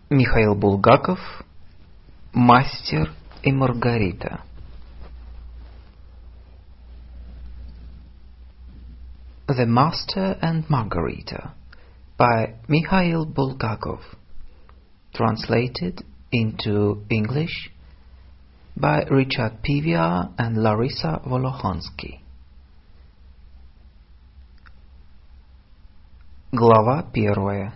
Михаил Булгаков, Мастер и Маргарита. The Master and Margarita by Mikhail Bulgakov, translated into English by Richard Pivia and Larissa Volokhonsky. Глава 1.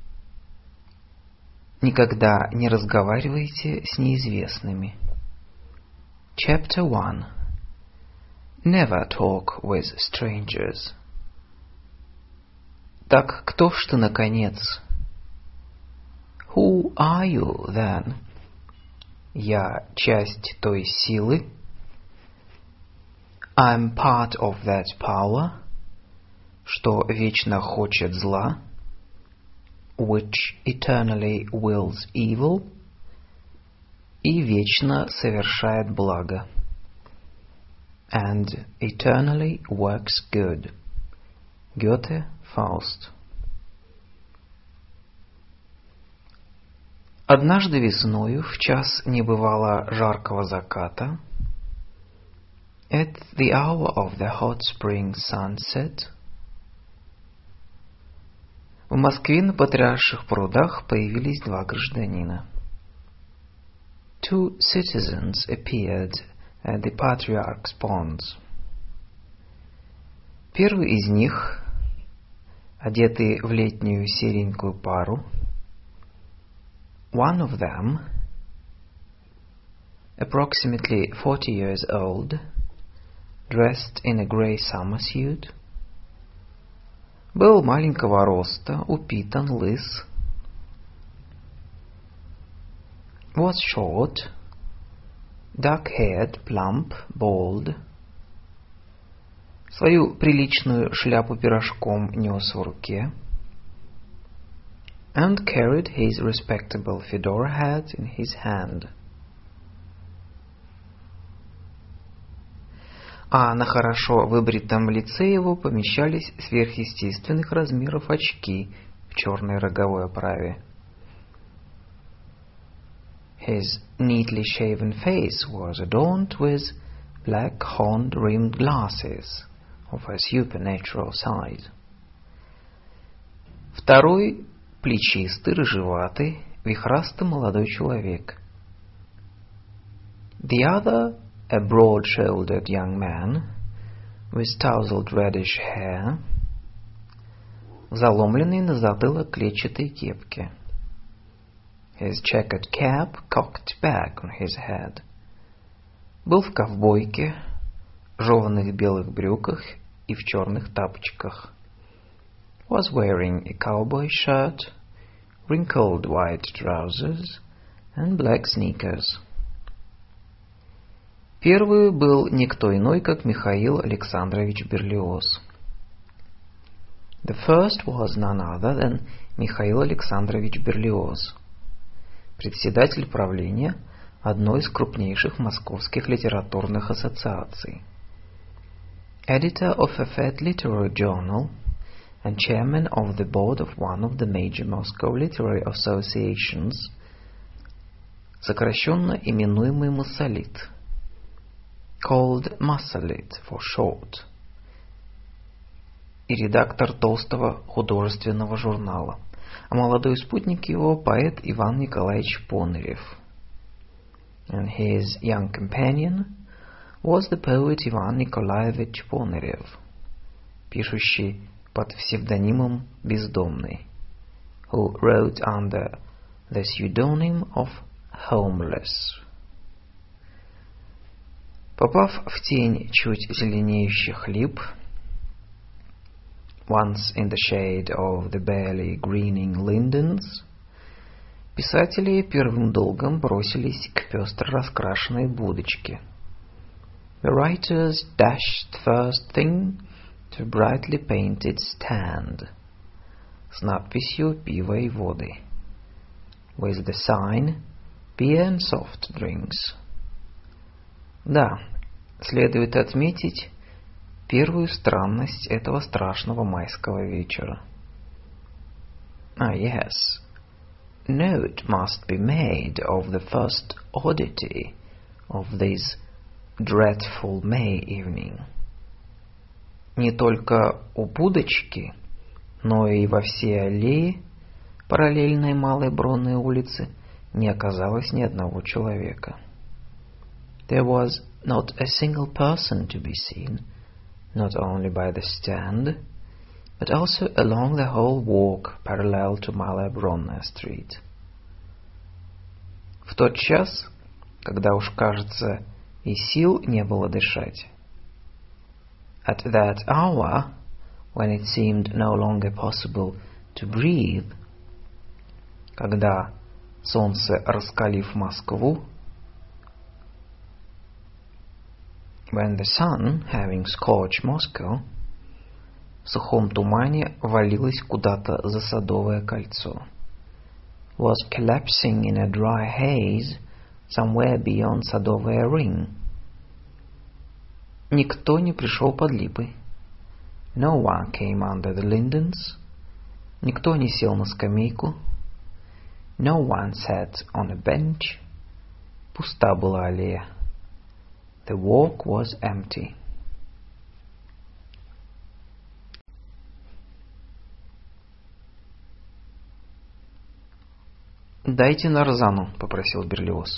Никогда не разговаривайте с неизвестными. Chapter 1. Never talk with strangers. Так кто ж ты, наконец? Who are you, then? Я часть той силы. I'm part of that power, что вечно хочет зла, which eternally wills evil, и вечно совершает благо, and eternally works good. Гёте, Фауст. Однажды весною, в час небывало жаркого заката, at the hour of the hot spring sunset, в Москве на Патриарших прудах появились два гражданина. Two citizens appeared at the Patriarch's ponds. Первый из них, одетый в летнюю серенькую пару, one of them, approximately 40 years old, dressed in a grey summer suit, был маленького роста, упитан, лыс, was short, dark-haired, plump, bald, свою приличную шляпу пирожком нес в руке, and carried his respectable fedora hat in his hand. А на хорошо выбритом лице его помещались сверхъестественных размеров очки в черной роговой оправе. His neatly shaven face was adorned with black horn-rimmed glasses of a supernatural size. Второй — плечистый, рыжеватый, вихрастый молодой человек. The other — a broad-shouldered young man with tousled reddish hair, в заломленной на затылок клетчатой кепке. His checkered cap cocked back on his head. Был в ковбойке, жеваных белых брюках и в черных тапочках. Was wearing a cowboy shirt, wrinkled white trousers and black sneakers. Первый был никто иной, как Михаил Александрович Берлиоз. The first was none other than Михаил Александрович Берлиоз, председатель правления одной из крупнейших московских литературных ассоциаций, editor of a fat literary journal and chairman of the board of one of the major Moscow literary associations, сокращенно именуемый Массолит, called Massalit for short, и редактор толстого художественного журнала, а молодой спутник его — поэт Иван Николаевич Понарев. And his young companion was the poet Ivan Nikolaevich Ponarev, пишущий под псевдонимом Бездомный, who wrote under the pseudonym of Homeless. Попав в тень чуть зеленеющих лип, once in the shade of the barely greening lindens, писатели первым долгом бросились к пестро раскрашенной будочке. The writers dashed first thing to a brightly painted stand с надписью «Пиво и воды», with the sign «Beer and soft drinks». Да, следует отметить первую странность этого страшного майского вечера. Ah, yes. note must be made of the first oddity of this dreadful May evening. Не только у будочки, но и во всей аллее, параллельной Малой Бронной улице, не оказалось ни одного человека. There was not a single person to be seen, not only by the stand, but also along the whole walk parallel to Malая Бронная Street. В тот час, когда уж, кажется, и сил не было дышать, at that hour, when it seemed no longer possible to breathe, когда солнце, раскалив Москву, when the sun, having scorched Moscow, в сухом тумане валилось куда-то за Садовое кольцо, was collapsing in a dry haze somewhere beyond Садовая ring. Никто не пришел под липы. No one came under the lindens. Никто не сел на скамейку. No one sat on a bench. Пуста была аллея. The walk was empty. «Дайте нарзану», — попросил Берлиоз.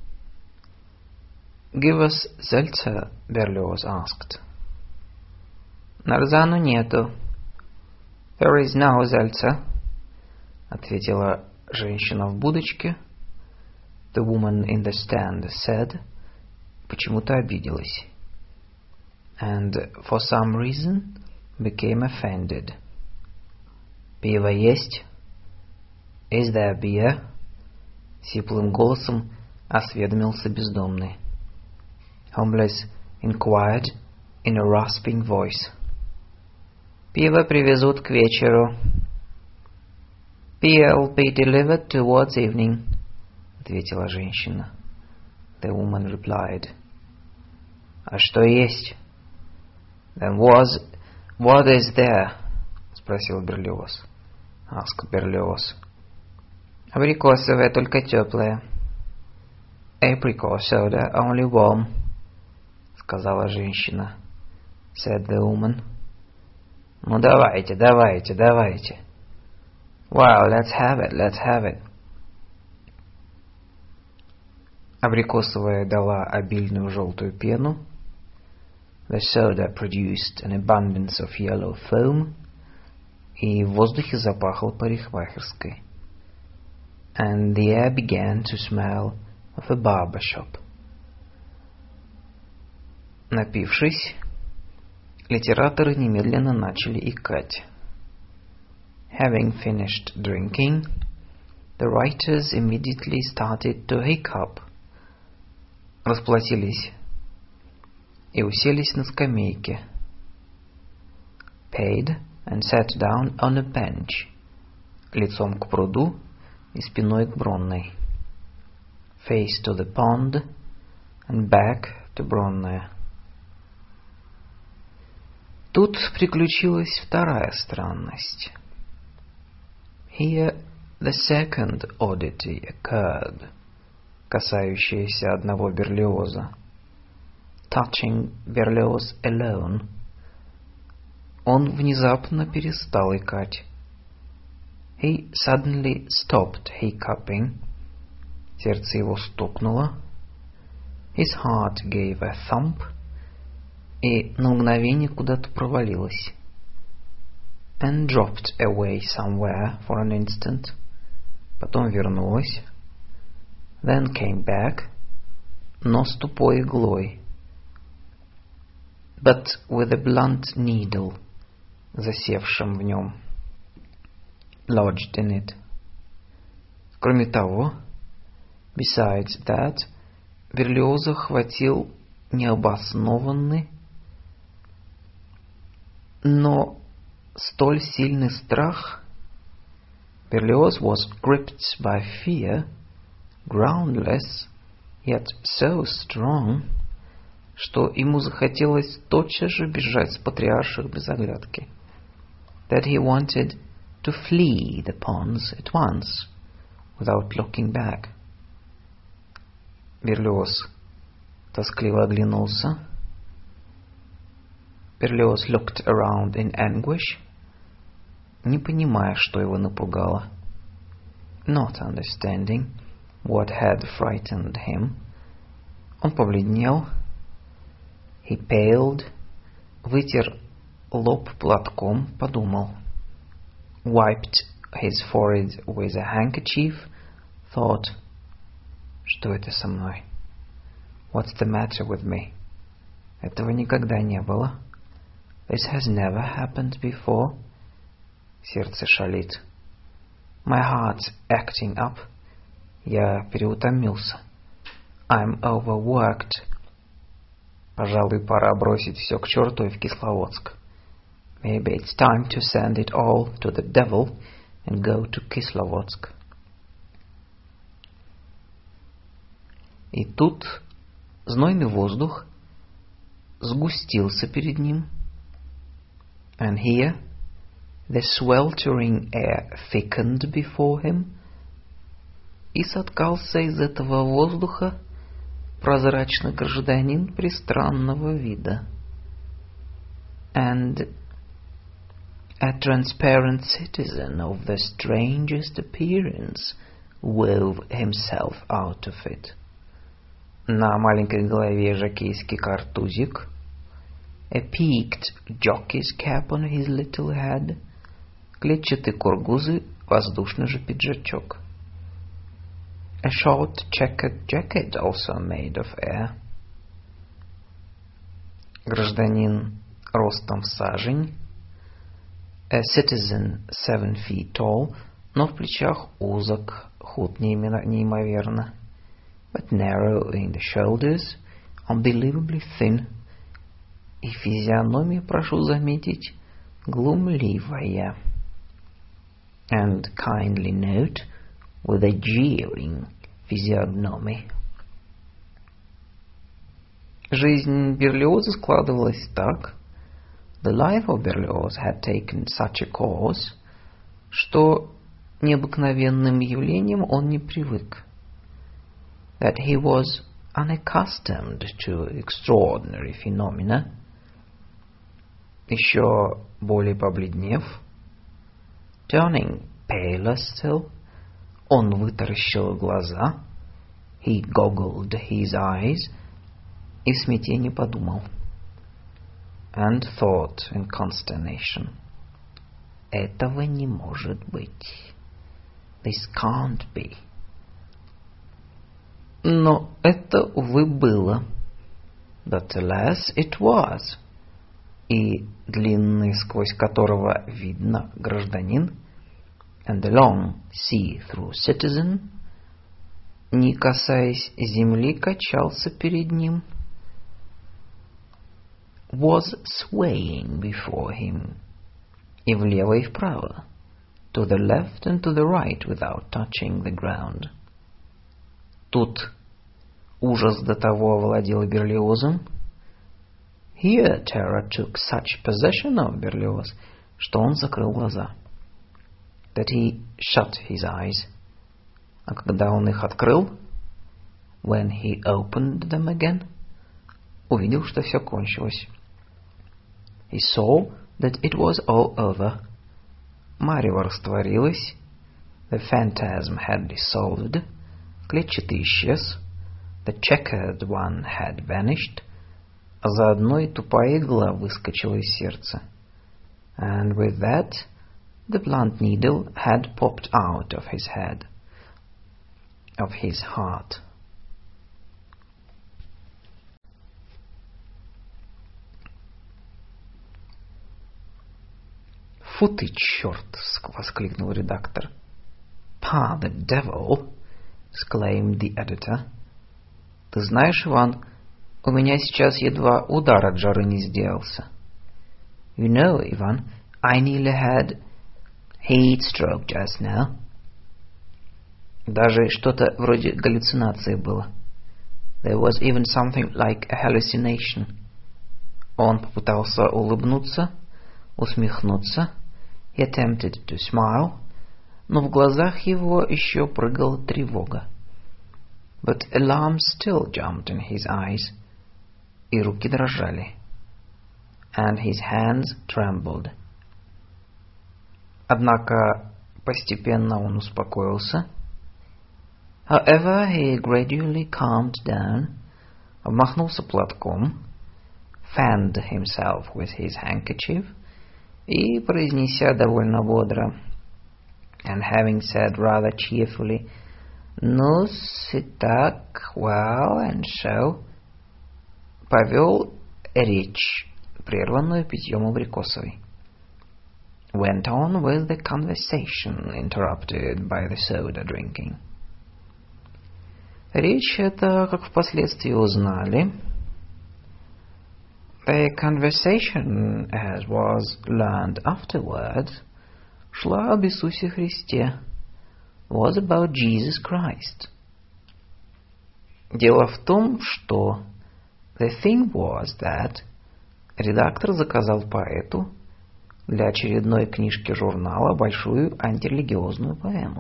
«Give us seltzer», — Берлиоз asked. «Нарзану нету». «There is no seltzer», — ответила женщина в будочке. The woman in the stand said, почему-то обиделась. And for some reason became offended. «Пиво есть?» «Is there beer?» — сиплым голосом осведомился бездомный. Homeless inquired in a rasping voice. «Пиво привезут к вечеру». «Beer will be delivered towards evening», — ответила женщина. The woman replied. «А что есть?» «Then what is there?» — спросил Берлиоз. Asked Берлиоз. «Абрикосовое, только теплое». «Apricot soda, only warm», — сказала женщина. Said the woman. «Ну давайте, давайте, давайте». «Well, let's have it». Абрикосовая дала обильную желтую пену. The soda produced an abundance of yellow foam. И в воздухе запахло парикмахерской. And the air began to smell of a barber shop. Напившись, литераторы немедленно начали икать. Having finished drinking, the writers immediately started to hiccup. Расплатились и уселись на скамейке. Paid and sat down on a bench, лицом к пруду и спиной к Бронной. Face to the pond and back to Бронная. Тут приключилась вторая странность. Here the second oddity occurred, касающаяся одного Берлиоза. Touching Berlioz alone. Он внезапно перестал икать. He suddenly stopped hiccuping. Сердце его стукнуло. His heart gave a thump. И на мгновение куда-то провалилось. And dropped away somewhere for an instant. Потом вернулось. Then came back. Но с тупой иглой. But with a blunt needle, засевшим в нем. Lodged in it. Кроме того, besides that, Берлиоза хватил необоснованный, но столь сильный страх. Berlioz was gripped by fear, groundless, yet so strong, что ему захотелось тотчас же бежать с патриарших без оглядки. That he wanted to flee the ponds at once, without looking back. Берлиоз тоскливо оглянулся. Берлиоз looked around in anguish, не понимая, что его напугало. Not understanding what had frightened him. Он побледнел. He paled. Вытер лоб платком, подумал. Wiped his forehead with a handkerchief, thought, что это со мной? What's the matter with me? Этого никогда не было. This has never happened before. Сердце шалит. My heart's acting up. Я переутомился. I'm overworked. Пожалуй, пора бросить все к черту и в Кисловодск. Maybe it's time to send it all to the devil and go to Kislovodsk. И тут знойный воздух сгустился перед ним. And here the sweltering air thickened before him. И соткался из этого воздуха прозрачный гражданин пристранного вида. And a transparent citizen of the strangest appearance wove himself out of it. На маленькой голове жокейский картузик. A peaked jockey's cap on his little head. Клетчатые кургузы, воздушный же пиджачок. A short checkered jacket also made of air. Гражданин ростом в сажень. A citizen 7 feet tall, но в плечах узок, худ неимоверно. But narrow in the shoulders, unbelievably thin. И физиономия, прошу заметить, глумливая. And kindly note, with a jeering physiognomy. Жизнь Берлиоза складывалась так. The life of Berlioz had taken such a course, что необыкновенным явлением он не привык. That he was unaccustomed to extraordinary phenomena. Еще более побледнев, turning paler still, он вытаращил глаза, he goggled his eyes, и в смятении подумал. And thought in consternation, этого не может быть. This can't be. Но это, увы, было. But alas, it was. И длинный, сквозь которого видно гражданин, and the long see-through citizen, не касаясь земли, качался перед ним, was swaying before him, и влево и вправо, to the left and to the right without touching the ground. Тут ужас до того овладел Берлиозом. Here terror took such possession of Berlioz, что он закрыл глаза. That he shut his eyes. А когда он их открыл, when he opened them again, увидел, что все кончилось. He saw that it was all over. Марево растворилось. The phantasm had dissolved. Клетчатый исчез. The checkered one had vanished. А заодно и тупая игла выскочила из сердца. And with that, the blunt needle had popped out of his head, of his heart. «Фу ты, черт!» — воскликнул редактор. «Pah, the devil!» — exclaimed the editor. «Ты знаешь, Иван, у меня сейчас едва удар от жары не сделался». «You know, Ivan, I nearly had heat stroke just now». Даже что-то вроде галлюцинации было. There was even something like a hallucination. Он попытался улыбнуться, усмехнуться. He attempted to smile, но в глазах его еще прыгала тревога. But alarm still jumped in his eyes, и руки дрожали, and his hands trembled. Однако постепенно он успокоился. However, he gradually calmed down, обмахнулся платком, fanned himself with his handkerchief, и, произнеся довольно бодро, and having said rather cheerfully, «Ну-с, и так, well, and so», повел речь, прерванную питьем абрикосовой. Went on with the conversation, interrupted by the soda drinking. Речь эта, как впоследствии узнали, the conversation, as was learned afterwards, шла об Иисусе Христе, was about Jesus Christ. Дело в том, что the thing was that редактор заказал поэту для очередной книжки журнала большую антирелигиозную поэму.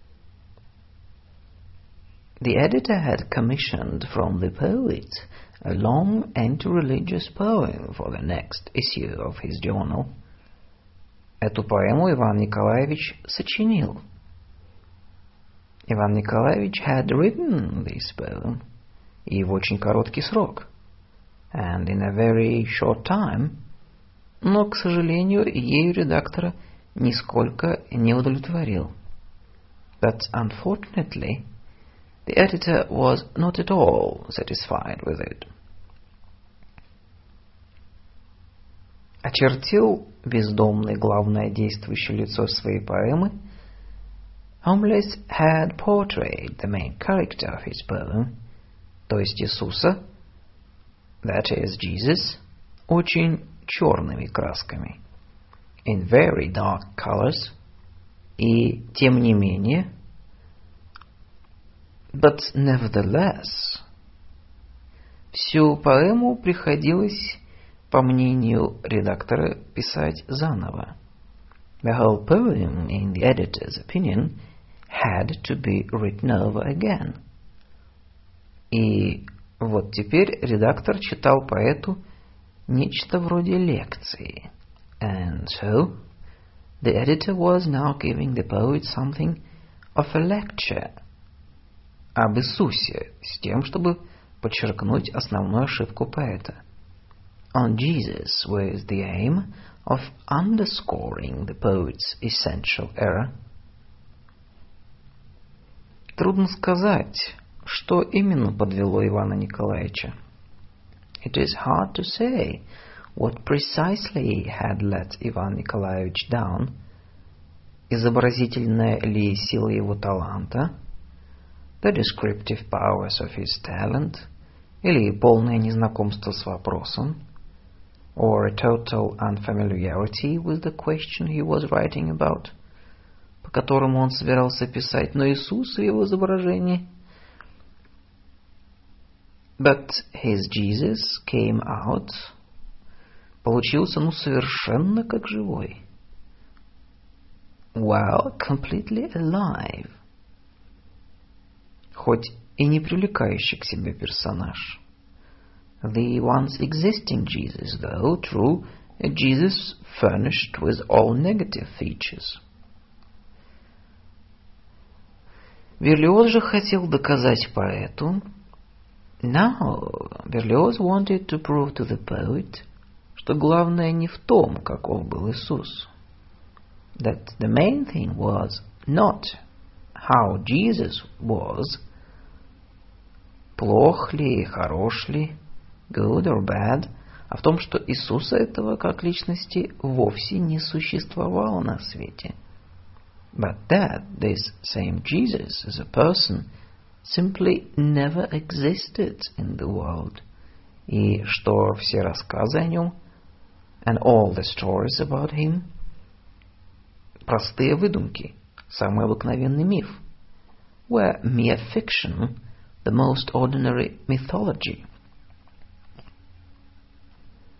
The editor had commissioned from the poet a long anti-religious poem for the next issue of his journal. Эту поэму Иван Николаевич сочинил. Иван Николаевич had written this poem, и в очень короткий срок, and in a very short time, но, к сожалению, ею редактора нисколько не удовлетворил. But unfortunately, the editor was not at all satisfied with it. Очертил бездомный главное действующее лицо своей поэмы. Homeless had portrayed the main character of his poem, то есть Иисуса, that is Jesus, очень черными красками, in very dark colors, и тем не менее, but nevertheless, всю поэму приходилось, по мнению редактора, писать заново. The whole poem, in the editor's opinion, had to be written over again. И вот теперь редактор читал поэту нечто вроде лекции. And so, the editor was now giving the poet something of a lecture об Иисусе, с тем, чтобы подчеркнуть основную ошибку поэта. On Jesus, with the aim of underscoring the poet's essential error. Трудно сказать, что именно подвело Ивана Николаевича. It is hard to say what precisely had let Ivan Nikolaevich down. Изобразительная ли сила его таланта, the descriptive powers of his talent, или полное незнакомство с вопросом, or a total unfamiliarity with the question he was writing about, по которому он собирался писать, но Иисус в его изображении. But his Jesus came out, получился, совершенно как живой. Well, completely alive. Хоть и не привлекающий к себе персонаж. The once existing Jesus, though, true, a Jesus furnished with all negative features. Берлиоз же хотел доказать поэту. Now, Berlioz wanted to prove to the poet, что главное не в том, каков был Иисус. That the main thing was not how Jesus was, плох ли, хорош ли, good or bad, а в том, что Иисуса этого как личности вовсе не существовало на свете. But that this same Jesus as a person simply never existed in the world, и что все рассказы о нем, and all the stories about him, простые выдумки, самый обыкновенный миф, were mere fiction, the most ordinary mythology.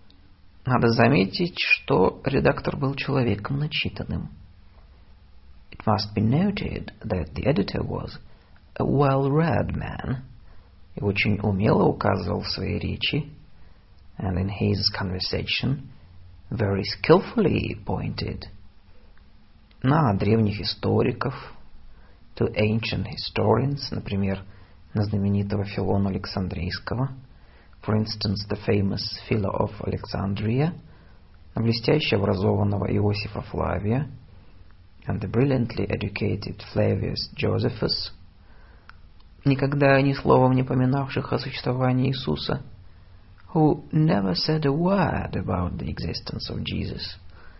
Надо заметить, что редактор был человеком начитанным. It must be noted that the editor was a well-read man и очень умело указывал в своей речи, and in his conversation very skillfully pointed на древних историков, to ancient historians, например, на знаменитого Филона Александрийского, for instance, the famous Philo of Alexandria, на блестяще образованного Иосифа Флавия, and the brilliantly educated Flavius Josephus, никогда ни словом не поминавших о существовании Иисуса, who never said a word about the existence of Jesus.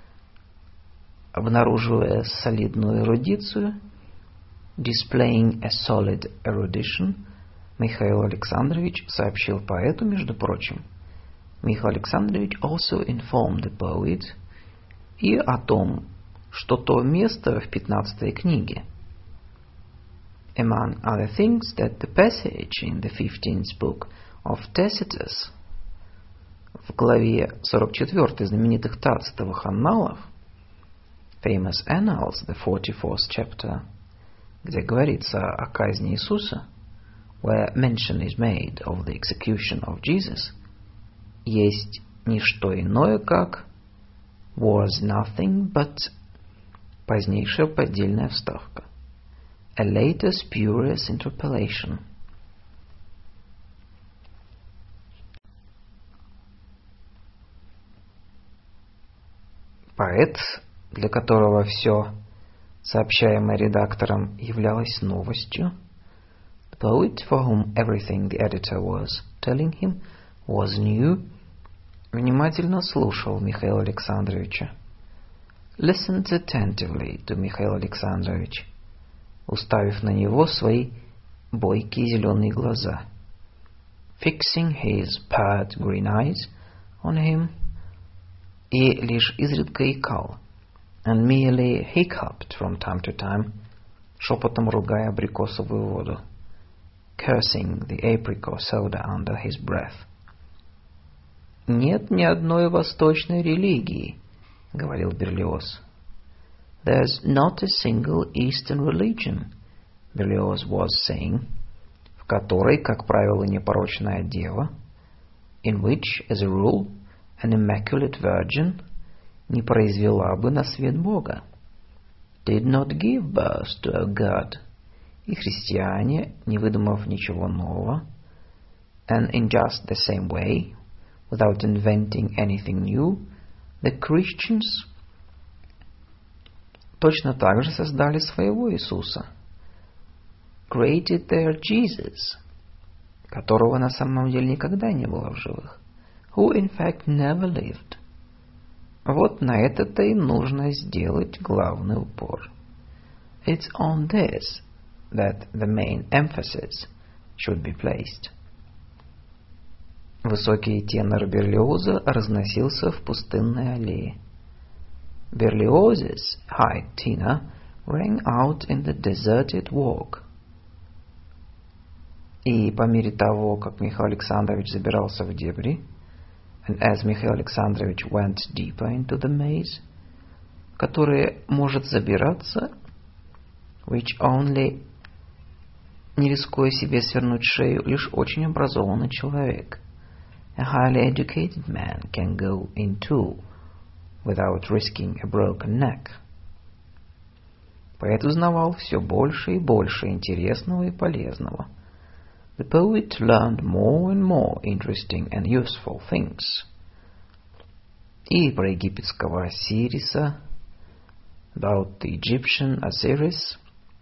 Обнаруживая солидную эрудицию, displaying a solid erudition, Михаил Александрович сообщил поэту, между прочим, Михаил Александрович also informed the poet и о том, что то место в 15 книге, among other things, that the passage in the 15th book of Tacitus, в главе 44 знаменитых Тацитовых анналов, famous annals, the 44th chapter, где говорится о казни Иисуса, where mention is made of the execution of Jesus, есть не что иное, как was nothing but позднейшая поддельная вставка, a later spurious interpolation. Поэт, для которого все, сообщаемое редактором, являлось новостью, the poet for whom everything the editor was telling him was new, внимательно слушал Михаила Александровича, listened attentively to Михаил Александрович, уставив на него свои бойкие зеленые глаза, fixing his pert green eyes on him, и лишь изредка икал, and merely hiccuped from time to time, шепотом ругая абрикосовую воду, cursing the apricot soda under his breath. «Нет ни одной восточной религии», — говорил Берлиоз. «There's not a single Eastern religion», Berlioz was saying, в которой, как правило, непорочная дева, in which, as a rule, an immaculate virgin не произвела бы на свет Бога, did not give birth to a God, и христиане, не выдумав ничего нового, and in just the same way, without inventing anything new, the Christians точно так же создали своего Иисуса, created their Jesus, которого на самом деле никогда не было в живых, who in fact never lived. Вот на это-то и нужно сделать главный упор. It's on this that the main emphasis should be placed. Высокий тенор Берлиоза разносился в пустынной аллее. Berlioz's high tenor rang out in the deserted walk. И по мере того, как Михаил Александрович забирался в дебри, and as Михаил Александрович went deeper into the maze, которое может забираться, which only, не рискуя себе свернуть шею, лишь очень образованный человек, a highly educated man can go into without risking a broken neck. Поэт узнавал все больше и больше интересного и полезного. The poet learned more and more interesting and useful things. И про египетского Осириса, about the Egyptian Osiris,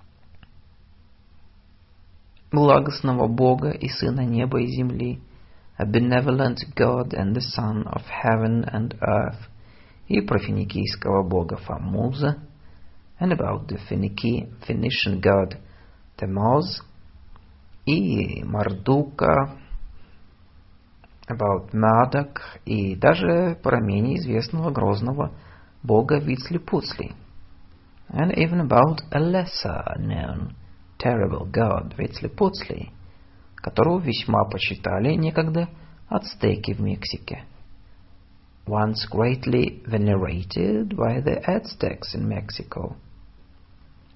благостного Бога и Сына неба и земли, a benevolent God and the Son of heaven and earth, и про финикийского бога Фамуза, and about the Phoenician god Tammuz, и Мардука, about Marduk, и даже про менее известного грозного бога Вицлипуцли, and even about a lesser known terrible god Вицлипуцли, которого весьма почитали некогда ацтеки в Мексике, once greatly venerated by the Aztecs in Mexico.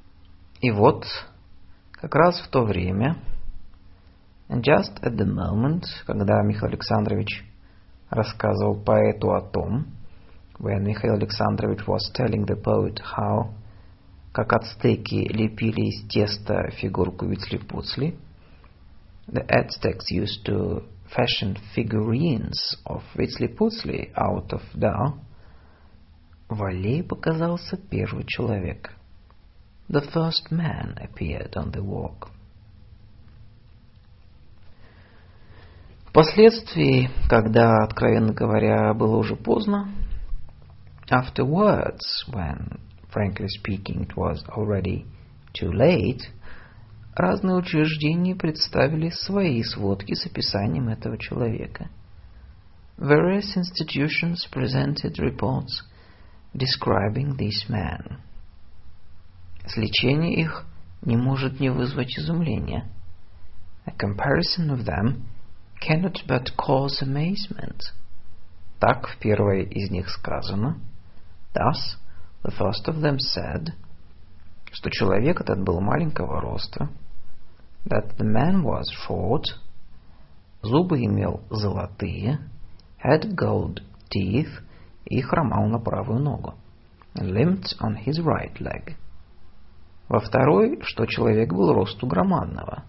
И вот, как раз в то время, and just at the moment, когда Михаил Александрович рассказывал поэту о том, when Михаил Александрович was telling the poet how, как ацтеки лепили из теста фигурку Вицли-Пуцли, the Aztecs used to fashion figurines of Вицли-Пуцли out of dough, в аллее показался первый человек. The first man appeared on the walk. Впоследствии, когда, откровенно говоря, было уже поздно, afterwards, when, frankly speaking, it was already too late, разные учреждения представили свои сводки с описанием этого человека. Various institutions presented reports describing this man. Сличение их не может не вызвать изумления. A comparison of them cannot but cause amazement. Так в первой из них сказано, thus, the first of them said, что человек этот был маленького роста, that the man was short, зубы имел золотые, had gold teeth и хромал на правую ногу, and limped on his right leg. Во второй, что человек был росту громадного.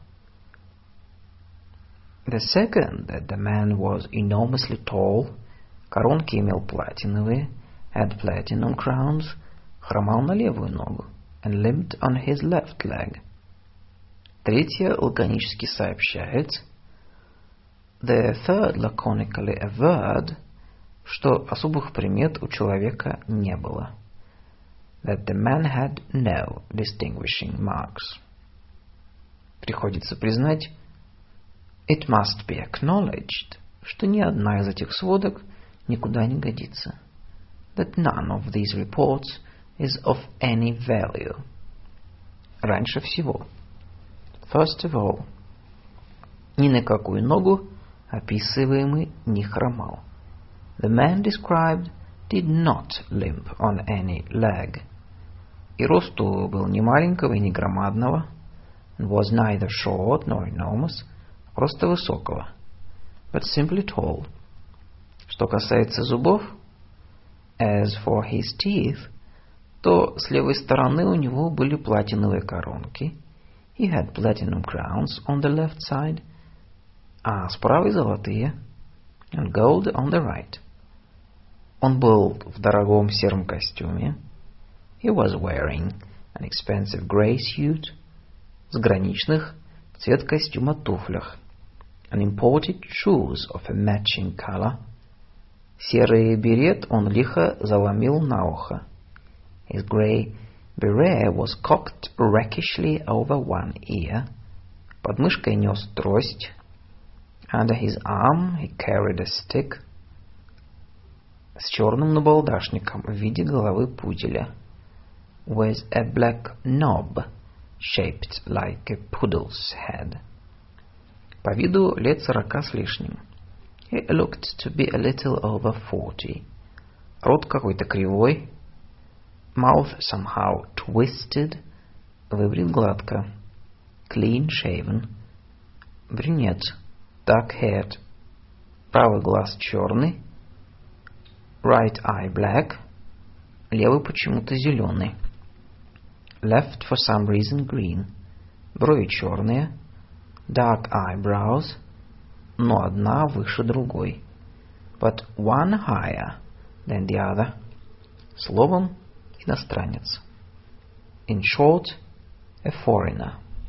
The second, that the man was enormously tall, коронки имел платиновые, had platinum crowns, хромал на левую ногу, and limped on his left leg. Третье лаконически сообщает, the third laconically averred, что особых примет у человека не было. That the man had no distinguishing marks. Приходится признать, it must be acknowledged, что ни одна из этих сводок никуда не годится. That none of these reports is of any value. Раньше всего, first of all, ни на какую ногу описываемый не хромал. The man described did not limp on any leg. И росту был ни маленького и ни громадного, and was neither short nor enormous, просто высокого, but simply tall. Что касается зубов, as for his teeth, то с левой стороны у него были платиновые коронки, he had platinum crowns on the left side, а с правой золотые, and gold on the right. Он был в дорогом сером костюме, he was wearing an expensive grey suit, заграничных цвет костюма туфлях, and imported shoes of a matching color. Серый берет он лихо заломил на ухо. His grey beret was cocked rakishly over one ear. Под мышкой нес трость. Under his arm he carried a stick. С черным набалдашником в виде головы пуделя. With a black knob shaped like a poodle's head. По виду лет 40 с лишним. He looked to be a little over 40. Рот какой-то кривой. Mouth somehow twisted. Выбрит гладко. Clean shaven. Брюнет. Dark-haired. Правый глаз черный. Right eye black. Левый почему-то зеленый. Left for some reason green. Брови черные. Dark eyebrows. Но одна выше другой. But one higher than the other. Словом, иностранец. In short, a foreigner.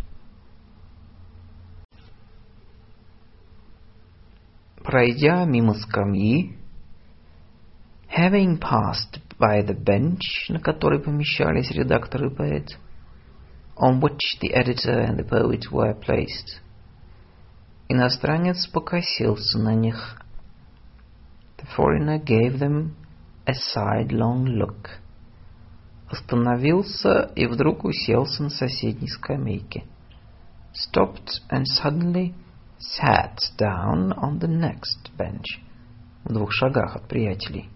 Пройдя мимо скамьи, having passed by the bench, на которой помещались редактор и поэт, on which the editor and the poet were placed, иностранец покосился на них. The foreigner gave them a sidelong look. Остановился и вдруг уселся на соседней скамейке. Stopped and suddenly sat down on the next bench. В 2 шагах от приятелей.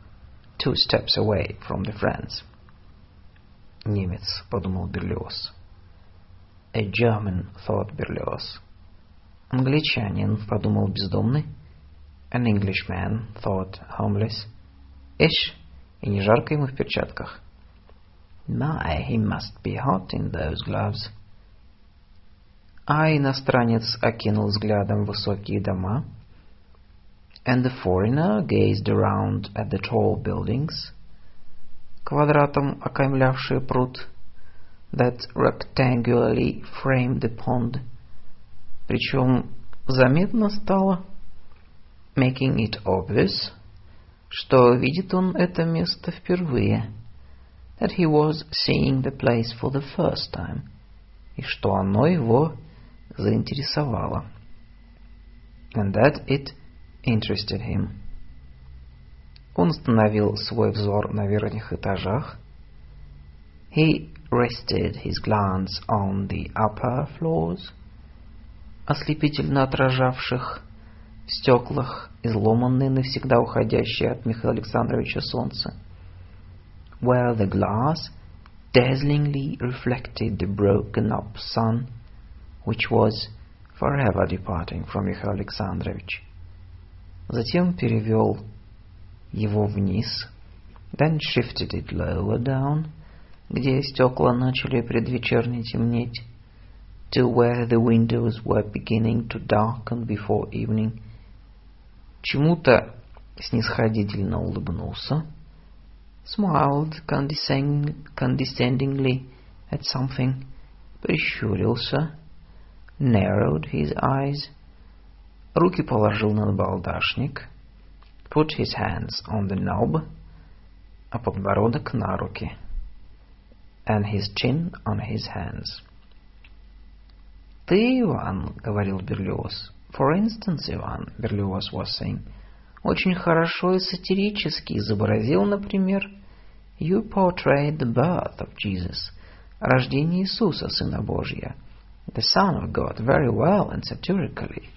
2 steps away from the friends. Немец, подумал Берлиоз. a German, thought Berlioz. Англичанин, подумал бездомный. An Englishman, thought homeless. Ишь, и не жарко ему в перчатках. My, he must be hot in those gloves. А иностранец окинул взглядом высокие дома. And the foreigner gazed around at the tall buildings, квадратом окаймлявшие пруд, that rectangularly framed the pond. Причем заметно стало, making it obvious, что видит он это место впервые, that he was seeing the place for the first time, и что оно его заинтересовало, and that it interested him. Он остановил свой взор на верхних этажах. He rested his glance on the upper floors, ослепительно отражавших в стеклах изломанное навсегда уходящее от Михаила Александровича солнце, where the glass dazzlingly reflected the broken up sun, which was forever departing from Михаил Александрович. Затем перевел его вниз, then shifted it lower down, где стекла начали предвечерне темнеть, to where the windows were beginning to darken before evening. Чему-то снисходительно улыбнулся, smiled condescendingly at something, прищурился, narrowed his eyes, руки положил на набалдашник, put his hands on the knob, а подбородок на руки, and his chin on his hands. «Ты, Иван, — говорил Берлиоз, — for instance, Иван, — Берлиоз was saying, — очень хорошо и сатирически изобразил, например, you portrayed the birth of Jesus, рождение Иисуса, Сына Божия, the Son of God, very well and satirically.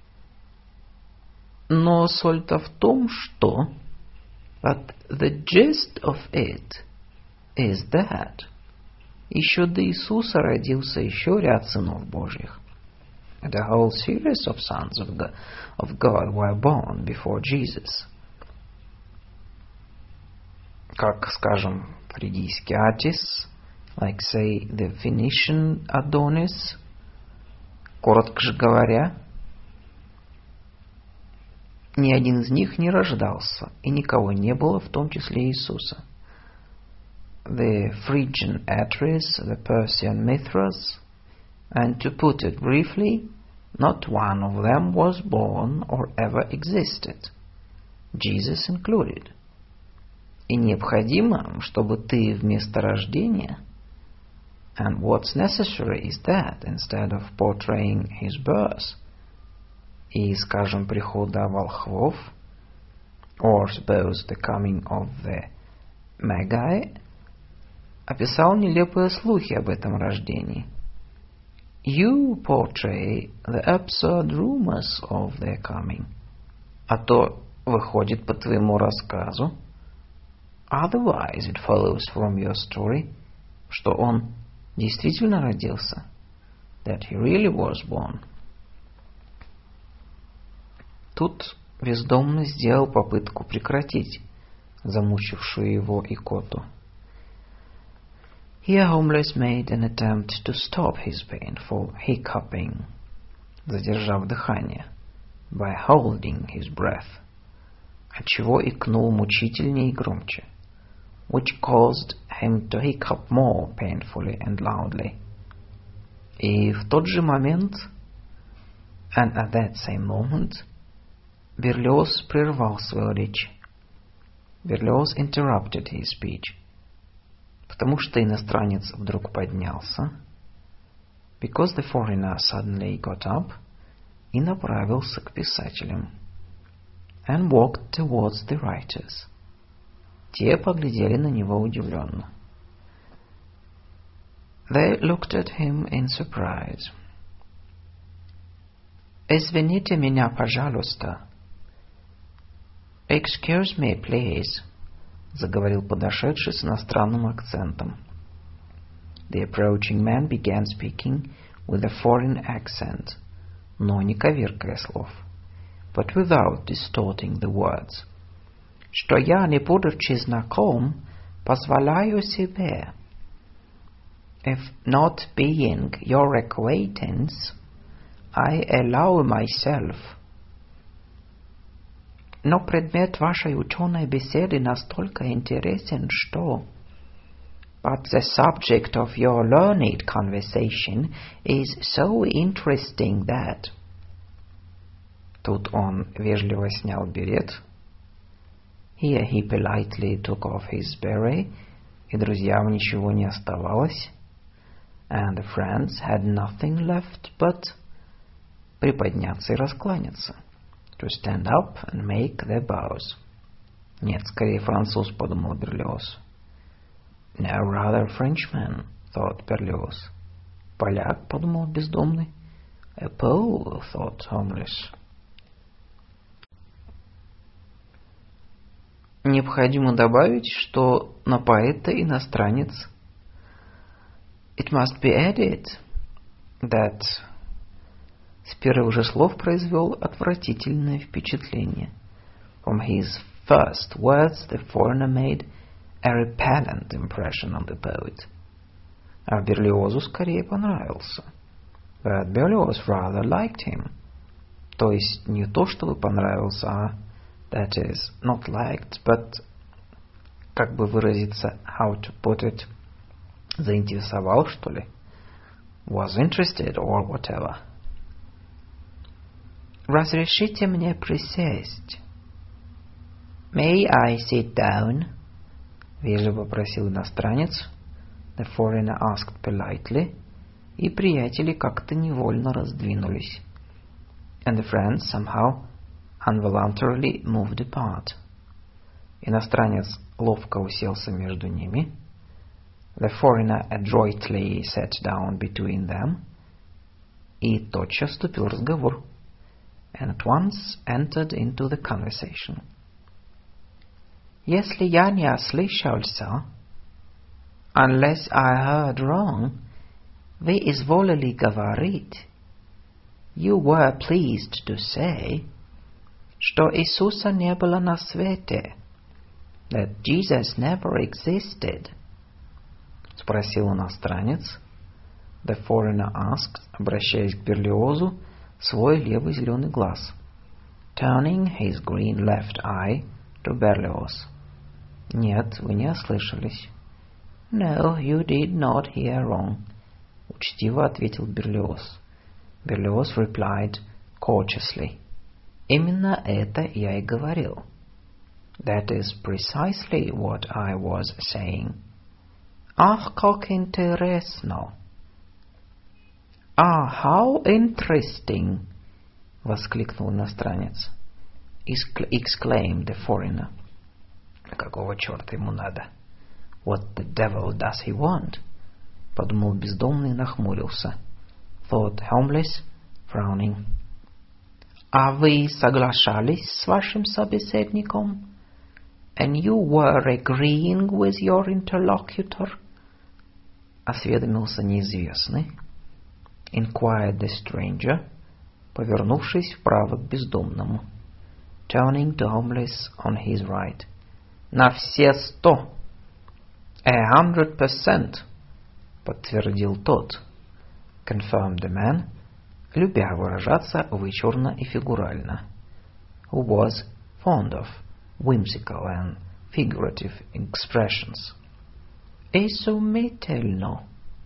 Но соль-то в том, что... But the gist of it is that еще до Иисуса родился еще ряд сынов Божьих. The whole series of sons of God were born before Jesus. Как, скажем, фригийский Атис, like, say, the Phoenician Adonis. Коротко же говоря, ни один из них не рождался, и никого не было, в том числе Иисуса. The Phrygian Atris, the Persian Mithras, and to put it briefly, not one of them was born or ever existed, Jesus included. И необходимо, чтобы ты вместо рождения, and what's necessary is that instead of portraying his birth, и, скажем, прихода волхвов, or suppose the coming of the Magi, описал нелепые слухи об этом рождении. You portray the absurd rumors of their coming. А то выходит по твоему рассказу, otherwise it follows from your story, что он действительно родился, that he really was born. Тут бездомный сделал попытку прекратить замучившую его икоту. Here homeless made an attempt to stop his painful hiccuping, задержав дыхание, by holding his breath, отчего икнул мучительнее и громче, which caused him to hiccup more painfully and loudly. И в тот же момент, and at that same moment, Берлиоз прервал свою речь. Берлиоз interrupted his speech, потому что иностранец вдруг поднялся, because the foreigner suddenly got up, и направился к писателям, and walked towards the writers. Те поглядели на него удивленно. They looked at him in surprise. «Извините меня, пожалуйста». «Excuse me, please», — заговорил подошедший с иностранным акцентом. The approaching man began speaking with a foreign accent, но не коверкая слов, but without distorting the words. Что я, не будучи знаком, позволяю себе. If not being your acquaintance, I allow myself. Но предмет вашей ученой беседы настолько интересен, что... But the subject of your learned conversation is so interesting that... Тут он вежливо снял берет. Here he politely took off his beret, и друзьям ничего не оставалось. And the friends had nothing left but приподняться и раскланяться. To stand up and make their bows. Нет, скорее француз, подумал Берлиоз. No, rather Frenchman, thought Berlioz. Поляк, подумал бездомный. A Pole, thought homeless. Необходимо добавить, что на поэта иностранец. It must be added that с первых же слов произвел отвратительное впечатление. From his first words the foreigner made a repellent impression on the poet. А Берлиозу скорее понравился. But Berlioz rather liked him. То есть не то, чтобы понравился, а that is, not liked, but, как бы выразиться, how to put it, заинтересовал, что ли? Was interested or whatever. Разрешите мне присесть. May I sit down? Вежливо просил иностранец. The foreigner asked politely. И приятели как-то невольно раздвинулись. And the friends somehow involuntarily moved apart. Иностранец ловко уселся между ними. The foreigner adroitly sat down between them. И тотчас вступил разговор. And at once entered into the conversation. Если я не ослышался, unless I heard wrong, вы изволили говорить, you were pleased to say, что Иисуса не было на свете, that Jesus never existed. Спросил иностранец. The foreigner asked, обращаясь к Берлиозу, свой левый зеленый глаз, turning his green left eye to Berlioz. Нет, вы не ослышались. No, you did not hear wrong. Учтиво ответил Берлиоз. Berlioz replied courteously. Именно это я и говорил. That is precisely what I was saying. Ах, как интересно! Ah, how interesting! Воскликнул иностранец. Exclaimed the foreigner. Какого черта ему надо? What the devil does he want? Подумал бездомный и нахмурился. Thought homeless, frowning. А вы соглашались с вашим собеседником? And you were agreeing with your interlocutor? Осведомился неизвестный. Inquired the stranger, повернувшись вправо к бездомному. Turning to homeless on his right. На все 100. 100%, подтвердил тот. Confirmed the man, любя выражаться вычурно и фигурально. Who was fond of whimsical and figurative expressions. Изумительно.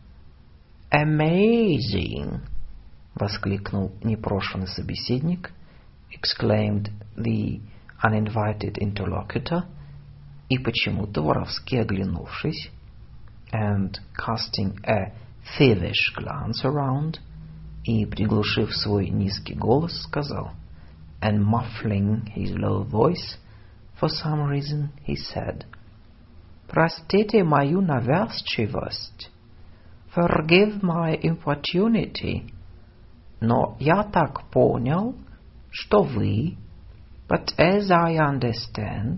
Amazing! Воскликнул непрошенный собеседник, exclaimed the uninvited interlocutor, и почему-то воровски оглянувшись, and casting a thievish glance around, и приглушив свой низкий голос, сказал, and muffling his low voice, for some reason he said, простите мою навязчивость, forgive my importunity, но я так понял, что вы, but as I understand,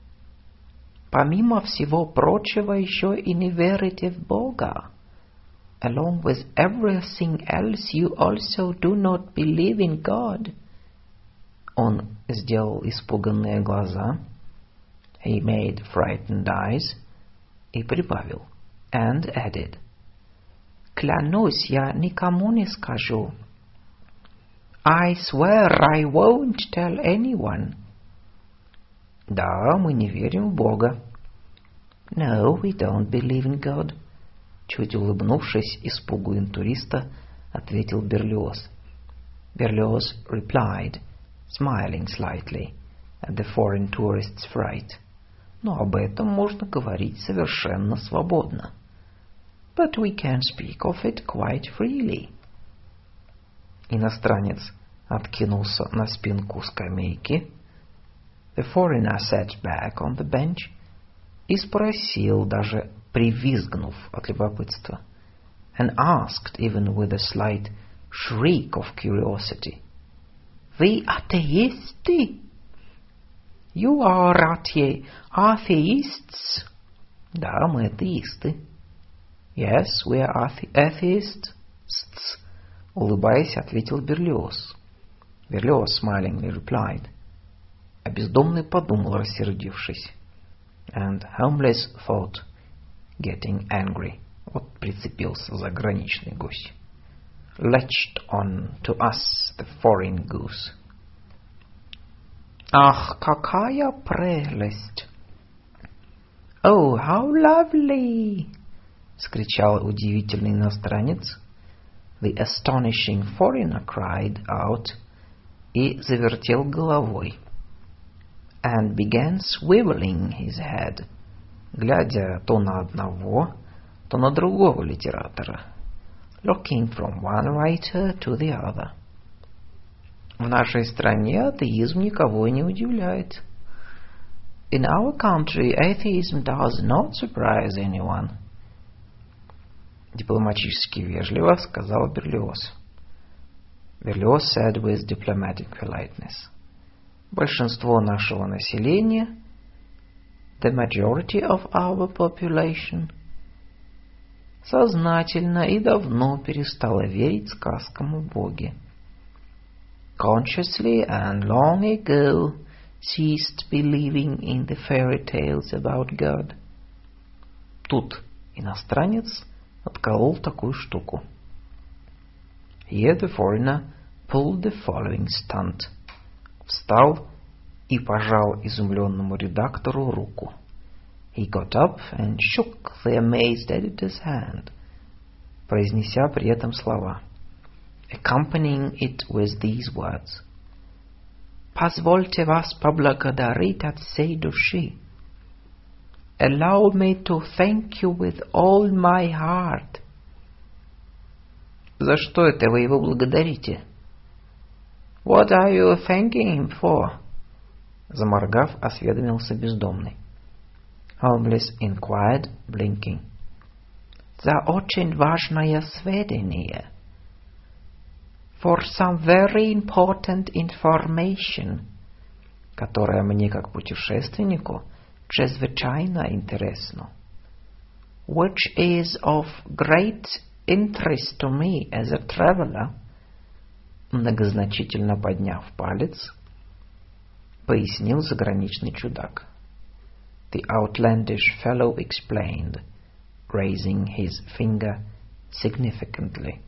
помимо всего прочего еще и не верите в Бога. along with everything else, you also do not believe in God. Он сделал испуганные глаза. He made frightened eyes. И прибавил. And added. Клянусь, я никому не скажу. I swear I won't tell anyone. Да, мы не верим в Бога. No, we don't believe in God. Чуть улыбнувшись испугу интуриста, ответил Берлиоз. Berlioz replied, smiling slightly at the foreign tourist's fright. Но об этом можно говорить совершенно свободно. But we can speak of it quite freely. Иностранец откинулся на спинку скамейки. The foreigner sat back on the bench и спросил, даже привизгнув от любопытства, and asked, even with a slight shriek of curiosity, «Вы атеисты?» «You are atheists?» «Да, мы атеисты». «Yes, we are atheists», улыбаясь, ответил Берлиоз. Берлиоз smilingly replied. А бездомный подумал, рассердившись. And homeless thought, getting angry. Вот прицепился заграничный гусь. Latched on to us the foreign goose. Ах, какая прелесть! Oh, how lovely! Скричал удивительный иностранец. The astonishing foreigner cried out и завертел головой. And began swiveling his head, глядя то на одного, то на другого литератора, looking from one writer to the other. В нашей стране атеизм никого не удивляет. In our country, atheism does not surprise anyone. Дипломатически вежливо сказал Берлиоз. Берлиоз said with diplomatic politeness. Большинство нашего населения, the majority of our population, сознательно и давно перестало верить сказкам о Боге. Consciously and long ago ceased believing in the fairy tales about God. Тут иностранец отколол такую штуку. Here the foreigner pulled the following stunt. Встал и пожал изумленному редактору руку. He got up and shook the amazed editor's hand, произнеся при этом слова, accompanying it with these words. «Позвольте вас поблагодарить от всей души. Allow me to thank you with all my heart». «За что это вы его благодарите?» «What are you thanking him for?» Заморгав, осведомился бездомный. Homeless inquired, blinking. «За очень важное сведение. For some very important information, которое мне как путешественнику чрезвычайно интересно. Which is of great interest to me as a traveler». Многозначительно подняв палец, пояснил заграничный чудак. The outlandish fellow explained, raising his finger significantly.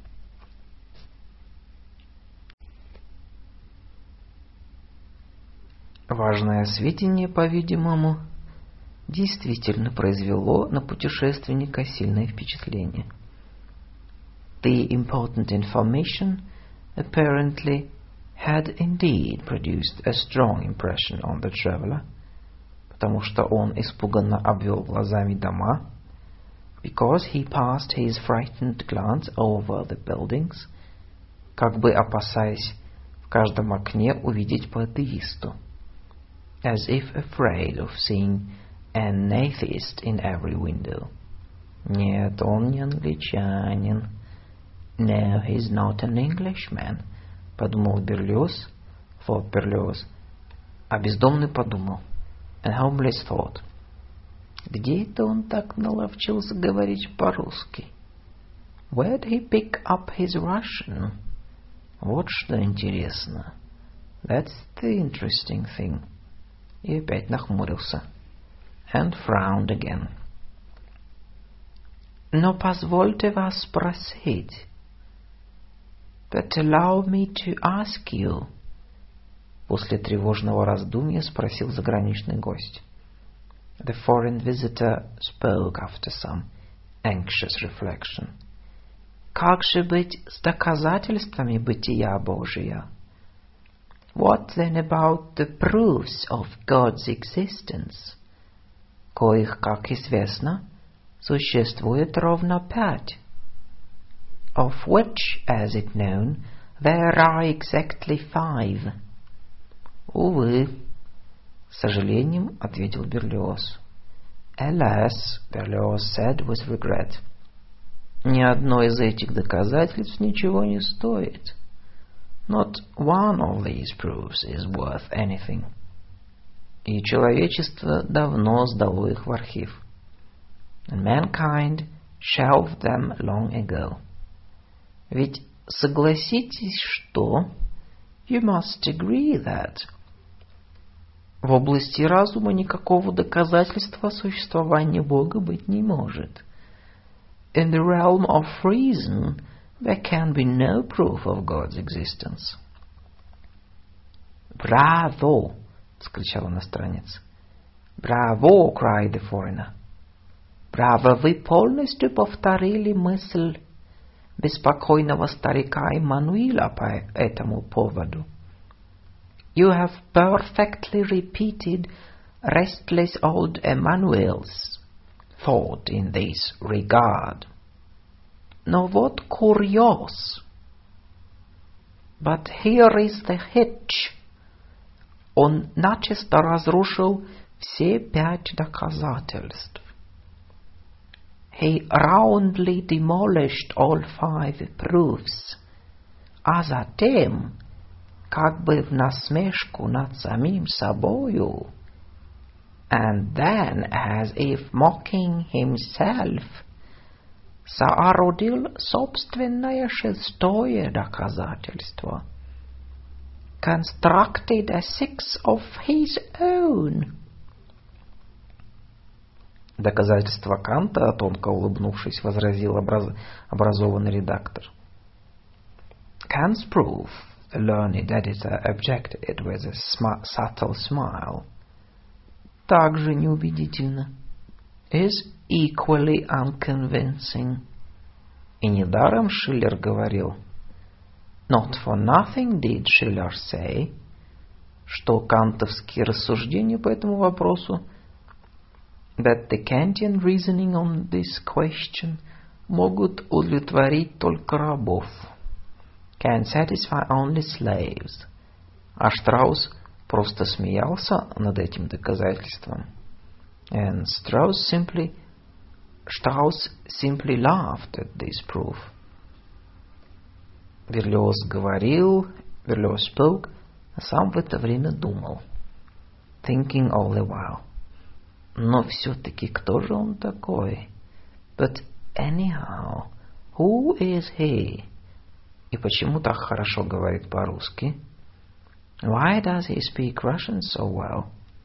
Важное сведение, по-видимому, действительно произвело на путешественника сильное впечатление. The important information apparently had indeed produced a strong impression on the traveler, потому что он испуганно обвел глазами дома, because he passed his frightened glance over the buildings, как бы опасаясь в каждом окне увидеть по атеисту, as if afraid of seeing an atheist in every window. Нет, он не англичанин. No, he's not an Englishman, подумал Берлиоз, thought Berlioz, а бездомный подумал, and homeless thought, где это он так наловчился говорить по-русски? Where'd he pick up his Russian? Вот что интересно. That's the interesting thing. И опять нахмурился. And frowned again. Но позвольте вас спросить. But allow me to ask you. После тревожного раздумья спросил заграничный гость. The foreign visitor spoke after some anxious reflection. Как же быть с доказательствами бытия Божия? What then about the proofs of God's existence? Коих, как известно, существует ровно 5. Of which, as it known, there are exactly 5. Увы, с сожалением ответил Берлиоз. Alas, Berlioz said with regret. Ни одно из этих доказательств ничего не стоит. Not one of these proofs is worth anything. И человечество давно сдало их в архив. And mankind shelved them long ago. Ведь согласитесь, что... You must agree that... В области разума никакого доказательства существования Бога быть не может. In the realm of reason, there can be no proof of God's existence. «Браво!» — вскричал иностранец. «Браво!» — cried the foreigner. «Браво! Вы полностью повторили мысль беспокойного старика Эммануила по этому поводу. You have perfectly repeated restless old Emmanuel's thought in this regard. Но вот курьез. But here is the hitch. Он начисто разрушил все 5 доказательств. He roundly demolished all 5 proofs. А затем, как бы в насмешку над самим собою, and then, as if mocking himself, соорудил собственное 6-е доказательство. Constructed a 6 of his own. Доказательство Канта, тонко улыбнувшись, возразил образованный редактор. Kant's proof, the learned editor objected with a subtle smile. Также неубедительно. Is equally unconvincing. И недаром Шиллер говорил, not for nothing did Schiller say, что кантовские рассуждения по этому вопросу, that the Kantian reasoning on this question могут удовлетворить только рабов, can satisfy only slaves. А Штраус просто смеялся над этим доказательством. And Strauss simply laughed at this proof. Берлиоз говорил, Берлиоз spoke, а сам в это время думал, thinking all the while. Но все-таки кто же он такой? But anyhow, who is he? И почему так хорошо говорит по-русски? Why does he speak Russian so well?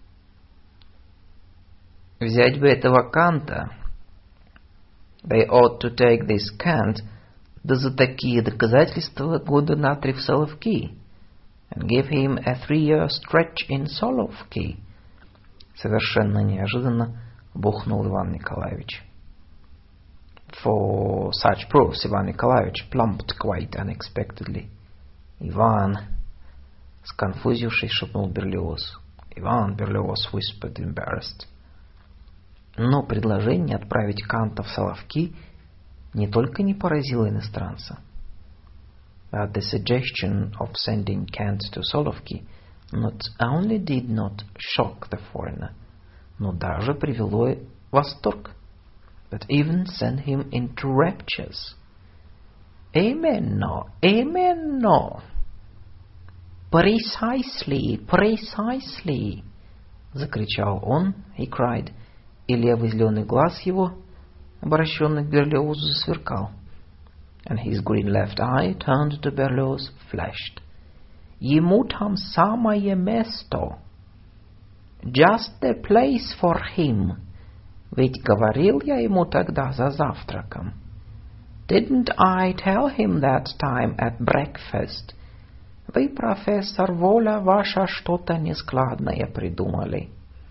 Взять бы этого Канта. They ought to take this Kant, да за такие доказательства года на 3 в Соловки. And give him a 3-year stretch in Solovki. Совершенно неожиданно бухнул Иван Николаевич. For such proofs, Иван Николаевич plumped quite unexpectedly. Иван, сконфузившись, шепнул Берлиоз. Иван, Берлиоз whispered, embarrassed. Но предложение отправить Канта в Соловки не только не поразило иностранца. But the suggestion of sending Kant to Solovki not only did not shock the foreigner, но даже привело в восторг, but even sent him into raptures. Именно, именно. Precisely, precisely, закричал он, he cried, и левый зеленый глаз его, обращенный к Берлиозу, засверкал. and his green left eye, turned to Berlioz, flashed. Ему там самое место. Just the place for him. Ведь говорил я ему тогда за завтраком. Didn't I tell him that time at breakfast? Вы, профессор, воля ваша что-то нескладное придумали.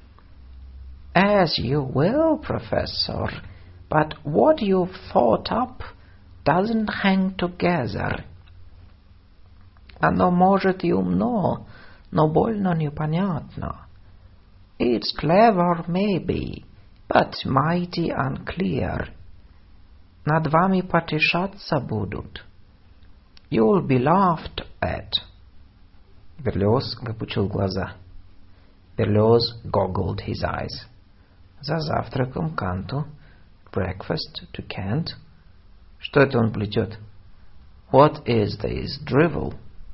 As you will, professor, but what you've thought up doesn't hang together. Оно может и умно, но больно непонятно. It's clever, maybe, but mighty unclear. Над вами потешаться будут. You'll be laughed at. Берлиоз выпучил глаза. Berlioz goggled his eyes. За завтраком Канту. Breakfast to Kant. Что это он плетет? What is this drivel?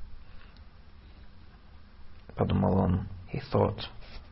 Подумал он. He thought.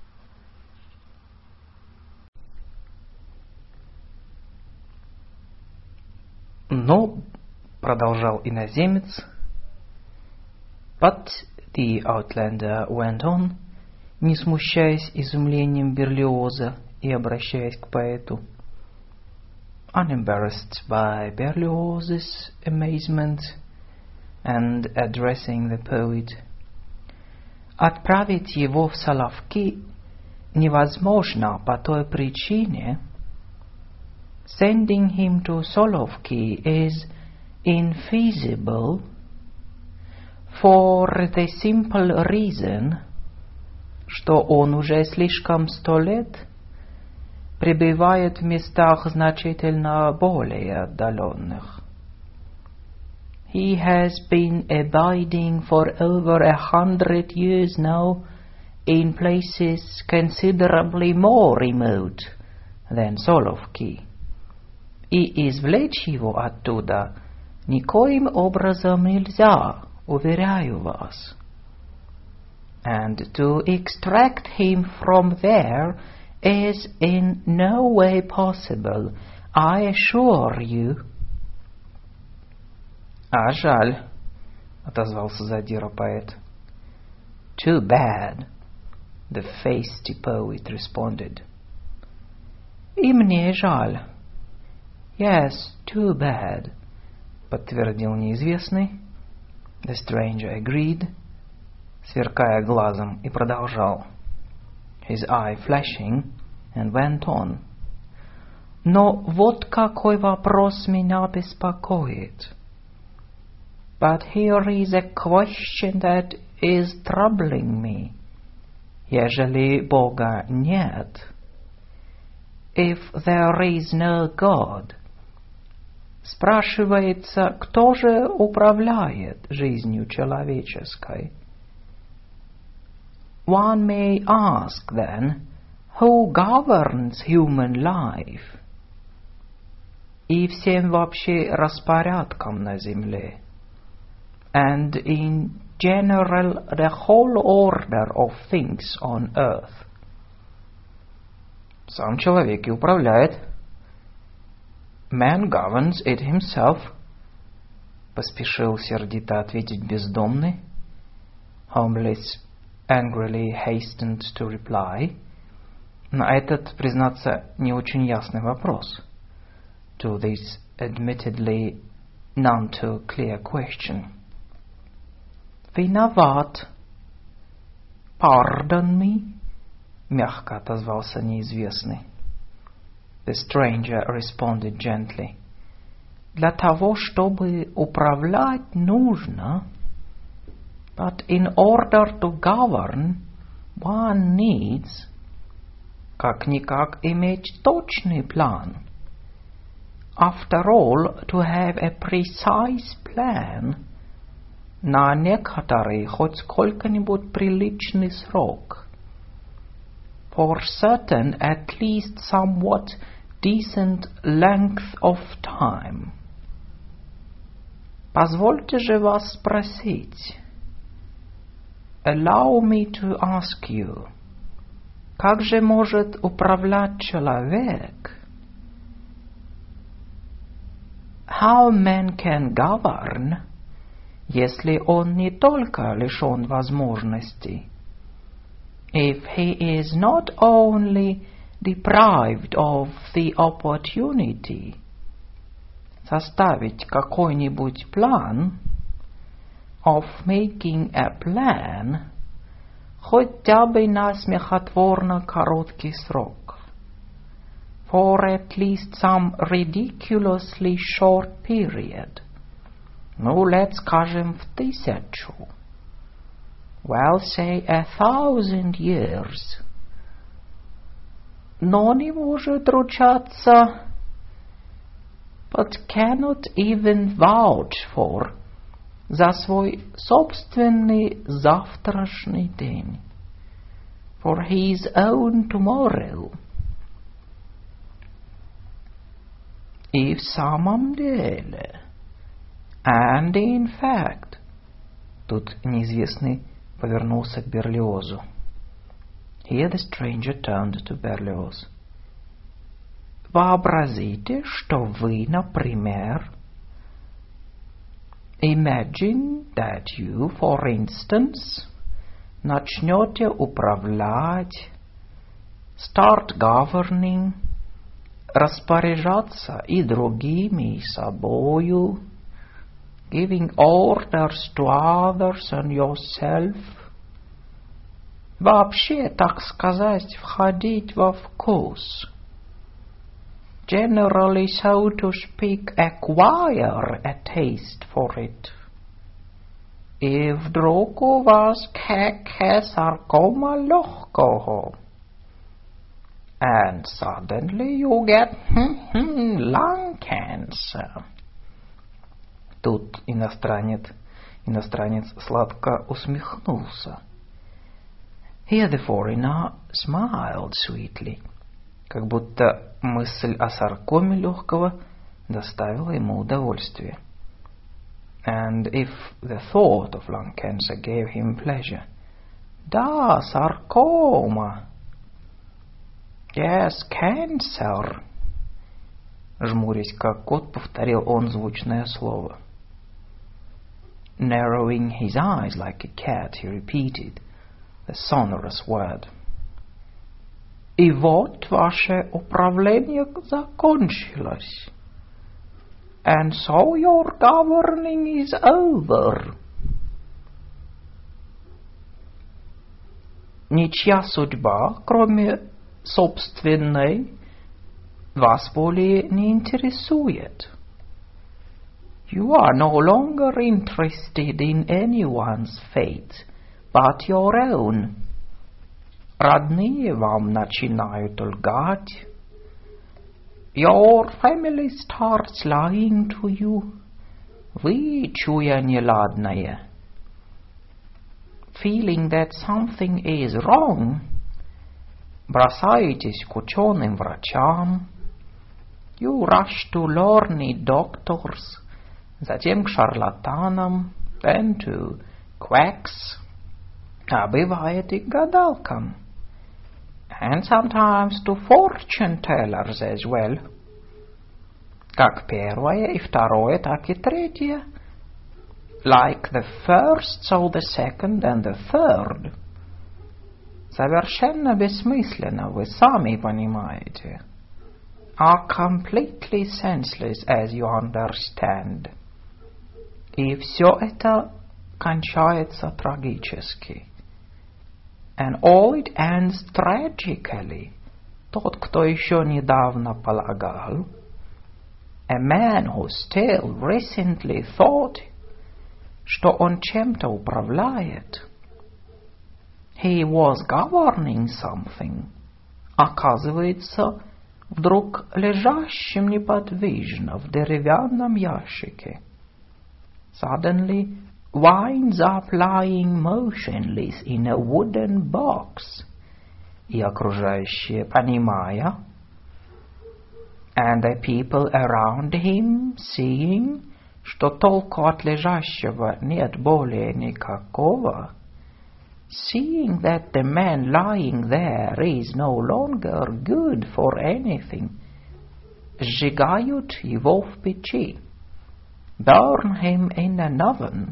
Но, продолжал иноземец, but the outlander went on, не смущаясь изумлением Берлиоза и обращаясь к поэту, unembarrassed by Berlioz's amazement and addressing the poet, отправить его в Соловки невозможно по той причине, sending him to Solovki is infeasible for the simple reason, что он уже слишком 100 лет пребывает в местах значительно более отдаленных. He has been abiding for over 100 years now in places considerably more remote than Solovki. И извлечь его оттуда никоим образом нельзя, уверяю вас. And to extract him from there is in no way possible, I assure you. А жаль, отозвался задира поэт. Too bad, the feisty poet responded. И мне жаль. Yes, too bad, подтвердил неизвестный. The stranger agreed, сверкая глазом, и продолжал. His eye flashing, and went on. Но вот какой вопрос меня беспокоит. But here is a question that is troubling me. Ежели Бога нет, if there is no God, спрашивается, кто же управляет жизнью человеческой? One may ask then, who governs human life? И всем вообще распорядком на земле. And in general the whole order of things on earth. Сам человек и управляет. Man governs it himself, поспешил сердито ответить бездомный. Homeless angrily hastened to reply. На этот, признаться, не очень ясный вопрос. To this admittedly none too clear question. Виноват. Pardon me, мягко отозвался неизвестный. The stranger responded gently. Для того, чтобы управлять, нужно. But in order to govern, one needs, как-никак, иметь точный план. After all, to have a precise plan, на некоторый, хоть сколько-нибудь приличный срок. For certain, at least somewhat decent length of time. Позвольте же вас спросить. Allow me to ask you. Как же может управлять человек? how man can govern, если он не только лишен возможностей, if he is not only deprived of the opportunity составить какой-нибудь план, of making a plan, хотя бы на смехотворно короткий срок, for at least some ridiculously short period, ну, лет, скажем, в 1000, well, say 1000 years, но не может ручаться, but cannot even vouch for, за свой собственный завтрашний день, for his own tomorrow. И в самом деле, and in fact, тут неизвестный повернулся к Берлиозу. Here the stranger turned to Berlioz. Вообразите, что вы, например, imagine that you, for instance, начнете управлять, start governing, распоряжаться и другими, и собою, giving orders to others and yourself, вообще, так сказать, входить во вкус, generally, so to speak, acquire a taste for it. И вдруг у вас саркома легкого. And suddenly you get lung cancer. Тут иностранец сладко усмехнулся. Here the foreigner smiled sweetly, как будто мысль о саркоме легкого доставила ему удовольствие. And if the thought of lung cancer gave him pleasure. Да, саркома. Yes, cancer. Жмурясь как кот, повторил он звучное слово. Narrowing his eyes like a cat, he repeated the sonorous word. И вот ваше управление закончилось. And so your governing is over. Ничья судьба, кроме собственной, вас более не интересует. You are no longer interested in anyone's fate, but your own. Родные вам начинают лгать. Your family starts lying to you. Вы, чуя неладное, feeling that something is wrong, бросаетесь к ученым врачам. You rush to learned doctors, затем к шарлатанам, then to quacks, а бывает и к гадалкам. And sometimes to fortune tellers as well. Как первое и второе, так и третье. Like the first, so the second and the third. Совершенно бессмысленно, вы сами понимаете. Are completely senseless, as you understand. И все это кончается трагически. And all it ends tragically. Тот, кто еще недавно полагал, a man who still recently thought, что он чем-то управляет, he was governing something, оказывается, вдруг лежащим неподвижно в деревянном ящике. Suddenly winds up lying motionless in a wooden box, и окружающие, понимая, and the people around him, seeing, что толку от лежащего нет более никакого, seeing that the man lying there is no longer good for anything, сжигают его в печи, burn him in an oven.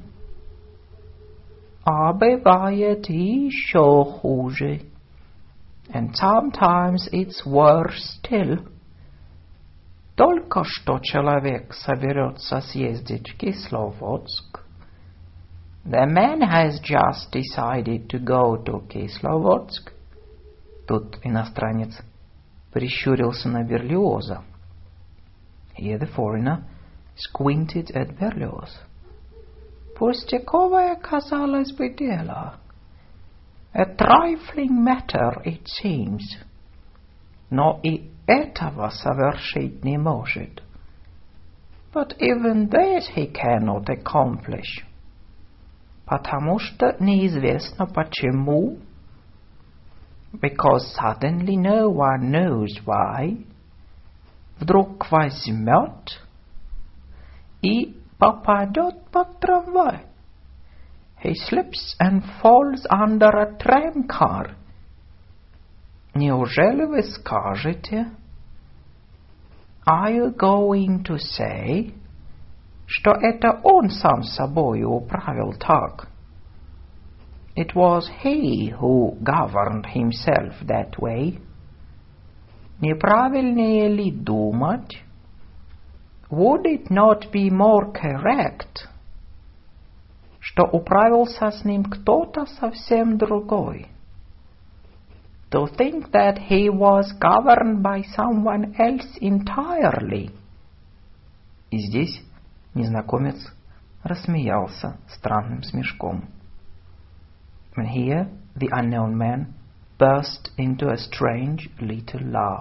А бывает еще хуже. And sometimes it's worse still. Только что человек соберется съездить в Кисловодск. The man has just decided to go to Кисловодск. Тут иностранец прищурился на Берлиоза. Here the foreigner squinted at Berlioz. Пустяковое, казалось бы, дело. A trifling matter, it seems. Но и этого совершить не может. But even this he cannot accomplish. Потому что неизвестно почему. Because suddenly no one knows why. Вдруг возьмет и попадет под трамвай. He slips and falls under a tramcar. Неужели вы скажете? Are you going to say, что это он сам собою управил так? It was he who governed himself that way. Неправильнее ли думать? Would it not be more correct, что управился с ним кто-то совсем другой? To think that he was governed by someone else entirely. И здесь незнакомец рассмеялся странным смешком. And here the unknown man burst into a strange little laugh.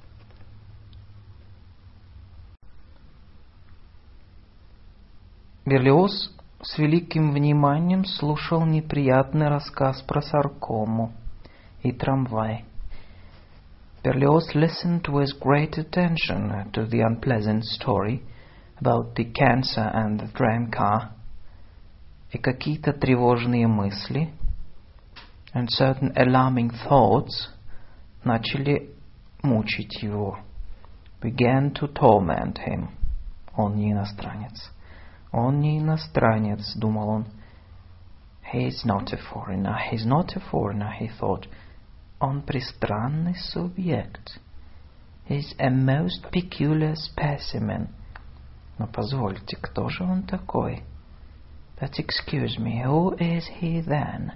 Берлиоз с великим вниманием слушал неприятный рассказ про саркому и трамвай. Berlioz listened with great attention to the unpleasant story about the cancer and the tramcar, и какие-то тревожные мысли and certain alarming thoughts начали мучить его, began to torment him. Он не иностранец. Он не иностранец, думал он. He is not a foreigner. He is not a foreigner, he thought. Он пристранный субъект. He is a most peculiar specimen. Но позвольте, кто же он такой? But excuse me, who is he then?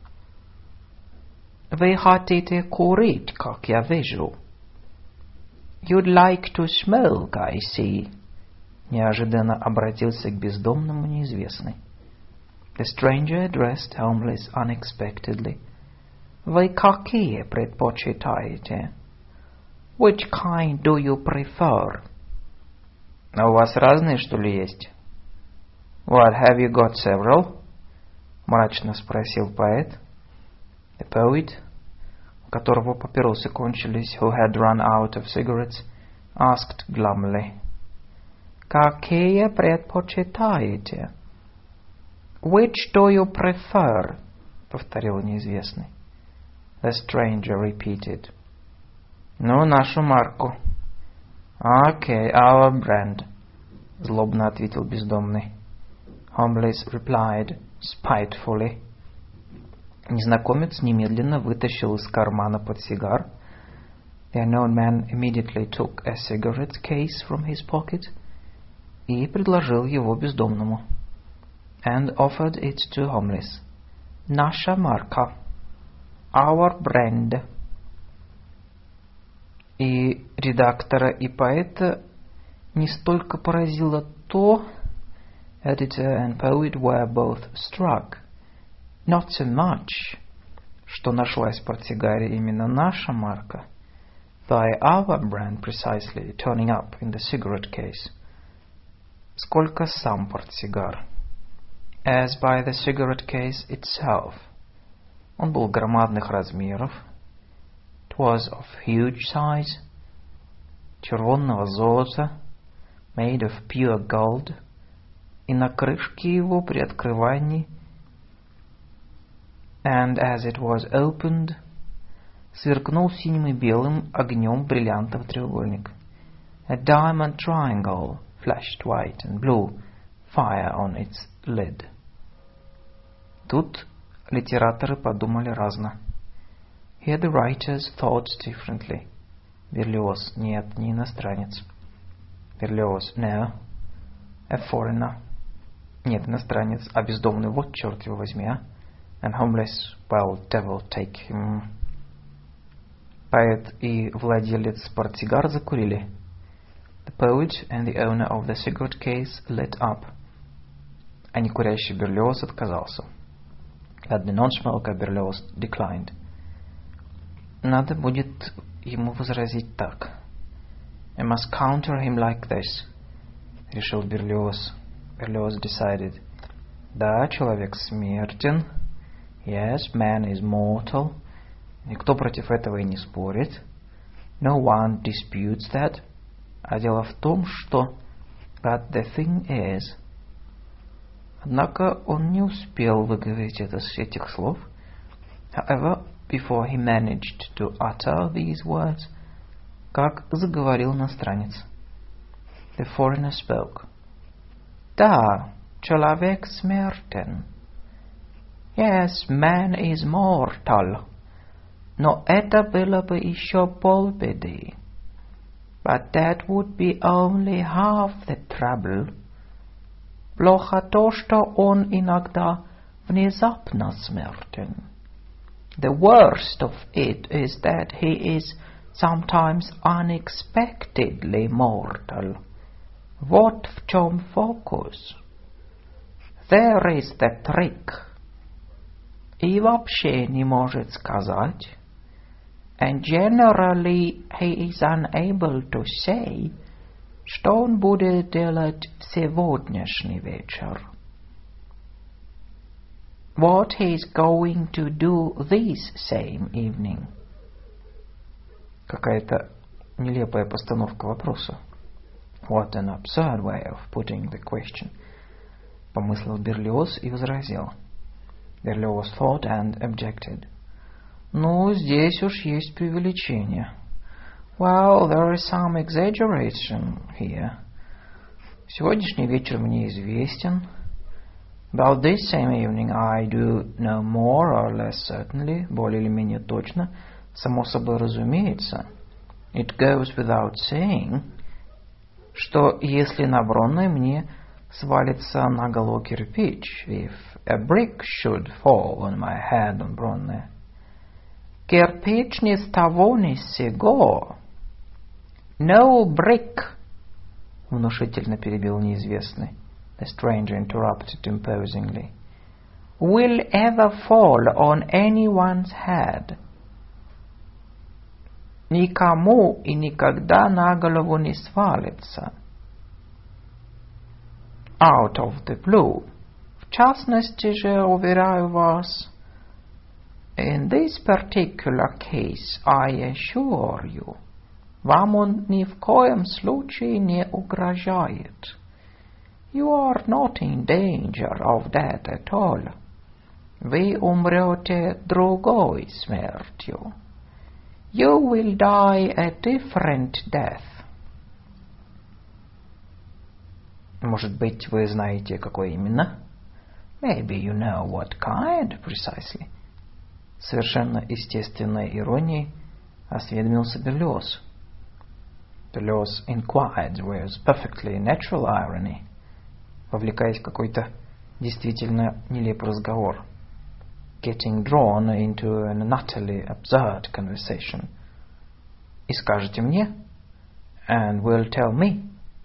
Вы хотите курить, как я вижу. You'd like to smoke, I see. Неожиданно обратился к бездомному неизвестный. The stranger addressed homeless unexpectedly. Вы какие предпочитаете? Which kind do you prefer? А у вас разные, что ли, есть? What, have you got several? Мрачно спросил поэт. The poet, у которого папиросы кончились, who had run out of cigarettes, asked glumly. Какие предпочитаете? Which do you prefer? Повторил неизвестный. The stranger repeated. Ну, нашу марку. Okay, our brand. Злобно ответил бездомный. Homeless replied spitefully. Незнакомец немедленно вытащил из кармана портсигар. The unknown man immediately took a cigarette case from his pocket и предложил его бездомному. And offered it to homeless. Наша марка. Our brand. И редактора, и поэта не столько поразило то, editor and poet were both struck, not so much, что нашлась в портсигаре именно наша марка, by our brand precisely turning up in the cigarette case, сколько сам портсигар, as by the cigarette case itself. Он был громадных размеров, it was of huge size, червонного золота, made of pure gold, и на крышке его при открывании, and as it was opened, сверкнул синим и белым огнем бриллиантов треугольник. A diamond triangle flashed white and blue fire on its lid. Тут литераторы подумали разно. Here the writers thought differently. Берлиоз: нет, не иностранец. Берлиоз: no, a foreigner. Нет, иностранец, а бездомный, вот черт его возьми, а. And homeless, well, devil take him. Поэт и владелец портсигар закурили. The poet and the owner of the cigarette case lit up. А некурящий Берлиоз отказался. But the non-smoker Berlioz declined. Надо будет ему возразить так. I must counter him like this, решил Берлиоз. Berlioz decided. Да, человек смертен. Yes, man is mortal. Никто против этого и не спорит. No one disputes that. А дело в том, что... But the thing is... Однако он не успел выговорить этих слов. However, before he managed to utter these words, как заговорил иностранец. The foreigner spoke. Да, человек смертен. Yes, man is mortal. Но это было бы еще полбеды. But that would be only half the trouble. Плохо то, что он иногда внезапно смертен. The worst of it is that he is sometimes unexpectedly mortal. Вот в чем фокус. There is the trick. И вообще не может сказать. And generally he is unable to say, что он будет делать в сегодняшний вечер. What he is going to do this same evening. Какая-то нелепая постановка вопроса. What an absurd way of putting the question. Помыслил Берлиоз и возразил. Berlioz thought and objected. Ну, здесь уж есть преувеличение. Well, there is some exaggeration here. Сегодняшний вечер мне известен. About this same evening I do know more or less certainly, более или менее точно, само собой разумеется. It goes without saying, что если на Бронной мне свалится на голову кирпич, if a brick should fall on my head on Бронной. Кирпич ни с того ни с сего. No brick, внушительно перебил неизвестный. The stranger interrupted imposingly. Will ever fall on anyone's head. Никому и никогда на голову не свалится. Out of the blue. В частности же, уверяю вас, in this particular case, I assure you, вам он ни в коем случае не угрожает. You are not in danger of that at all. Вы умрете другой смертью. You will die a different death. Может быть, вы знаете, какой именно? Maybe you know what kind, precisely. Совершенно естественной иронией осведомился Берлиоз. Berlioz inquired with perfectly natural irony, вовлекаясь в какой-то действительно нелепый разговор. Getting drawn into an utterly absurd conversation. И скажете мне? And will tell me?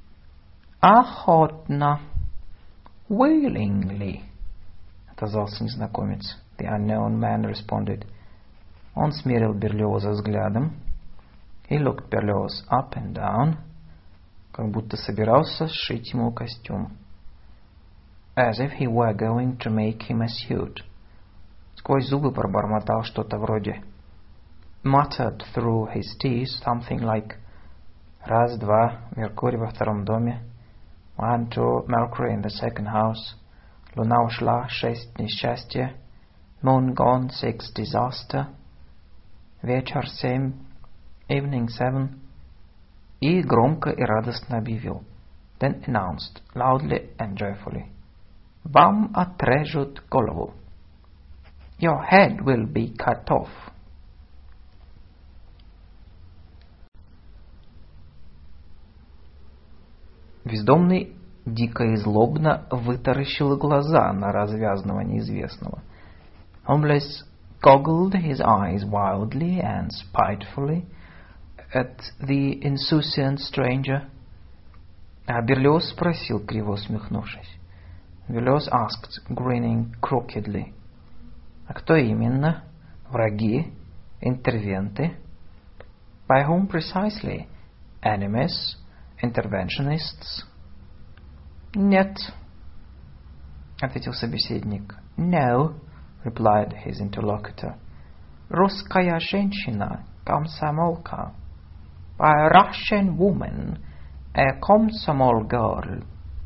Охотно. Willingly. Отозвался незнакомец. The unknown man responded. Он смерил Берлиоза взглядом. He looked Berlioz up and down, как будто собирался сшить ему костюм. As if he were going to make him a suit. Сквозь зубы пробормотал что-то вроде muttered through his teeth something like раз, два, Меркурий во втором доме, 1, 2, Mercury in the second house, луна ушла, 6, несчастье, moon gone, 6, disaster, вечер 7, evening 7, и громко и радостно объявил. then announced loudly and joyfully, "Вам отрежут голову. Your head will be cut off." Бездомный дико и злобно вытаращил глаза на развязного неизвестного. Homeless goggled his eyes wildly and spitefully at the insouciant stranger. А Берлиоз спросил, криво усмехнувшись. Берлиоз asked, grinning crookedly. А кто именно? Враги? Интервенты? By whom precisely? Enemies? Interventionists? Нет, ответил собеседник. No, replied his interlocutor. Русская женщина, комсомолка. A Russian woman, a комсомол girl.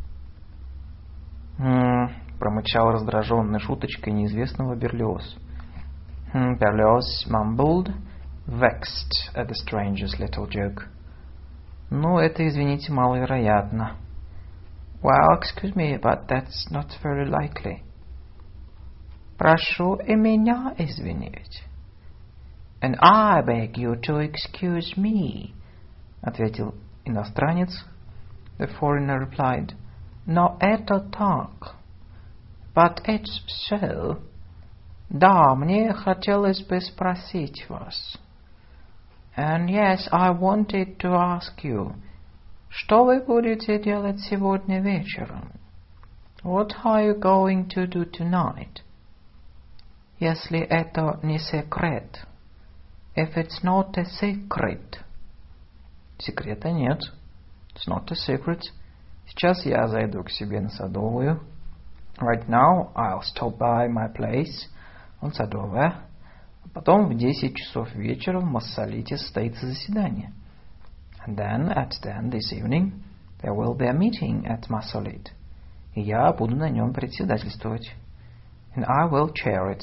Промычал раздраженный шуточкой неизвестного Берлиоз. Berlioz mumbled, vexed at the stranger's little joke. Ну, это, извините, маловероятно. Well, excuse me, but that's not very likely. Прошу и меня извинить. And I beg you to excuse me, ответил иностранец. The foreigner replied, но это так. But it's so. Да, мне хотелось бы спросить вас. And yes, I wanted to ask you, что вы будете делать сегодня вечером? What are you going to do tonight? Если это не секрет. If it's not a secret. Секрета нет. It's not a secret. Сейчас я зайду к себе на Садовую. Right now I'll stop by my place on Садовая. Потом в 10 часов вечера в Массолите состоится заседание. And then at 10 this evening there will be a meeting at Massolit. И я буду на нем председательствовать. And I will chair it.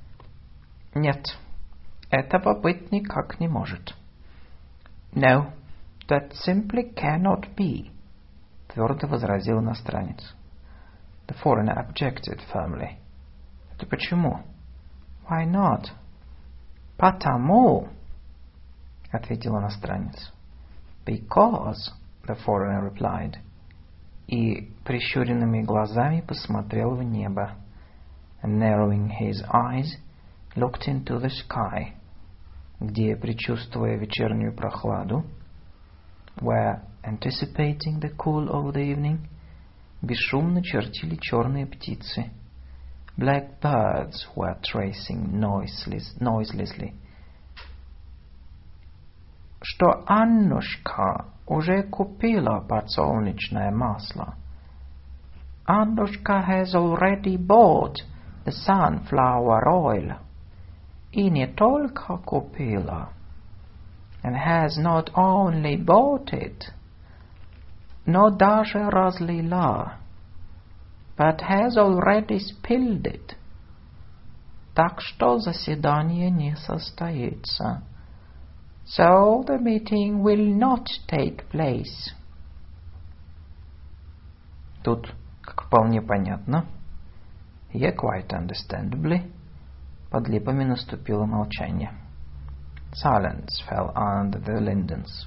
Нет, этого быть никак не может. No, that simply cannot be, твердо возразил иностранец. The foreigner objected firmly. Это почему? Why not? Потому, ответил иностранец. Because, the foreigner replied. И прищуренными глазами посмотрел в небо. And narrowing his eyes, looked into the sky, где, предчувствуя вечернюю прохладу, where, anticipating the cool of the evening, бесшумно чертили черные птицы. Black birds were tracing noiselessly. Что Аннушка уже купила подсолнечное масло. Аннушка has already bought the sunflower oil. И не только купила, and has not only bought it, но даже разлила, but has already spilled it. Так что заседание не состоится. So the meeting will not take place. Тут, как вполне понятно, quite understandably, под липами наступило молчание. Silence fell under the lindens.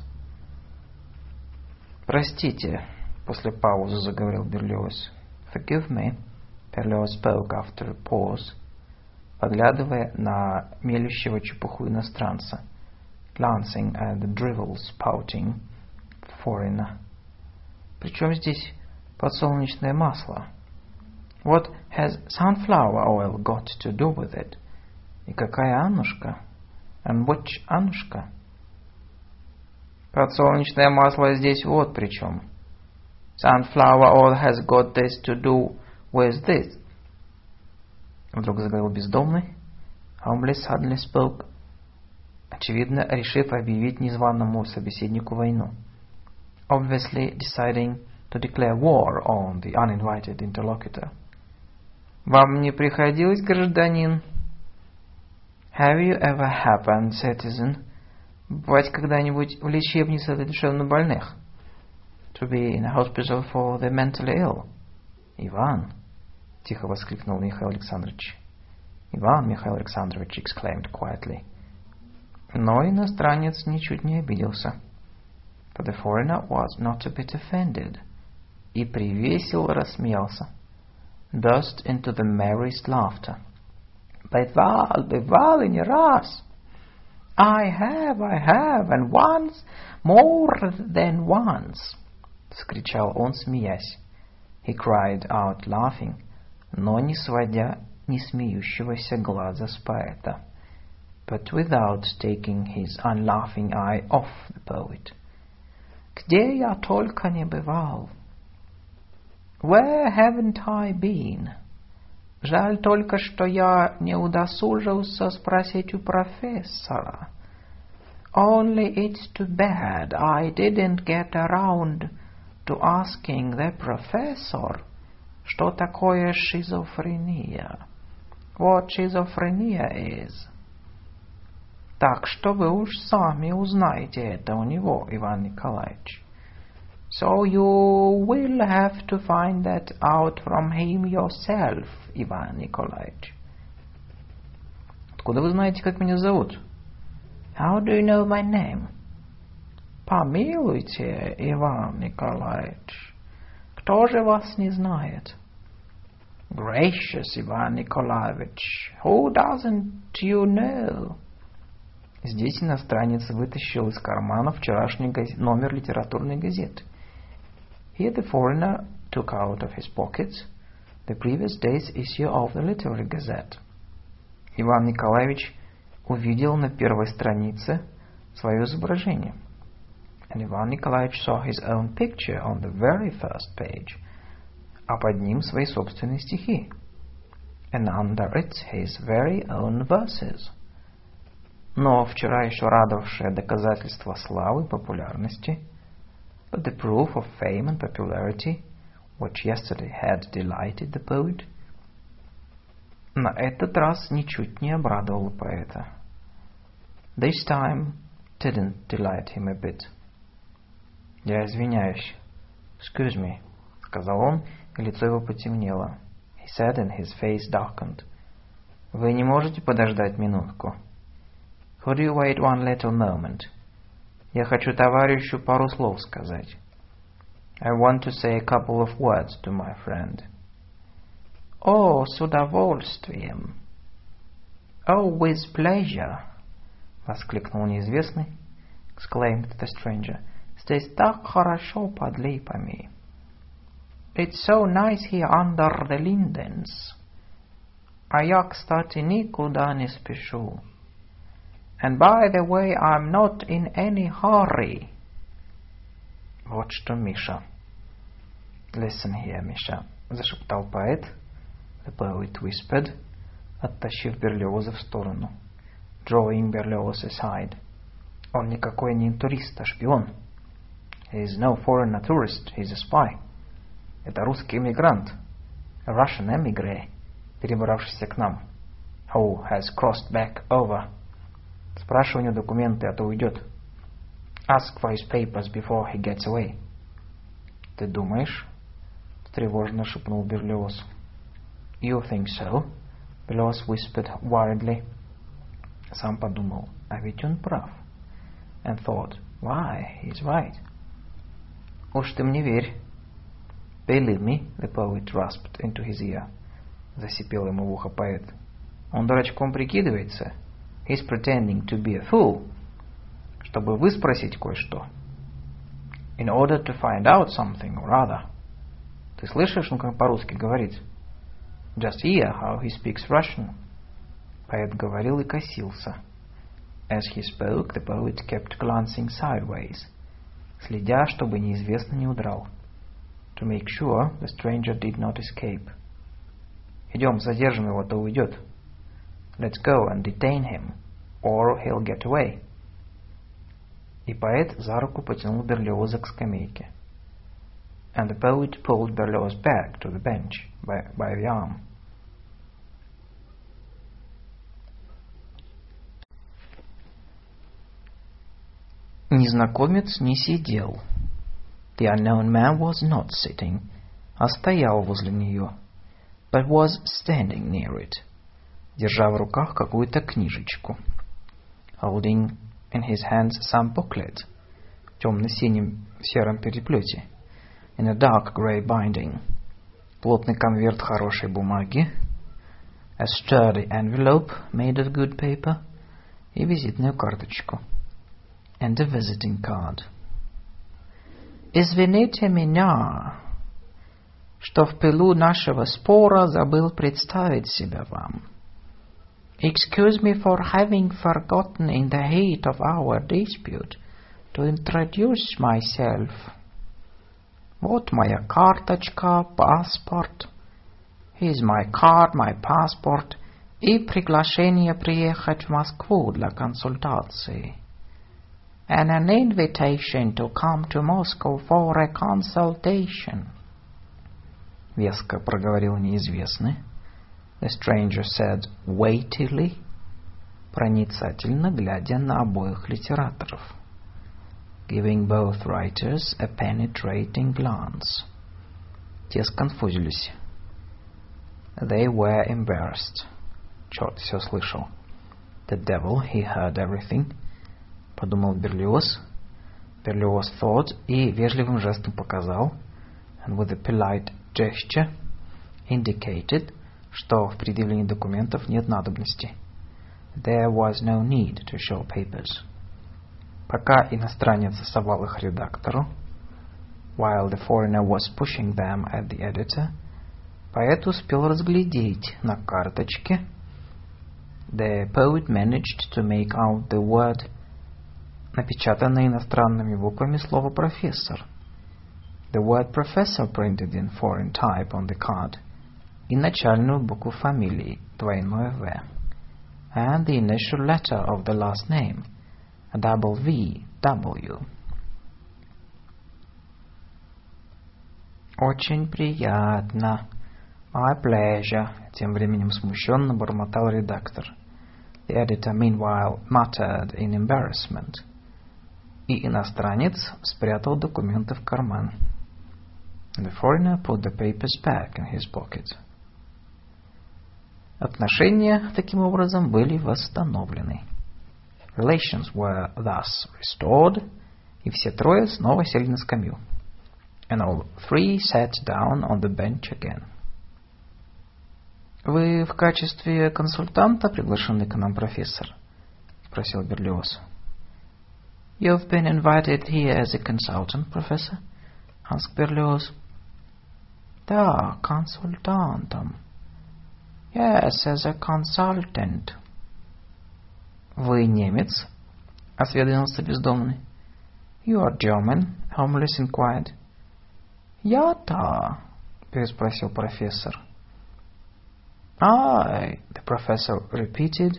Простите, после паузы заговорил Берлиоз. Forgive me, Berlioz spoke after a pause, поглядывая на мелющего чепуху иностранца, glancing at the drivel spouting foreigner. Причем здесь подсолнечное масло? What has sunflower oil got to do with it? И какая Аннушка? And which Аннушка? Подсолнечное масло здесь вот при чем. Sunflower oil has got this to do with this. Вдруг заговорил бездомный. Homeless suddenly spoke, очевидно, решив объявить незваному собеседнику войну. Obviously deciding to declare war on the uninvited interlocutor. Вам не приходилось, гражданин? Have you ever happened, citizen, бывать когда-нибудь в лечебнице для душевнобольных? to be in a hospital for the mentally ill. Иван! Тихо воскликнул Михаил Александрович. Иван Михаил Александрович exclaimed quietly. Но иностранец ничуть не обиделся. But the foreigner was not a bit offended. И привесело рассмеялся. Burst into the merriest laughter. Бывал и не раз. I have, and once, more than once. Вскричал он, смеясь. He cried out, laughing, но не сводя не смеющегося глаза с поэта. But without taking his unlaughing eye off the poet. Где я только не бывал. Where haven't I been? Жаль только, что я не удосужился спросить у профессора. Only it's too bad I didn't get around to asking the professor, что такое шизофрения. What schizophrenia is. Так что вы уж сами узнаете это у него, Иван Николаевич. So you will have to find that out from him yourself, Иван Николаевич. Откуда вы знаете, как меня зовут? How do you know my name? Помилуйте, Иван Николаевич. Кто же вас не знает? Gracious, Иван Николаевич. Who doesn't you know? Здесь иностранец вытащил из кармана вчерашний номер литературной газеты. Here the foreigner took out of his pockets the previous day's issue of the Literary Gazette. Иван Николаевич увидел на первой странице свое изображение. And Ivan Nikolaevich saw his own picture on the very first page, а под ним свои собственные стихи. And under it his very own verses. Но вчера еще радовавшее доказательство славы и популярности, but the proof of fame and popularity, which yesterday had delighted the poet, на этот раз ничуть не обрадовало поэта. This time didn't delight him a bit. Я извиняюсь. Excuse me, сказал он, и лицо его потемнело. He said, and his face darkened. Вы не можете подождать минутку? Could you wait one little moment? Я хочу товарищу пару слов сказать. I want to say a couple of words to my friend. О, с удовольствием. Oh, with pleasure. Воскликнул неизвестный. Exclaimed the stranger. Здесь так хорошо под липами. It's so nice here under the lindens. А я, кстати, никуда не спешу. And by the way, I'm not in any hurry. Вот что, Миша. Listen here, Миша, зашептал поэт. The poet whispered, оттащив Берлиоза в сторону. Drawing Berlioz aside. Он никакой не турист, а шпион. He is no foreign tourist, he is a spy. Это русский эмигрант. A Russian emigre, перебравшийся к нам. Who has crossed back over. Спрашивай у него документы, а то уйдет. Ask for his papers before he gets away. Ты думаешь? Тревожно шепнул Берлиоз. You think so? Berlioz whispered worriedly. Сам подумал, а ведь он прав. And thought, why, he's right. Уж ты мне верь. Believe me, the poet rasped into his ear. Засипел ему в ухо поэт. Он дурачком прикидывается. He's pretending to be a fool. Чтобы выспросить кое-что. In order to find out something or other. Ты слышишь, он как по-русски говорит? Just hear how he speaks Russian. Поэт говорил и косился. As he spoke, the poet kept glancing sideways, следя, чтобы неизвестный не удрал. To make sure the stranger did not escape. Идем, задержим его, то уйдет. Let's go and detain him, or he'll get away. И поэт за руку потянул Берлиоза к скамейке. And the poet pulled Berlioz back to the bench by the arm. Незнакомец не сидел. The unknown man was not sitting, а стоял возле нее, but was standing near it, держа в руках какую-то книжечку, holding in his hands some booklet, в темно-синем сером переплете, in a dark grey binding, плотный конверт хорошей бумаги, a sturdy envelope made of good paper, и визитную карточку, and a visiting card. «Извините меня, что в пылу нашего спора забыл представить себя вам. Excuse me for having forgotten in the heat of our dispute to introduce myself. Вот моя карточка, паспорт. Here's my card, my passport, и приглашение приехать в Москву для консультации. And an invitation to come to Moscow for a consultation». Веско проговорил неизвестный. The stranger said weightily, проницательно глядя на обоих литераторов, giving both writers a penetrating glance. Те сконфузились. They were embarrassed. Черт все слышал. The devil, he heard everything. Подумал Берлиоз. Berlioz thought и вежливым жестом показал, and with a polite gesture indicated, что в предъявлении документов нет надобности. There was no need to show papers. Пока иностранец совал их редактору, while the foreigner was pushing them at the editor, поэт успел разглядеть на карточке. The poet managed to make out the word, напечатанное иностранными буквами слово «профессор». The word professor printed in foreign type on the card, и начальную букву фамилии, двойное «В», and the initial letter of the last name, a double V, W. «Очень приятно. My pleasure», тем временем смущенно бормотал редактор. The editor meanwhile muttered in embarrassment. И иностранец спрятал документы в карман. The foreigner put the papers back in his pocket. Отношения таким образом были восстановлены. Relations were thus restored, и все трое снова сели на скамью. And all three sat down on the bench again. «Вы в качестве консультанта приглашены к нам, профессор?» — спросил Берлиоз. «You've been invited here as a consultant, professor?» — asked Berlioz. «Да, консультантом. Yes, as a consultant». «Вы немец?» — осведомился бездомный. «You are German?» — homeless inquired. «Я-то?» — переспросил профессор. «I», — the professor repeated,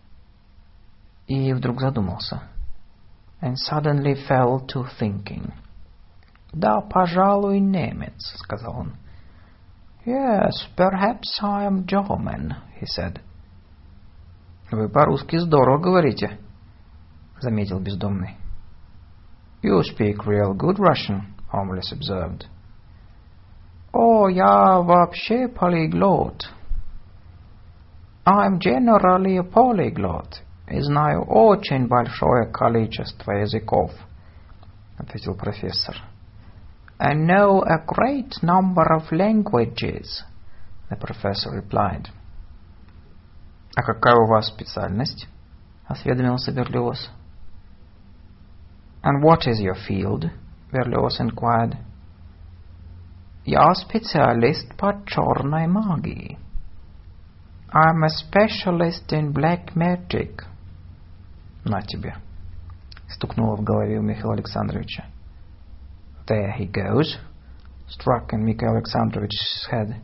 и вдруг задумался. And suddenly fell to thinking. «Да, пожалуй, немец», — сказал он. «Yes, perhaps I am German», — he said. «Вы по-русски здорово говорите», — заметил бездомный. «You speak real good Russian», — homeless observed. «О, я вообще полиглот». «I'm generally a polyglot, и знаю очень большое количество языков», — ответил профессор. «I know a great number of languages», — the professor replied. «А какая у вас специальность?» — осведомился Берлиоз. «And what is your field?» — Berlioz inquired. «Я специалист по черной магии». «I'm a specialist in black magic». «На тебе», — стукнуло в голове у Михаила Александровича. «There he goes», — struck in Mikhail Alexandrovich's head.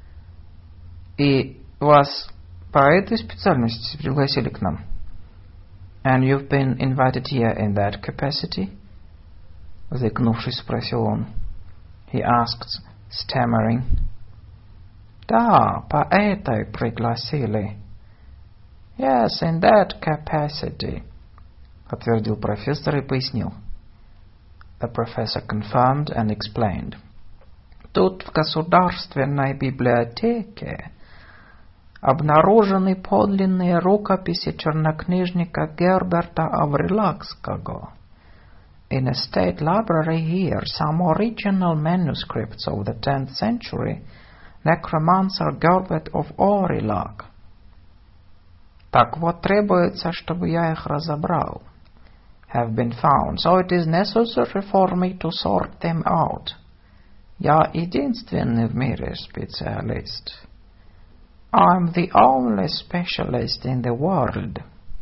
«И вас по этой специальности пригласили к нам?» «And you've been invited here in that capacity?» — заикнувшись, спросил он. He asked, stammering. «Да, по этой пригласили». «Yes, in that capacity», — отвердил профессор и пояснил. The professor confirmed and explained. Тут в Государственной библиотеке обнаружены подлинные рукописи чернокнижника Герберта Аврилакского. In a state library here, some original manuscripts of the 10th century necromancer Gerbert of Aurillac. Так вот, требуется, чтобы я их разобрал. Have been found, so it is necessary for me to sort them out. Я единственный в мире специалист. I'm the only specialist in the world.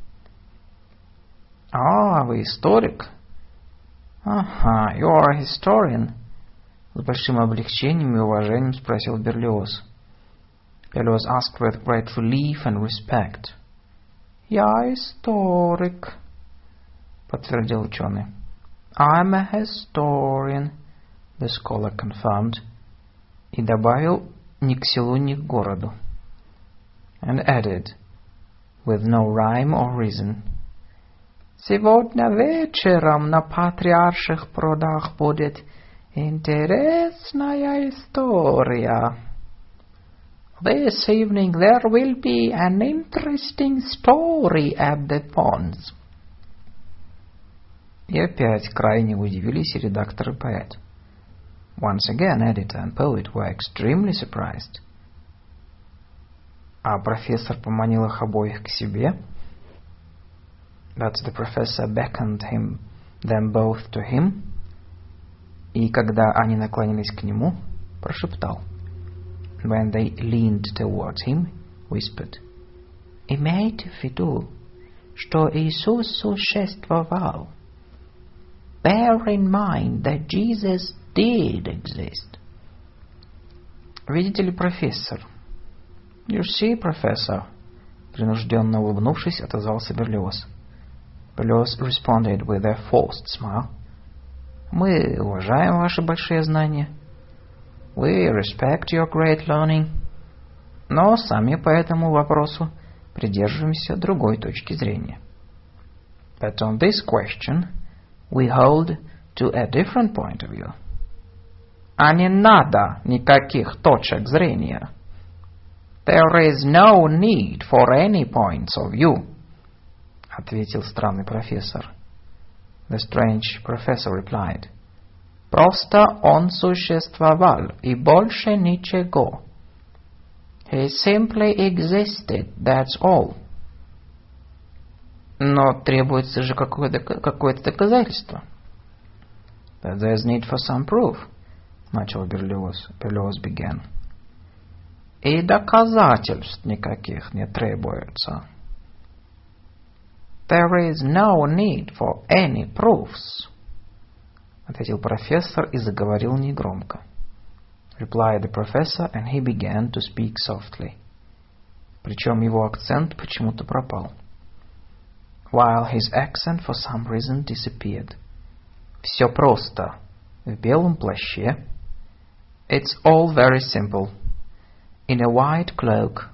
А, вы историк? Ага, you are a historian. С большим облегчением и уважением спросил Берлиоз. Берлиоз asked with great relief and respect. Я историк, подтвердил ученый. I'm a historian, the scholar confirmed, и добавил ни к селу, ни к городу. And added, with no rhyme or reason, сегодня вечером на Патриарших прудах будет интересная история. This evening there will be an interesting story at the ponds. И опять крайне удивились редактор и поэт. Once again, editor and poet were extremely surprised. А профессор поманил их обоих к себе. But the professor beckoned them both to him. И когда они наклонились к нему, прошептал. When they leaned towards him, whispered. Имейте в виду, что Иисус существовал. Bear in mind that Jesus did exist. Видите ли, профессор? You see, professor. Принужденно улыбнувшись, отозвался Берлиоз. Берлиоз responded with a forced smile. Мы уважаем ваши большие знания. We respect your great learning. Но сами по этому вопросу придерживаемся другой точки зрения. But on this question, we hold to a different point of view. А не надо никаких точек зрения. There is no need for any points of view, ответил странный профессор. The strange professor replied. Просто он существовал и больше ничего. He simply existed, that's all. Но требуется же какое-то доказательство. But there's need for some proof, начал Берлиоз. Берлиоз began. И доказательств никаких не требуется. There is no need for any proofs, ответил профессор и заговорил негромко. Replied the professor, and he began to speak softly. Причем его акцент почему-то пропал. While his accent for some reason disappeared. Все просто. В белом плаще. It's all very simple. In a white cloak.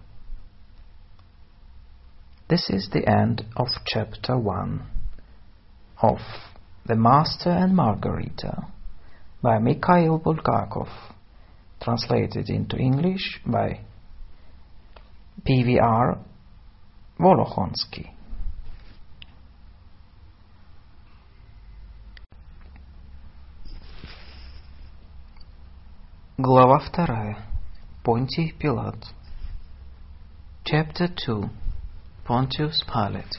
This is the end of chapter 1 of The Master and Margarita by Mikhail Bulgakov, translated into English by P.V.R. Volokhonsky. Глава 2. Понтий Пилат. Chapter 2. Pontius Pilate.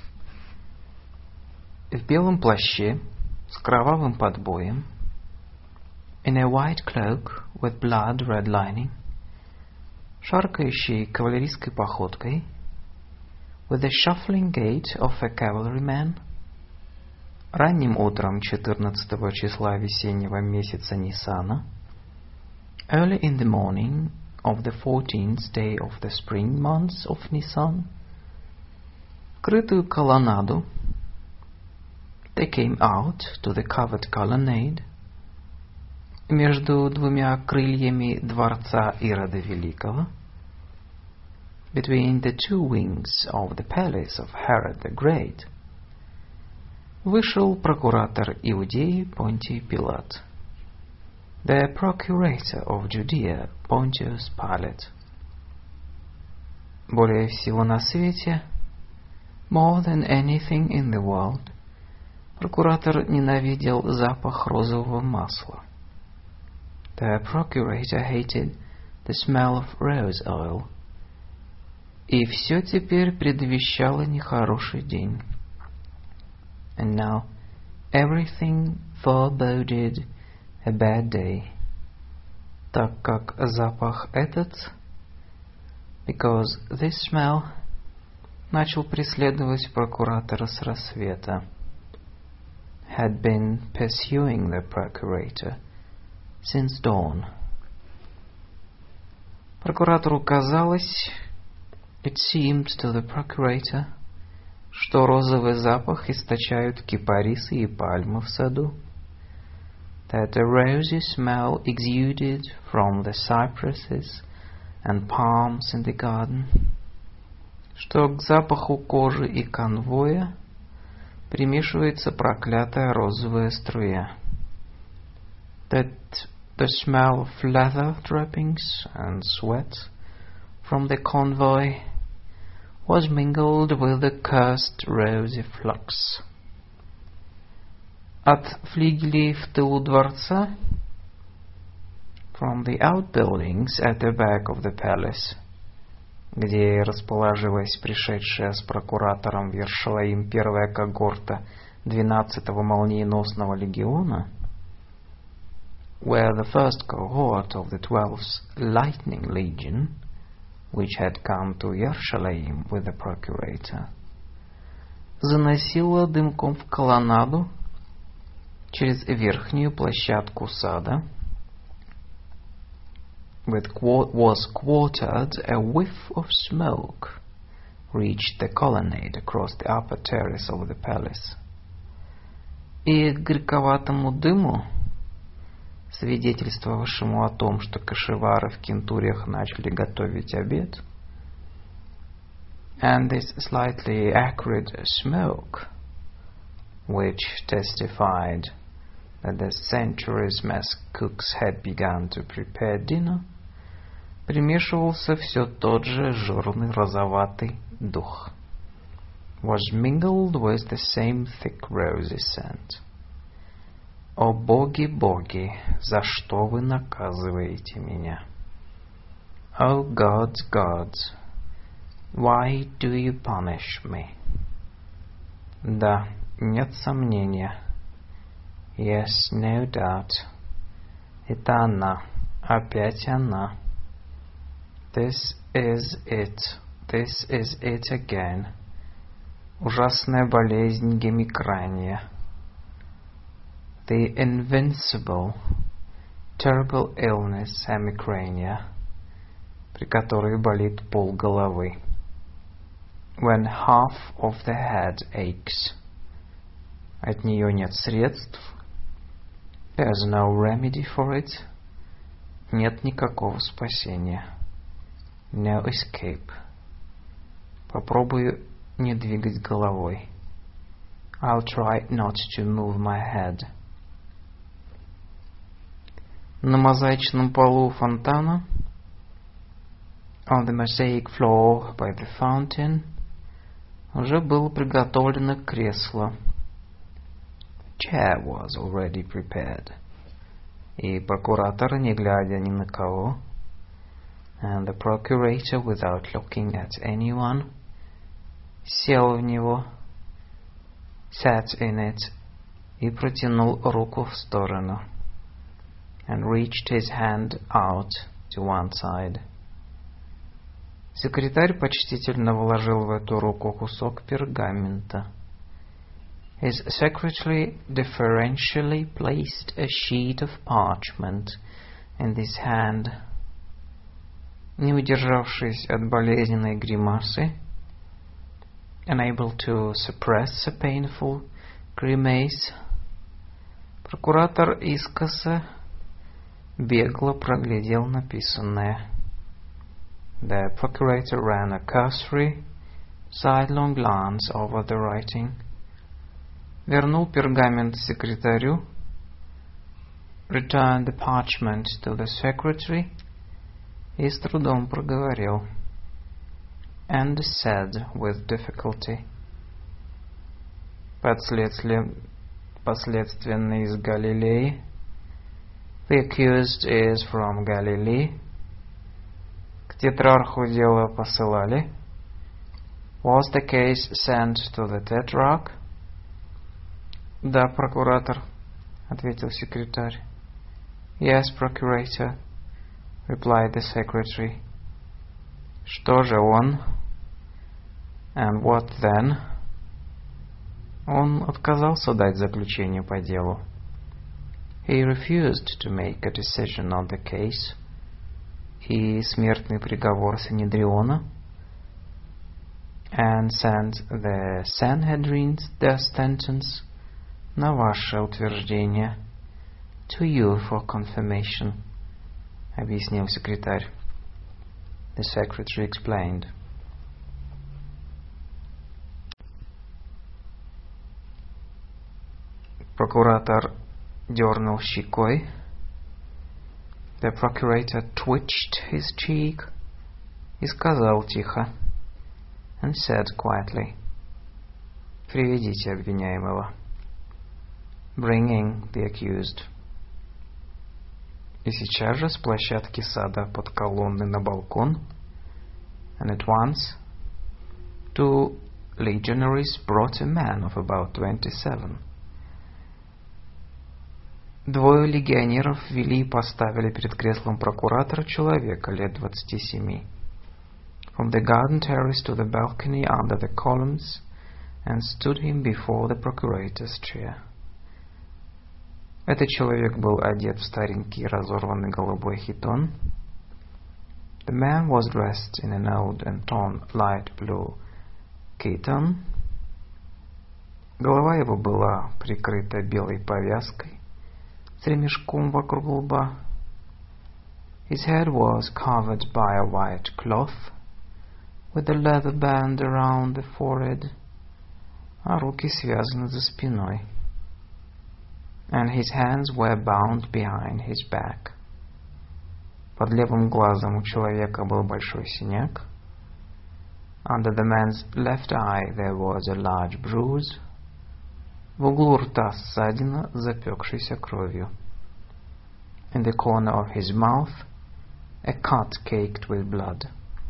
В белом плаще с кровавым подбоем, in a white cloak with blood red lining, шаркающей кавалерийской походкой, with the shuffling gait of a cavalryman, ранним утром 14 числа весеннего месяца Ниссана, early in the morning of the 14th day of the spring months of Nisan, крытую колоннаду, they came out to the covered colonnade, между двумя крыльями дворца Ирода Великого, between the two wings of the palace of Herod the Great, вышел прокуратор Иудеи Понтий Пилат. The procurator of Judea, Pontius Pilate. Более всего на свете, more than anything in the world, прокуратор ненавидел запах розового масла. The procurator hated the smell of rose oil. И все теперь предвещало нехороший день. And now everything foreboded a bad day, так как запах этот, because this smell, начал преследовать прокуратора с рассвета, had been pursuing the procurator since dawn. Прокуратору казалось, it seemed to the procurator, что розовый запах источают кипарисы и пальмы в саду, that a rosy smell exuded from the cypresses and palms in the garden, что к запаху кожи и конвоя примешивается проклятая розовая струя, that the smell of leather droppings and sweat from the convoy was mingled with the cursed rosy flux. От флигелей в тылу дворца, from the outbuildings at the back of the palace, где расположилась пришедшая с прокуратором в Иерушалаим первая когорта 12-го молниеносного легиона, where the first cohort of the 12th Lightning Legion, which had come to Иерушалаим with the procurator, заносила дымком в колоннаду через верхнюю площадку сада, was quartered a whiff of smoke, reached the colonnade across the upper terrace of the palace. И к горьковатому дыму, свидетельствовавшему о том, что кашевары в кентуриях начали готовить обед, and this slightly acrid smoke, which testified that the century's mess cooks had begun to prepare dinner, примешивался все тот же жирный розоватый дух, was mingled with the same thick rosy scent. О боги, боги, за что вы наказываете меня? O gods, gods, why do you punish me? Да, нет сомнения. Yes, no doubt. Это она, опять она. This is it. This is it again. Ужасная болезнь гемикрания. The invincible, terrible illness hemicrania, при которой болит полголовы. When half of the head aches. От нее нет средств. There's no remedy for it. Нет никакого спасения. No escape. Попробую не двигать головой. I'll try not to move my head. На мозаичном полу фонтана, on the mosaic floor by the fountain, уже было приготовлено кресло. Chair was already prepared. И прокуратор, не глядя ни на кого, and the procurator, without looking at anyone, сел в него, sat in it, и протянул руку в сторону, and reached his hand out to one side. Секретарь почтительно вложил в эту руку кусок пергамента. His secretary deferentially placed a sheet of parchment in his hand. Не удержавшись от болезненной гримасы, unable to suppress a painful grimace, прокуратор искоса бегло проглядел написанное. The procurator ran a cursory, sidelong glance over the writing. вернул пергамент секретарю, returned the parchment to the secretary, и с трудом проговорил, and said with difficulty, подследственный из Галилеи, the accused is from Galilee, к тетрарху дело посылали, was the case sent to the tetrarch? Да, прокуратор, ответил секретарь. Yes, procurator, replied the secretary. Что же он? And what then? Он отказался дать заключение по делу. He refused to make a decision on the case. И смертный приговор Санедриона. And sent the Sanhedrin's death sentence на ваше утверждение. To you for confirmation, объяснил секретарь. The secretary explained. Прокуратор дернул щекой. The procurator twitched his cheek и сказал тихо, and said quietly, приведите обвиняемого. Bringing the accused. И сейчас же с площадки сада под колонны на балкон, and at once 2 legionaries brought a man of about 27. 2 легионеров вели и поставили перед креслом прокуратора человека лет 27. From the garden terrace to the balcony under the columns, and stood him before the procurator's chair. Этот человек был одет в старенький разорванный голубой хитон. The man was dressed in an old and torn light blue chiton. Голова его была прикрыта белой повязкой с ремешком вокруг лба. His head was covered by a white cloth with a leather band around the forehead, а руки связаны за спиной. And his hands were bound behind his back. Под левым глазом у человека был большой синяк. Under the man's left eye there was a large bruise. В углу рта ссадина, запекшейся кровью. In the corner of his mouth, a cut caked with blood.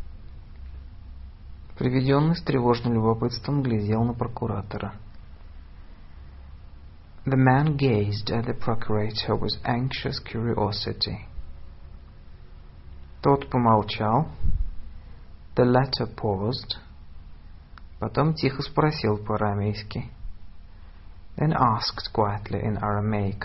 Приведенный с тревожным любопытством глядел на прокуратора. The man gazed at the procurator with anxious curiosity. Тот помолчал. The latter paused. Потом тихо спросил по-арамейски. Then asked quietly in Aramaic.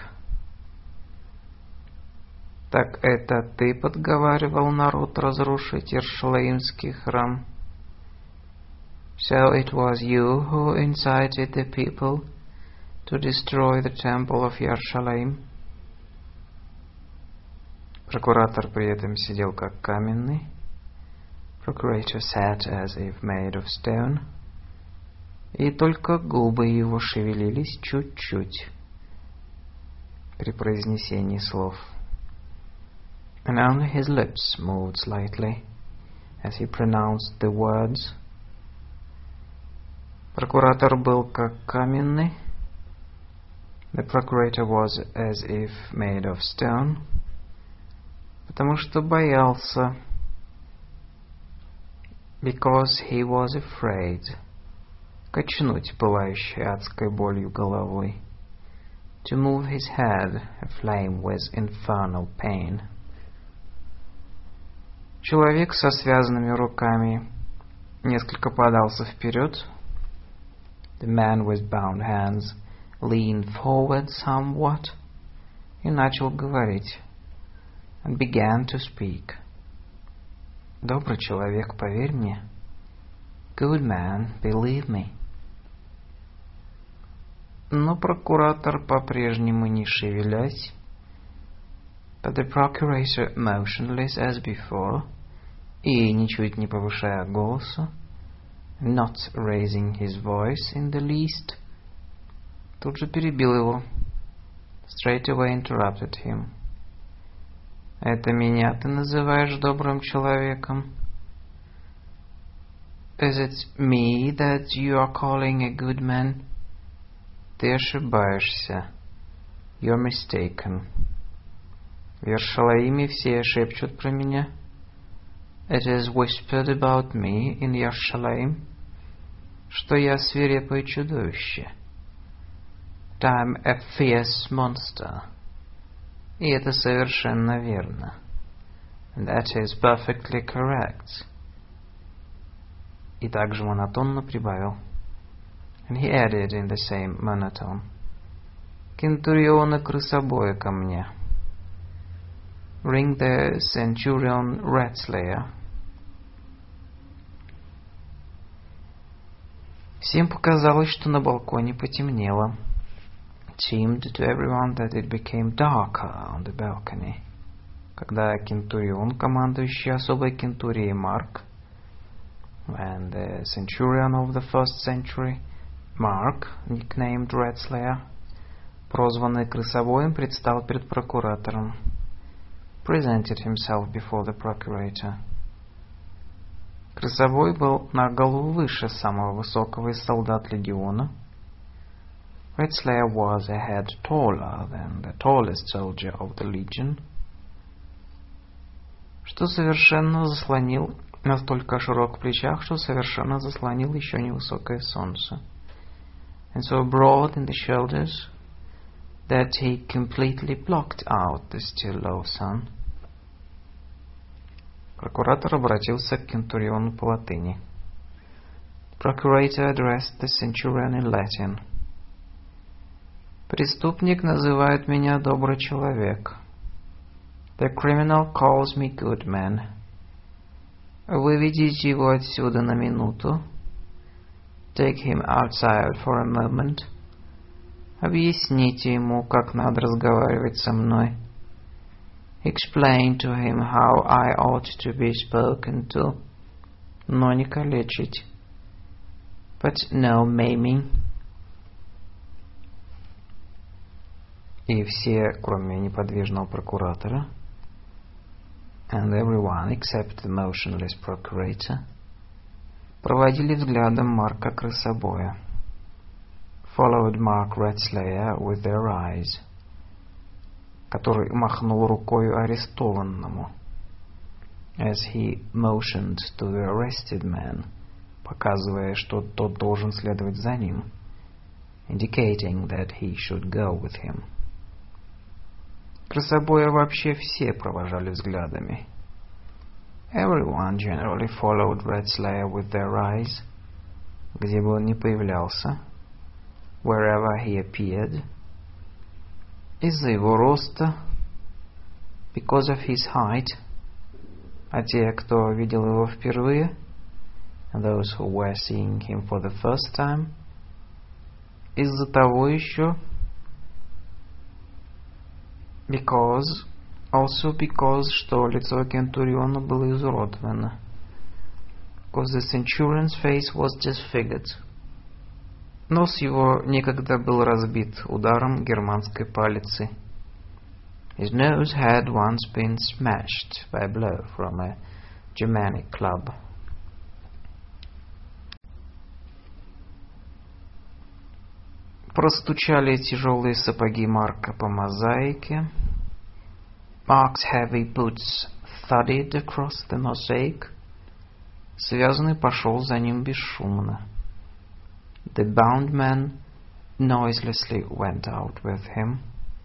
Так это ты подговаривал народ разрушить Иерушалаимский храм? So it was you who incited the people to destroy the temple of Yerushalayim? Прокуратор при этом сидел как каменный. Procurator sat as if made of stone. И только губы его шевелились чуть-чуть при произнесении слов. And only his lips moved slightly as he pronounced the words. Прокуратор был как каменный. The procurator was as if made of stone, потому что боялся, because he was afraid, качнуть пылающей адской болью головой, to move his head aflame with infernal pain. Человек со связанными руками несколько подался вперед. The man with bound hands leaned forward somewhat и начал говорить, and began to speak. Добрый человек, поверь мне. Good man, believe me. Но прокуратор по-прежнему не шевелясь, but the procurator motionless as before, и ничуть не повышая голоса, not raising his voice in the least, Тут же перебил его. Straight away interrupted him. Это меня ты называешь добрым человеком? Is it me that you are calling a good man? Ты ошибаешься. You're mistaken. В Yerushalayim все шепчут про меня. It is whispered about me in Yerushalayim, что я свирепое чудовище. That I'm a fierce monster. И это совершенно верно. And that is perfectly correct. И также монотонно прибавил. And he added in the same monotone. Кентуриона крысобоя ко мне. Ring the centurion rat-slayer. Всем показалось, что на балконе потемнело. It seemed to everyone that it became darker on the balcony. Когда кентурион, командующий особой кентурией Марк, when the centurion of the first century, Mark, nicknamed Rat-slayer, прозванный крысобоем, предстал перед прокуратором, presented himself before the procurator. Крысобой был на голову выше самого высокого из солдат легиона. Rat-slayer was a head taller than the tallest soldier of the legion, что совершенно заслонил, настолько широк в плечах, что совершенно заслонил еще невысокое солнце. And so broad in the shoulders that he completely blocked out the still low sun. Прокуратор обратился к кентуриону по латыни. Procurator addressed the centurion in Latin. Преступник называет меня добрый человек. The criminal calls me good man. Выведите его отсюда на минуту. Take him outside for a moment. Объясните ему, как надо разговаривать со мной. Explain to him how I ought to be spoken to. Но не калечить. But no maiming. И все, кроме неподвижного прокуратора, and everyone except the motionless procurator, проводили взглядом Марка крысобоя, followed Mark Rat-slayer with their eyes, который махнул рукой арестованному, as he motioned to the arrested man, показывая, что тот должен следовать за ним, indicating that he should go with him. Крысобоя вообще все провожали взглядами. Everyone generally followed Rat-slayer with their eyes, где бы он ни появлялся, wherever he appeared, из-за его роста, because of his height, а те, кто видел его впервые, and those who were seeing him for the first time, из-за того еще, also because, что лицо кентуриона было изуродовано. Because the centurion's face was disfigured. Нос его некогда был разбит ударом германской палицы. His nose had once been smashed by a blow from a Germanic club. Простучали тяжелые сапоги Марка по мозаике. Mark's heavy boots thudded across the mosaic. Связанный пошел за ним бесшумно. The bound man noiselessly went out with him.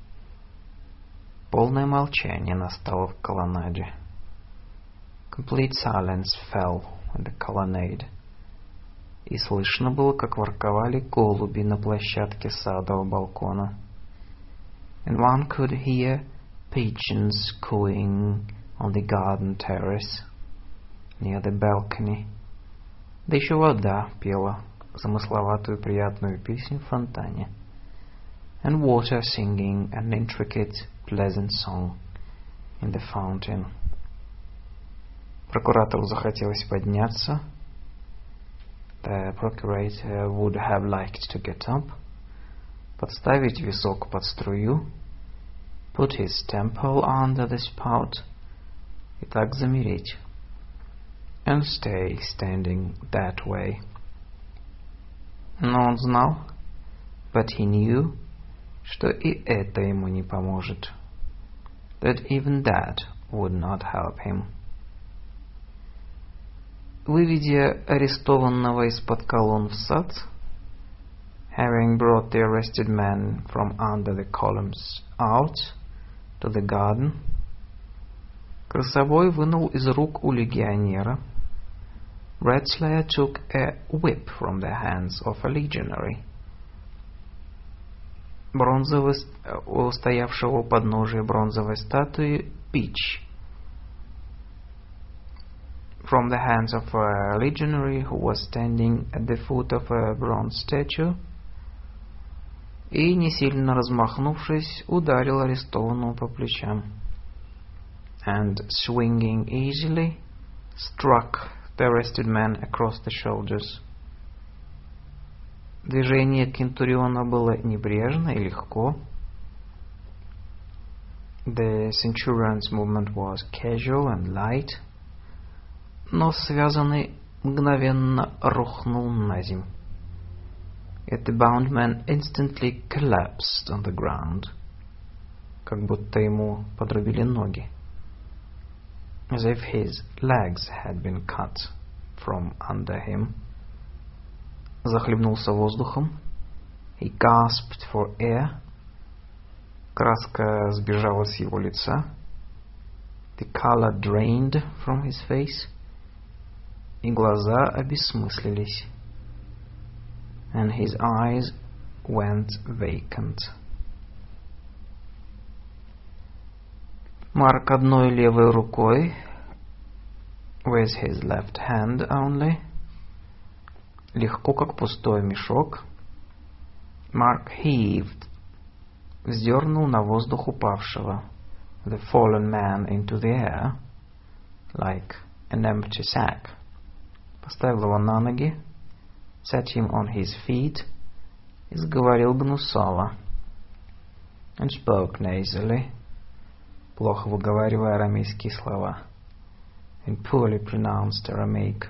Полное молчание настало в колоннаде. Complete silence fell in the colonnade. И слышно было, как ворковали голуби на площадке садового балкона. And one could hear pigeons cooing on the garden terrace near the balcony. Да еще вода пела замысловатую приятную песню в фонтане. And water singing an intricate, pleasant song in the fountain. Прокуратору захотелось подняться. The procurator would have liked to get up, подставить висок под струю, put his temple under the spout, и так замереть, and stay standing that way. Но он знал, but he knew, что и это ему не поможет, that even that would not help him. Выведя арестованного из-под колонн в сад, having brought the arrested man from under the columns out to the garden, красовой вынул из рук у легионера, Redslayer took a whip from the hands of a legionary. Бронзовый, у стоявшего у подножия бронзовой статуи, бич, from the hands of a legionary who was standing at the foot of a bronze statue, и, не сильно размахнувшись, ударил арестованного по плечам, and, swinging easily, struck the arrested man across the shoulders. Движение Кентуриона было небрежно и легко. The centurion's movement was casual and light, но связанный мгновенно рухнул на земь. Yet the bound man instantly collapsed on the ground, как будто ему подрубили ноги, as if his legs had been cut from under him. Захлебнулся воздухом. He gasped for air. Краска сбежала с его лица. The color drained from his face. И глаза обессмыслились. And his eyes went vacant. Марк одной левой рукой, with his left hand only, легко, как пустой мешок, Mark heaved, вздернул на воздух упавшего, the fallen man into the air, like an empty sack, поставил его на ноги, set him on his feet, и заговорил гнусаво, and spoke nasally, плохо выговаривая арамейские слова, and poorly pronounced Aramaic.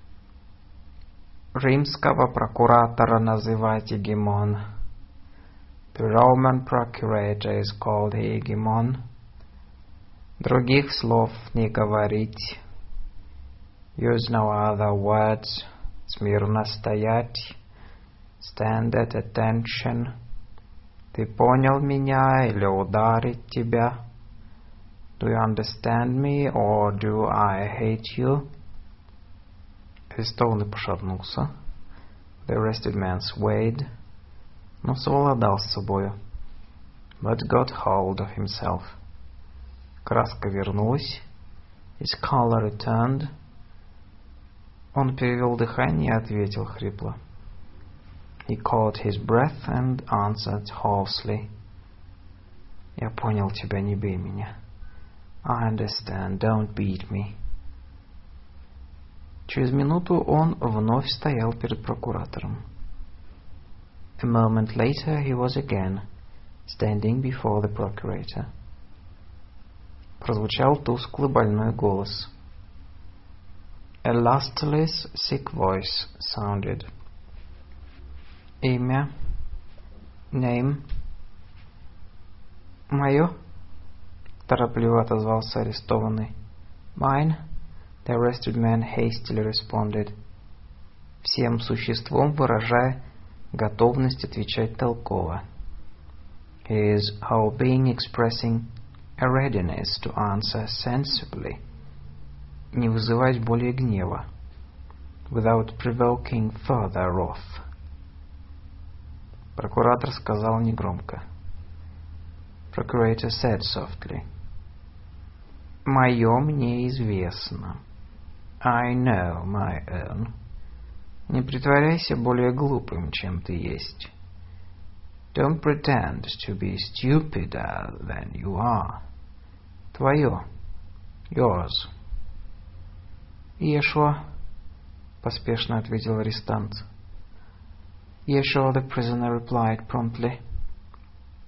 Римского прокуратора называть Егемон. The Roman procurator is called Hegemon. Других слов не говорить. Use no other words. Смирно стоять. Stand at attention. Ты понял меня или ударить тебя? Do you understand me or do I hate you? Арестованный пошатнулся. The arrested man swayed, но совладал с собою, but got hold of himself. Краска вернулась. His color returned. Он перевел дыхание и ответил хрипло. He caught his breath and answered hoarsely. Я понял тебя, не бей меня. I understand, don't beat me. Через минуту он вновь стоял перед прокуратором. A moment later he was again standing before the procurator. Прозвучал тусклый больной голос. A lustreless, sick voice sounded. Имя. Name. Мое. Торопливо отозвался арестованный. Mine. The arrested man hastily responded, всем существом выражая готовность отвечать толково. His whole being expressing a readiness to answer sensibly, не вызывать более гнева, without provoking further wrath. Прокуратор сказал негромко. Procurator said softly, «Мое мне известно. I know my own. Не притворяйся более глупым, чем ты есть. Don't pretend to be stupider than you are. Твое. Yours». «Иешуа», — поспешно ответил арестант. «Иешуа», the prisoner replied promptly.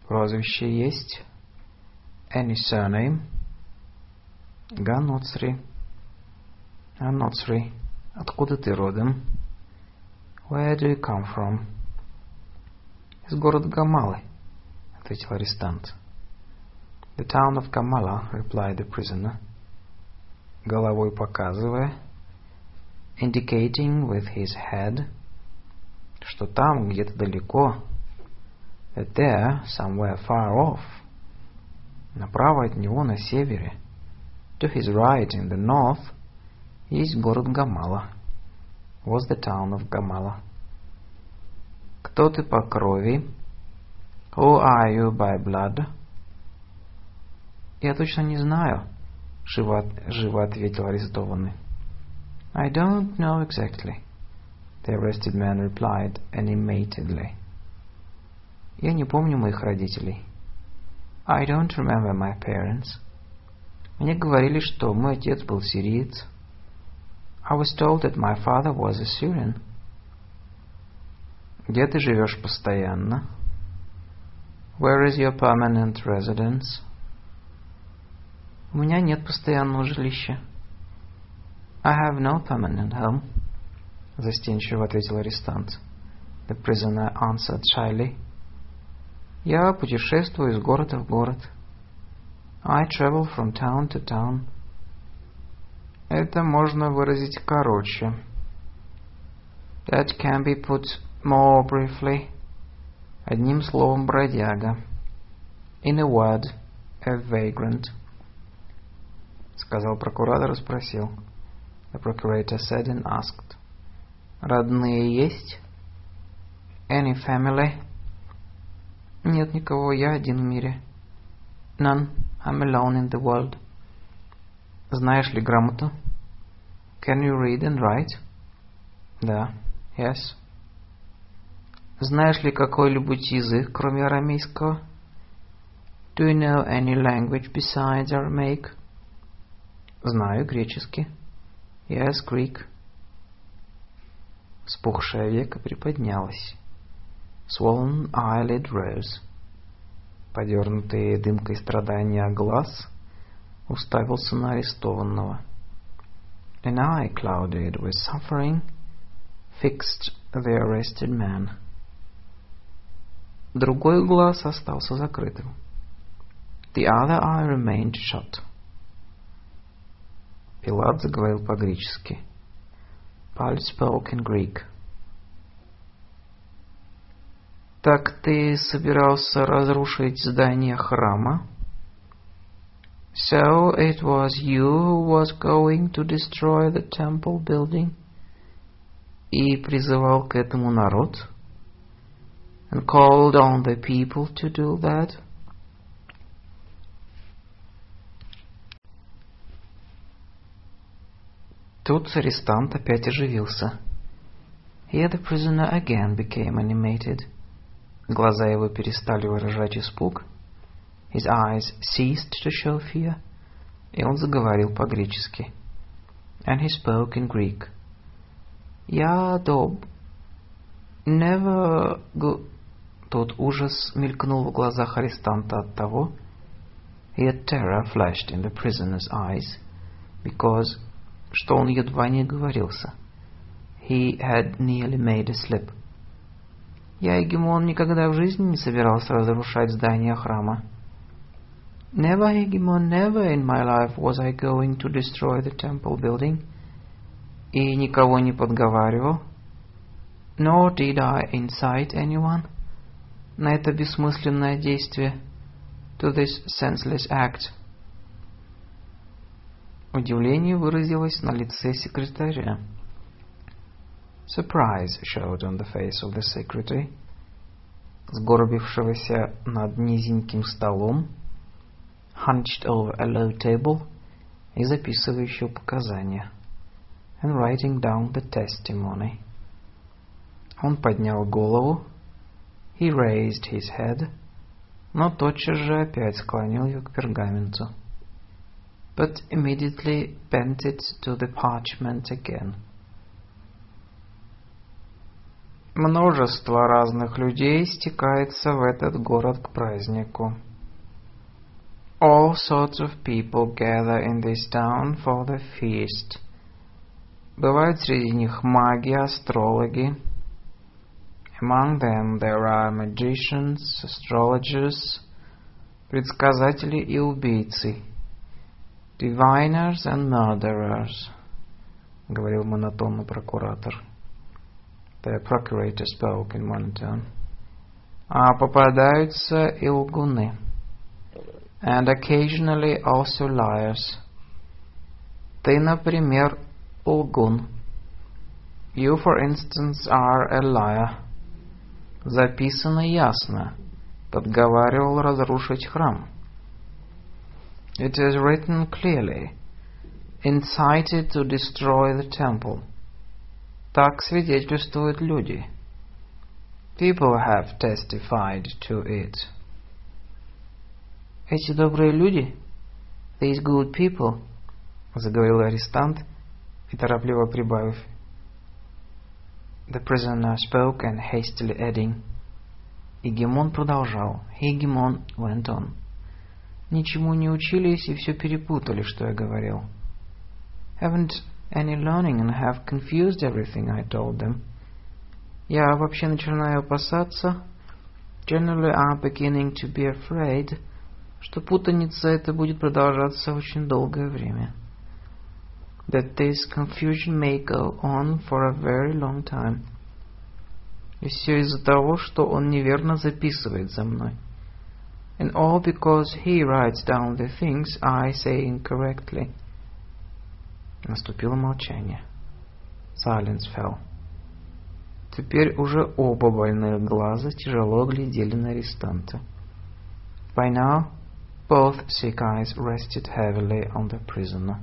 Прозвище есть? Any surname? Ганоцри. Ганоцри. Откуда ты родом? Where do you come from? Из города Гамалы, ответил арестант. The town of Gamala, replied the prisoner. Головой показывая, indicating with his head, что там, где-то далеко, that there, somewhere far off, направо от него на севере, to his right in the north, есть город Гамала, was the town of Gamala. Кто ты по крови? Who are you by blood? Я точно не знаю, живо ответил арестованный. I don't know exactly, the arrested man replied animatedly. Я не помню моих родителей. I don't remember my parents. Мне говорили, что мой отец был сириец. I was told that my father was a Syrian. Где ты живешь постоянно? Where is your permanent residence? У меня нет постоянного жилища. I have no permanent home, застенчиво ответил арестант. The prisoner answered shyly. Я путешествую из города в город. I travel from town to town. Это можно выразить короче. That can be put more briefly. Одним словом, бродяга. In a word, a vagrant. Сказал прокуратор и спросил. The procurator said and asked. Родные есть? Any family? Нет никого, я один в мире. None, I'm alone in the world. Знаешь ли грамоту? Can you read and write? Да, yes. Знаешь ли какой-нибудь язык, кроме арамейского? Do you know any language besides Aramaic? Знаю греческий. Yes, Greek. Вспухшее веко приподнялось. Swollen eyelid rose. Подернутый дымкой страдания глаз уставился на арестованного. An eye clouded with suffering fixed the arrested man. Другой глаз остался закрытым. The other eye remained shut. Пилат заговорил по-гречески. Pilate spoke in Greek. Так ты собирался разрушить здание храма? So it was you who was going to destroy the temple building? И призывал к этому народ? And called on the people to do that? Тут арестант опять оживился. Here the prisoner again became animated. Глаза его перестали выражать испуг. His eyes ceased to show fear. И он заговорил по-гречески. And he spoke in Greek. Я never go... Тот ужас мелькнул в глазах арестанта от того, yet terror flashed in the prisoner's eyes, because, что он едва не оговорился. He had nearly made a slip. Я, Егемон, никогда в жизни не собирался разрушать здание храма. Never, Егемон, never in my life was I going to destroy the temple building. И никого не подговаривал. Nor did I incite anyone на это бессмысленное действие, to this senseless act. Удивление выразилось на лице секретаря. Surprise showed on the face of the secretary, сгорбившегося над низеньким столом, hunched over a low table, и записывающего показания, and writing down the testimony. Он поднял голову, he raised his head, но тотчас же опять склонил ее к пергаменту, but immediately bent it to the parchment again. Множество разных людей стекается в этот город к празднику. All sorts of people gather in this town for the feast. Бывают среди них маги, астрологи. Among them there are magicians, astrologers, предсказатели и убийцы. Diviners and murderers, говорил монотонно прокуратор. The procurator spoke in monotone. А попадаются и лгуны. And occasionally also liars. Ты, например, лгун. You, for instance, are a liar. Записано ясно. Подговаривал разрушить храм. It is written clearly. Incited to destroy the temple. Так свидетельствуют люди. People have testified to it. Эти добрые люди, these good people, заговорил арестант и торопливо прибавив. The prisoner spoke and hastily adding. Егемон продолжал. Егемон went on. Ничему не учились и все перепутали, что я говорил. Haven't any learning and have confused everything I told them. Я вообще начинаю опасаться. Generally I'm beginning to be afraid, что путаница эта будет продолжаться очень долгое время. That this confusion may go on for a very long time. И все из-за того, что он неверно записывает за мной. And all because he writes down the things I say incorrectly. Наступило молчание. Silence fell. Теперь уже оба больных глаза тяжело глядели на арестанта. By now, both sick eyes rested heavily on the prisoner.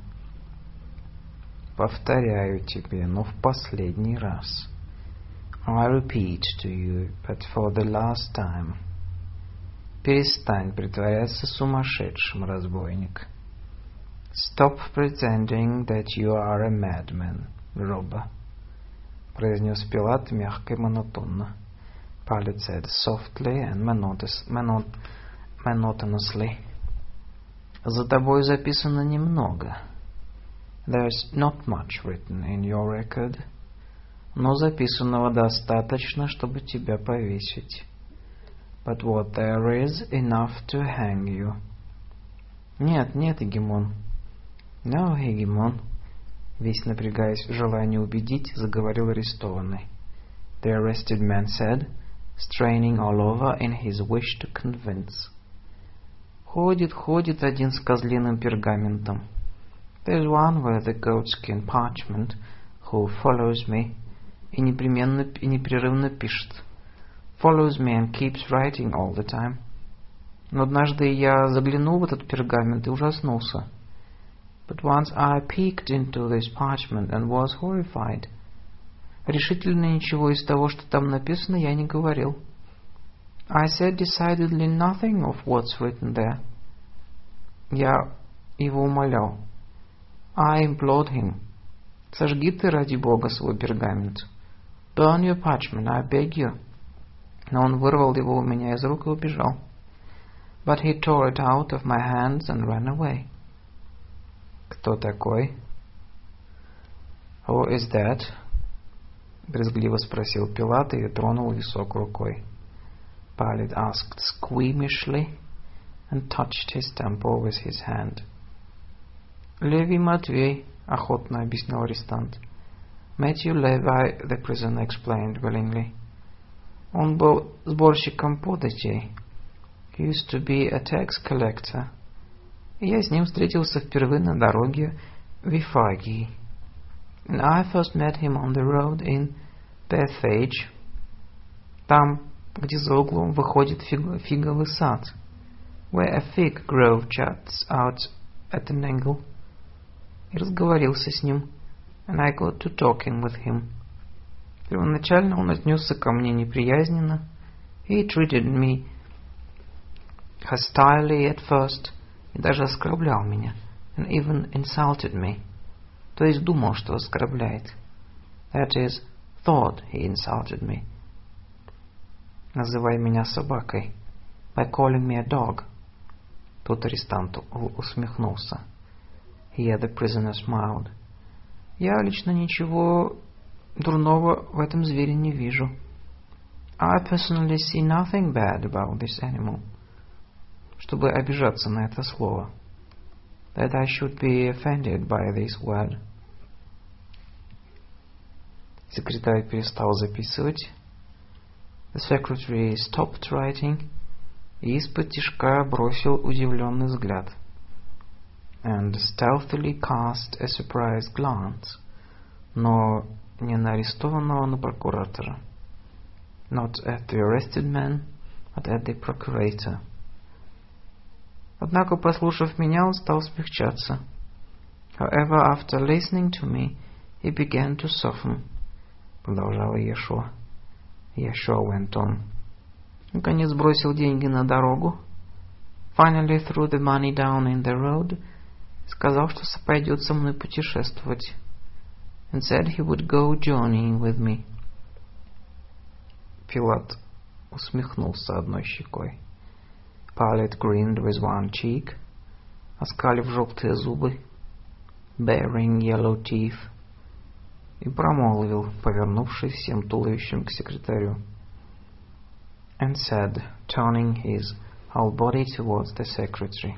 Повторяю тебе, но в последний раз. I repeat to you, but for the last time. Перестань притворяться сумасшедшим, разбойник. Stop pretending that you are a madman, robber. Произнес Пилат мягко и монотонно. Pilate said softly and monotonously. За тобой записано немного. There's not much written in your record. Но записанного достаточно, чтобы тебя повесить. But what there is enough to hang you. Нет, нет, Егемон. No, Егемон. Весь напрягаясь в желании убедить, заговорил арестованный. The arrested man said, straining all over in his wish to convince. Ходит один с козлиным пергаментом. There's one with a goatskin parchment who follows me и непрерывно пишет. Follows me and keeps writing all the time. Но однажды я заглянул в этот пергамент и ужаснулся. But once I peeked into this parchment and was horrified. Решительно ничего из того, что там написано, я не говорил. I said decidedly nothing of what's written there. Я его умолял. I implored him. Сожги ты, ради Бога, свой пергамент. Burn your parchment, I beg you. Но он вырвал его у меня из рук и убежал. But he tore it out of my hands and ran away. Кто такой? Who is that? Брезгливо спросил Пилат и тронул висок рукой. Pilate asked squeamishly and touched his temple with his hand. Левий Матвей, охотно объяснил арестант. Matthew Levi, the prisoner explained willingly. Он был сборщиком податей. He used to be a tax collector. И я с ним встретился впервые на дороге в Вифагии. And I first met him on the road in Bethphage. Там, где за углом выходит фиговый сад. Where a fig grove juts out at an angle. И разговорился с ним. And I got to talking with him. Первоначально он отнесся ко мне неприязненно. He treated me hostilely at first. И даже оскорблял меня. And even insulted me. То есть думал, что оскорбляет. That is, thought he insulted me. Называй меня собакой. By calling me a dog. Тут арестант усмехнулся. Here the prisoner smiled. Я лично ничего дурного в этом звере не вижу. I personally see nothing bad about this animal. Чтобы обижаться на это слово. That I should be offended by this word. Секретарь перестал записывать. The secretary stopped writing и из-под-тишка бросил удивленный взгляд. And stealthily cast a surprised glance, но не на арестованного, на прокуратора. Not at the arrested man, but at the procurator. Однако, послушав меня, он стал смягчаться. However, after listening to me, he began to soften. Продолжал Иешуа. Иешуа went on. Наконец бросил деньги на дорогу. Finally threw the money down in the road. Сказал, что пойдет со мной путешествовать. And said he would go journeying with me. Пилат усмехнулся одной щекой. Pilate grinned with one cheek, оскалив желтые зубы, baring yellow teeth, и промолвил, повернувшись всем туловищем к секретарю. And said, turning his whole body towards the secretary.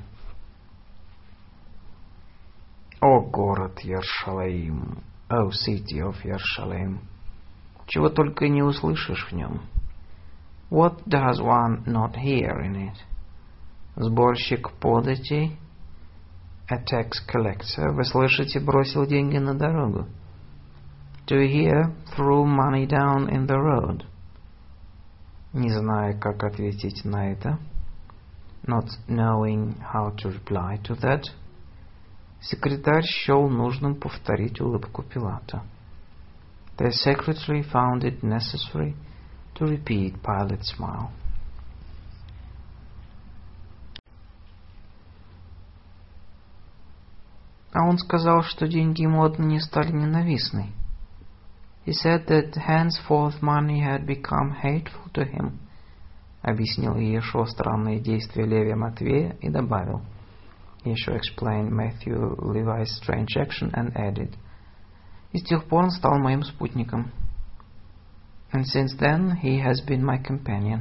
О город Иерушалаим, O city of Yerushalayim, чего только не услышишь в нем. What does one not hear in it? Сборщик податей, a tax collector, вы слышите, бросил деньги на дорогу. Do you hear, threw money down in the road? Не зная, как ответить на это, not knowing how to reply to that, секретарь счел нужным повторить улыбку Пилата. The secretary found it necessary to repeat Pilate's smile. А он сказал, что деньги ему отныне стали ненавистны. He said that henceforth money had become hateful to him. Объяснил Иешуа странные действия Левия Матвея и добавил. Иешуа explained Matthew Levi's strange action and added. И с тех пор он стал моим спутником. And since then he has been my companion.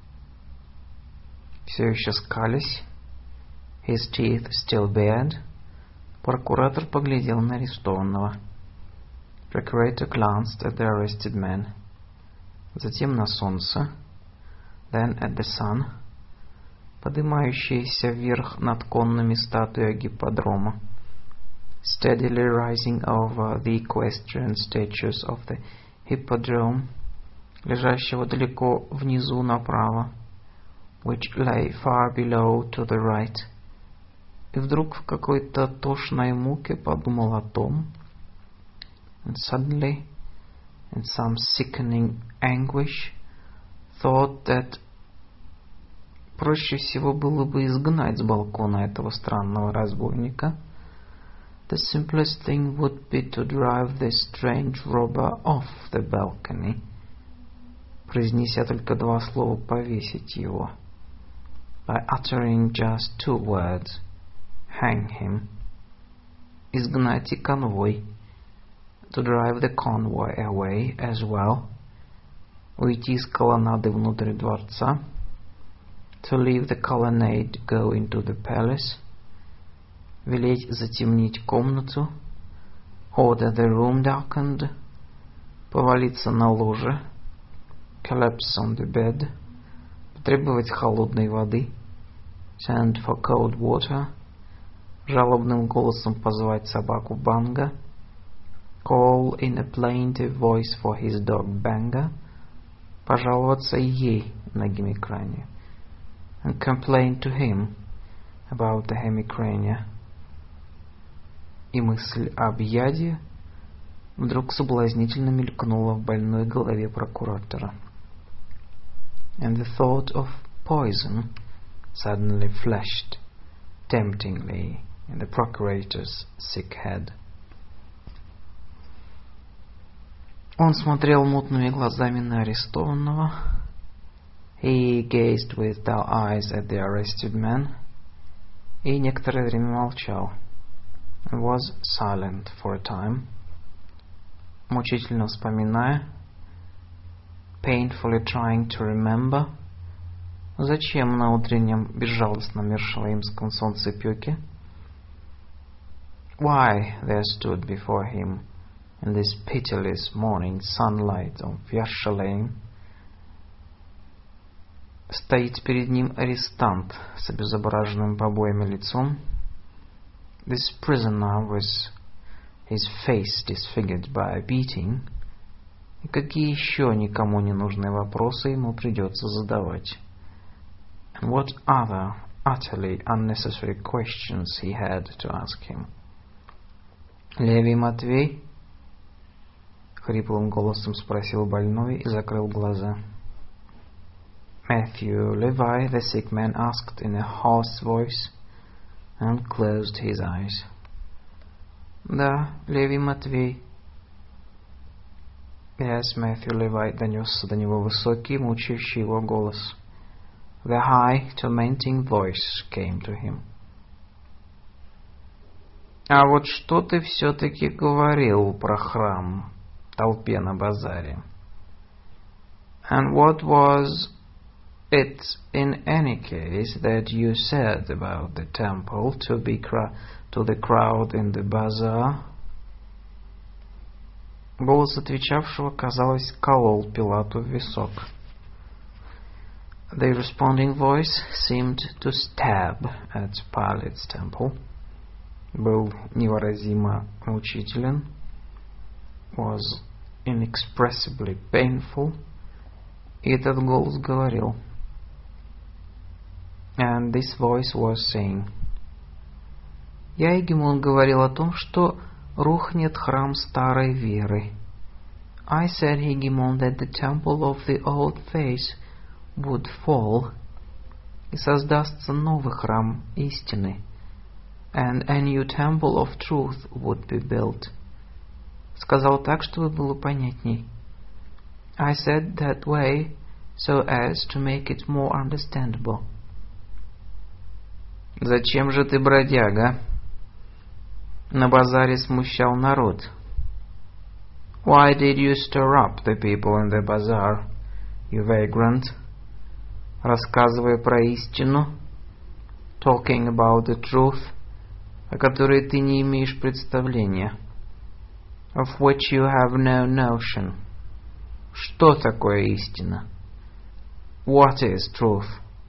Все еще скалясь, his teeth still bared, прокуратор поглядел на арестованного. Procurator glanced at the arrested man. Затем на солнце, then at the sun, поднимающееся вверх над конными статуей гипподрома, steadily rising over the equestrian statues of the hippodrome, лежащего далеко внизу направо, which lay far below to the right. И вдруг в какой-то тошной муке подумал о том, and suddenly, in some sickening anguish, thought that проще всего было бы изгнать с балкона этого странного разбойника. The simplest thing would be to drive this strange robber off the balcony, произнеся только два слова, повесить его, by uttering just two words, hang him. Изгнать и конвой, to drive the convoy away as well, уйти из колоннады внутрь дворца, to leave the colonnade, go into the palace, велеть затемнить комнату, order the room darkened, повалиться на ложе, collapse on the bed, потребовать холодной воды, send for cold water, жалобным голосом позвать собаку Банга, call in a plaintive voice for his dog Banga, пожаловаться ей на гемикране, and complain to him about the hemicrania. И мысль об яде вдруг соблазнительно мелькнула в больной голове прокуратора. And the thought of poison suddenly flashed temptingly in the procurator's sick head. Он смотрел мутными глазами на арестованного. He gazed with dull eyes at the arrested man, и некоторое время молчал, and was silent for a time, мучительно вспоминая, painfully trying to remember, зачем на утреннем безжалостном Иерушалаимском солнцепёке, why there stood before him in this pitiless morning sunlight of Yerushalayim, стоит перед ним арестант с обезображенным побоями лицом, this prisoner with his face disfigured by a beating, и какие еще никому не нужные вопросы ему придется задавать. And what other utterly unnecessary questions he had to ask him. Левий Матвей? Хриплым голосом спросил больной и закрыл глаза. Matthew Levi, the sick man asked in a hoarse voice, and closed his eyes. Да, Левий Матвей. Yes, Matthew Levi, донесся до него высокий, мучающий его голос. The high, tormenting voice came to him. А вот что ты все-таки говорил про храм толпе на базаре? And what was it in any case that you said about the temple to the crowd in the bazaar? Голос отвечавшего, казалось, колол Пилату в висок. The responding voice seemed to stab at Pilate's temple. Был невыразимо мучителен, was inexpressibly painful, и этот голос говорил. And this voice was saying, я, Егемон, говорил о том, что рухнет храм старой веры. I said, Егемон, that the temple of the old faith would fall, и создастся новый храм истины, and a new temple of truth would be built. Сказал так, чтобы было понятней. I said that way so as to make it more understandable. Зачем же ты, бродяга, на базаре смущал народ? Why did you stir up the people in the bazaar, you vagrant, рассказывая про истину, talking about the truth, о которой ты не имеешь представления, of which you have no notion? Что такое истина? What is truth?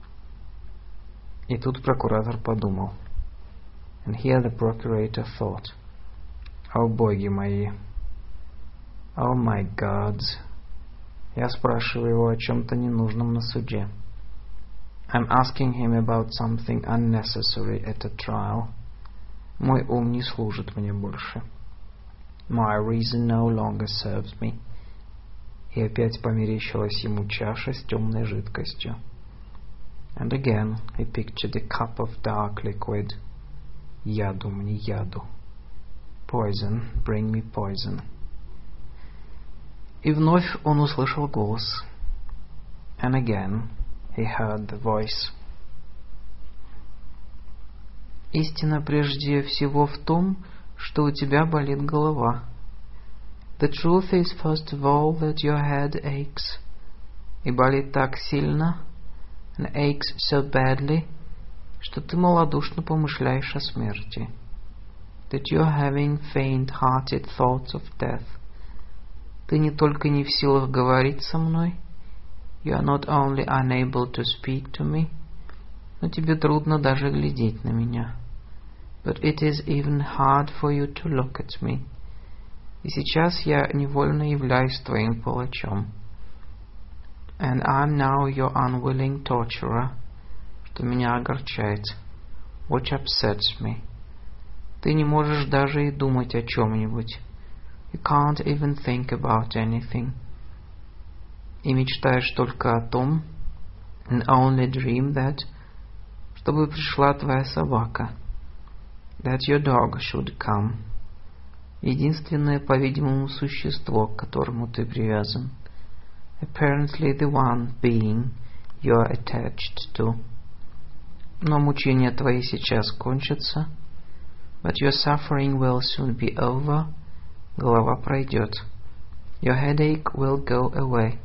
И тут прокуратор подумал. And here the procurator thought, о боги мои, oh my gods, я спрашиваю его о чем-то ненужном на суде. I'm asking him about something unnecessary at a trial. Мой ум не служит мне больше. My reason no longer serves me. И опять померещилась ему чаша с темной жидкостью. And again he pictured a cup of dark liquid. Яду мне яду. Poison, bring me poison. И вновь он услышал голос. And again he heard the voice. Истина прежде всего в том, что у тебя болит голова. The truth is first of all that your head aches. И болит так сильно, and aches so badly, что ты малодушно помышляешь о смерти. That you are having faint-hearted thoughts of death. Ты не только не в силах говорить со мной, you are not only unable to speak to me, но тебе трудно даже глядеть на меня. But it is even hard for you to look at me. И сейчас я невольно являюсь твоим палачом. And I'm now your unwilling torturer, что меня огорчает, which upsets me. Ты не можешь даже и думать о чем-нибудь. You can't even think about anything. И мечтаешь только о том, and only dream that, чтобы пришла твоя собака, that your dog should come. Единственное, по-видимому, существо, к которому ты привязан. Apparently the one being you are attached to. Но мучения твои сейчас кончатся, but your suffering will soon be over, голова пройдет, your headache will go away.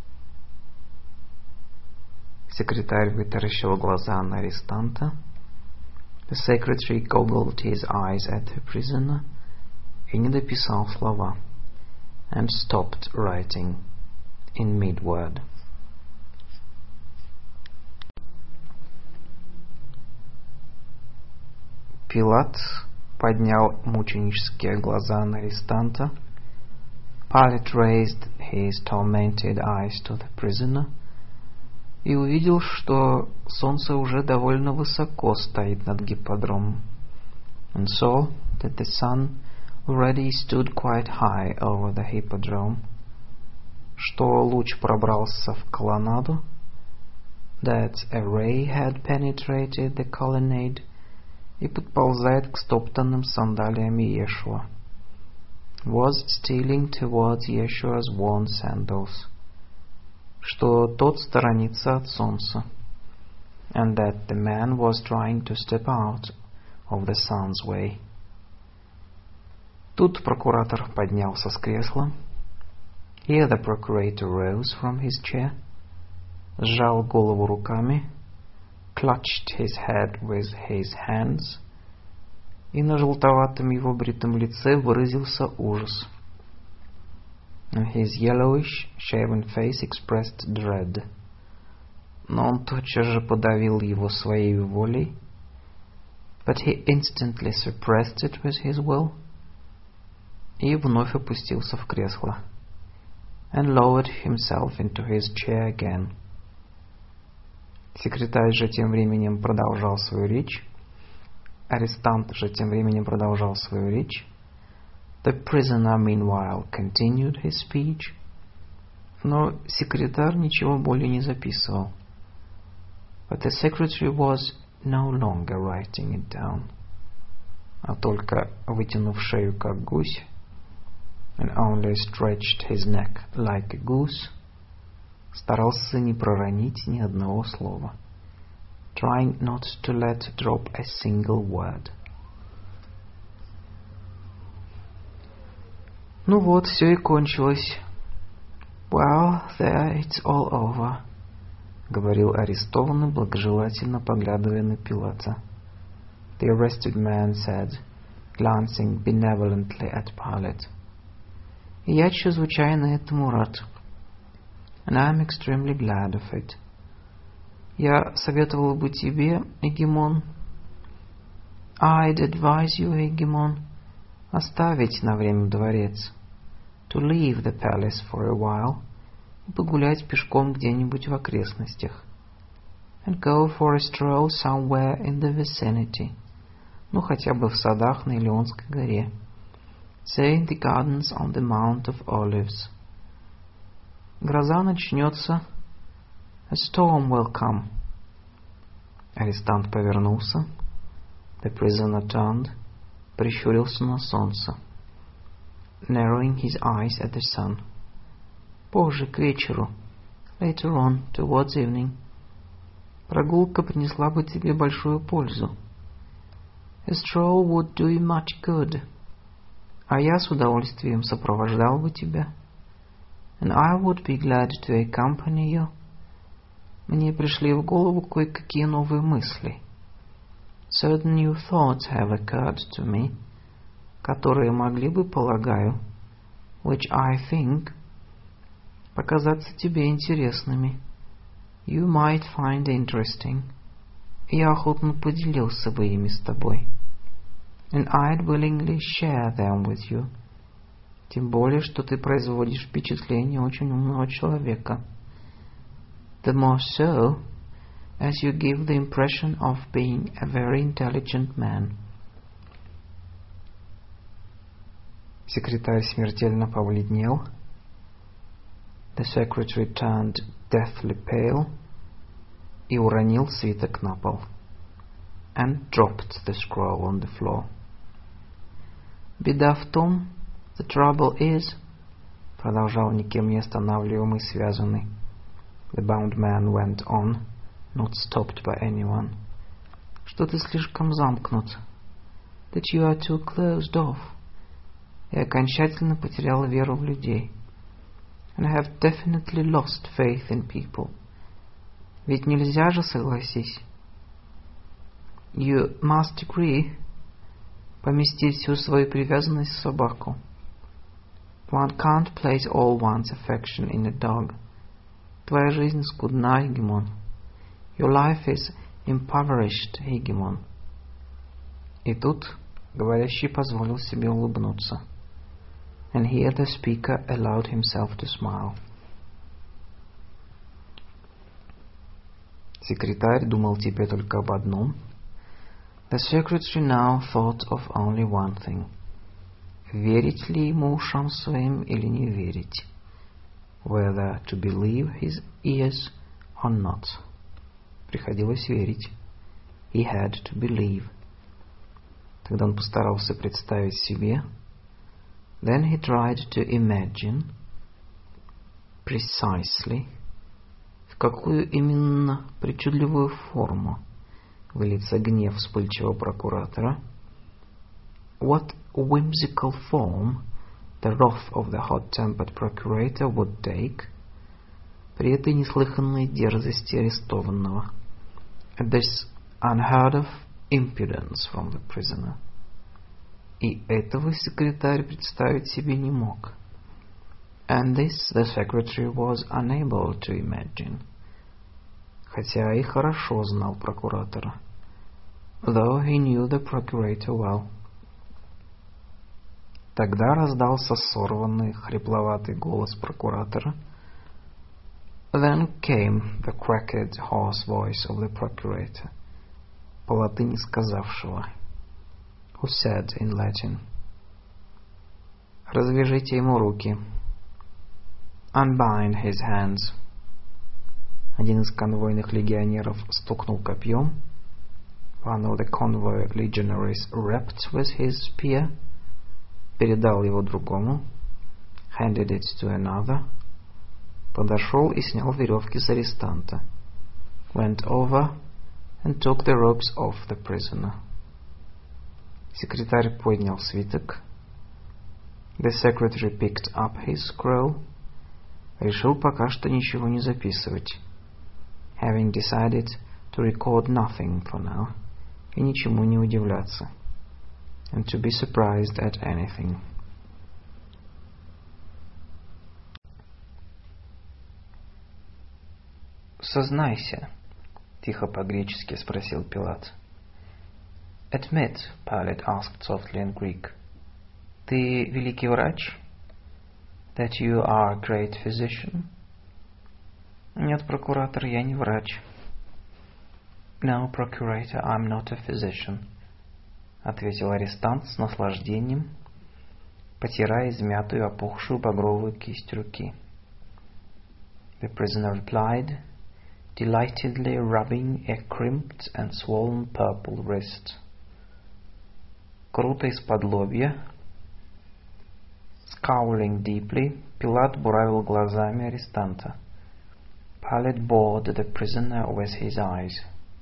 Секретарь вытаращил глаза на арестанта. The secretary goggled his eyes at the prisoner и не дописал слова, and stopped writing in mid-word. Пилат поднял мученические глаза на арестанта. Pilate raised his tormented eyes to the prisoner и увидел, что солнце уже довольно высоко стоит над гипподромом, and saw that the sun already stood quite high over the hippodrome, что луч пробрался в колоннаду, that a ray had penetrated the colonnade и подползает к стоптанным сандалиям Иешуа, was stealing towards Yeshua's worn sandals, что тот сторонится от солнца, and that the man was trying to step out of the sun's way. Тут прокуратор поднялся с кресла. Here the procurator rose from his chair, сжал голову руками, clutched his head with his hands, и на желтоватом его бритом лице выразился ужас. And his yellowish, shaven face expressed dread. Но он тотчас же подавил его своей волей, but he instantly suppressed it with his will, и вновь опустился в кресло, and lowered himself into his chair again. Секретарь же тем временем продолжал свою речь. Арестант же тем временем продолжал свою речь. The prisoner meanwhile continued his speech. Но секретарь ничего более не записывал. But the secretary was no longer writing it down. А только, вытянув шею как гусь, and only stretched his neck like a goose, старался не проронить ни одного слова, trying not to let drop a single word. Ну вот, все и кончилось. Well, there it's all over, говорил арестованный, благожелательно поглядывая на Пилата. The arrested man said, glancing benevolently at Pilate. И я чрезвычайно этому рад. And I am extremely glad of it. Я советовал бы тебе, Егемон, I'd advise you, Егемон, оставить на время дворец, to leave the palace for a while, и погулять пешком где-нибудь в окрестностях, and go for a stroll somewhere in the vicinity, ну хотя бы в садах на Илионской горе, say in the gardens on the Mount of Olives. Гроза начнется, a storm will come. Арестант повернулся, the prisoner turned, прищурился на солнце, narrowing his eyes at the sun. Позже, к вечеру, later on, towards evening. Прогулка принесла бы тебе большую пользу. A stroll would do you much good. А я с удовольствием сопровождал бы тебя. And I would be glad to accompany you. Мне пришли в голову кое-какие новые мысли. Certain new thoughts have occurred to me, которые могли бы, полагаю, which I think, показаться тебе интересными. You might find interesting. Я охотно поделился бы ими с тобой. And I'd willingly share them with you. Тем более, что ты производишь впечатление очень умного человека. The more so, as you give the impression of being a very intelligent man. Секретарь смертельно побледнел. The secretary turned deathly pale и уронил свиток на пол, and dropped the scroll on the floor. Беда в том, the trouble is, продолжал никем не останавливаемый связанный, The bound man went on, not stopped by anyone. Что ты слишком замкнут. That you are too closed off. Я окончательно потерял веру в людей. And I have definitely lost faith in people. Ведь нельзя же, согласись. You must agree. Поместить всю свою привязанность в собаку. One can't place all one's affection in a dog. Твоя жизнь скудна, Гегемон. Your life is impoverished, Гегемон. И тут говорящий позволил себе улыбнуться. And here the speaker allowed himself to smile. Секретарь думал теперь только об одном. The secretary now thought of only one thing. Верить ли ему ушам своим или не верить? Whether to believe his ears or not. Приходилось верить. He had to believe. Тогда он постарался представить себе. Then he tried to imagine precisely, в какую именно причудливую форму выльется гнев вспыльчивого прокуратора. What whimsical form the wrath of the hot-tempered procurator would take при этой неслыханной дерзости арестованного. At this unheard of impudence from the prisoner. И этого секретарь представить себе не мог. And this the secretary was unable to imagine. Хотя и хорошо знал прокуратора. Though he knew the procurator well. Тогда раздался сорванный, хрипловатый голос прокуратора. Then came the cracked, hoarse voice of the procurator, по латыни сказавшего, who said in Latin, «Развяжите ему руки». Unbind his hands. Один из конвойных легионеров стукнул копьем. One of the convoy legionaries rapped with his spear. Передал его другому. Handed it to another. Подошел и снял веревки с арестанта. Went over and took the ropes off the prisoner. Секретарь поднял свиток. The secretary picked up his scroll. Решил пока что ничего не записывать. Having decided to record nothing for now. И ничему не удивляться. And to be surprised at anything. «Сознайся», — тихо по-гречески спросил Пилат. «Admit», — Pilate asked softly in Greek, «ты великий врач?» «That you are a great physician?» «Нет, прокуратор, я не врач». «No, procurator, I'm not a physician», — ответил арестант с наслаждением, потирая измятую, опухшую багровую кисть руки. The prisoner replied, delightedly rubbing a crimped and swollen purple wrist. Круто из-под лобья, scowling deeply, Пилат буравил глазами арестанта. Pilate bored the prisoner with his eyes.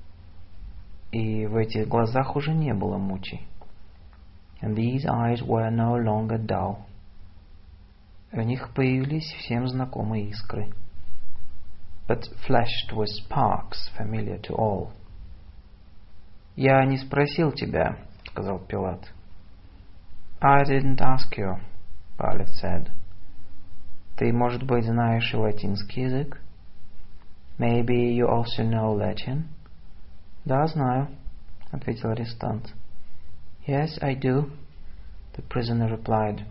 И в этих глазах уже не было мучи. And these eyes were no longer dull. В них появились всем знакомые искры. But flashed with sparks familiar to all. «Я не спросил тебя», — сказал Пилат. «I didn't ask you», — Pilate said. «Ты, может быть, знаешь и латинский язык?» «Maybe you also know Latin?» «Да, знаю», — ответил арестант. «Yes, I do», — the prisoner replied.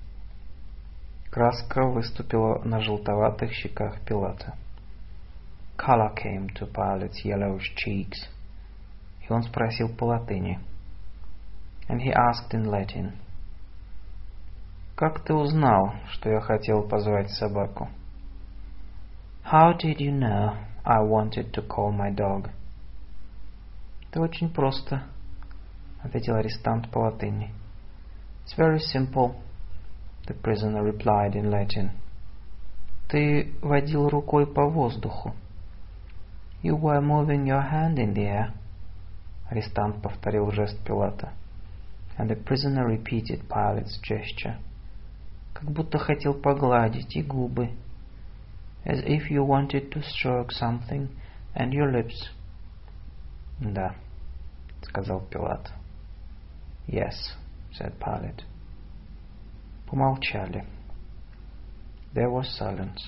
Краска выступила на желтоватых щеках Пилата. Color came to Pilate's yellowish cheeks. И он спросил по латыни. And he asked in Latin. «Как ты узнал, что я хотел позвать собаку?» «How did you know I wanted to call my dog?» «Это очень просто», — ответил арестант по латыни. «It's very simple», — the prisoner replied in Latin. Ты водил рукой по воздуху. You were moving your hand in the air. Арестант повторил жест Пилата. And the prisoner repeated Pilate's gesture. Как будто хотел погладить и губы. As if you wanted to stroke something and your lips. Да, сказал Пилат. Yes, said Pilate. Помолчали. There was silence.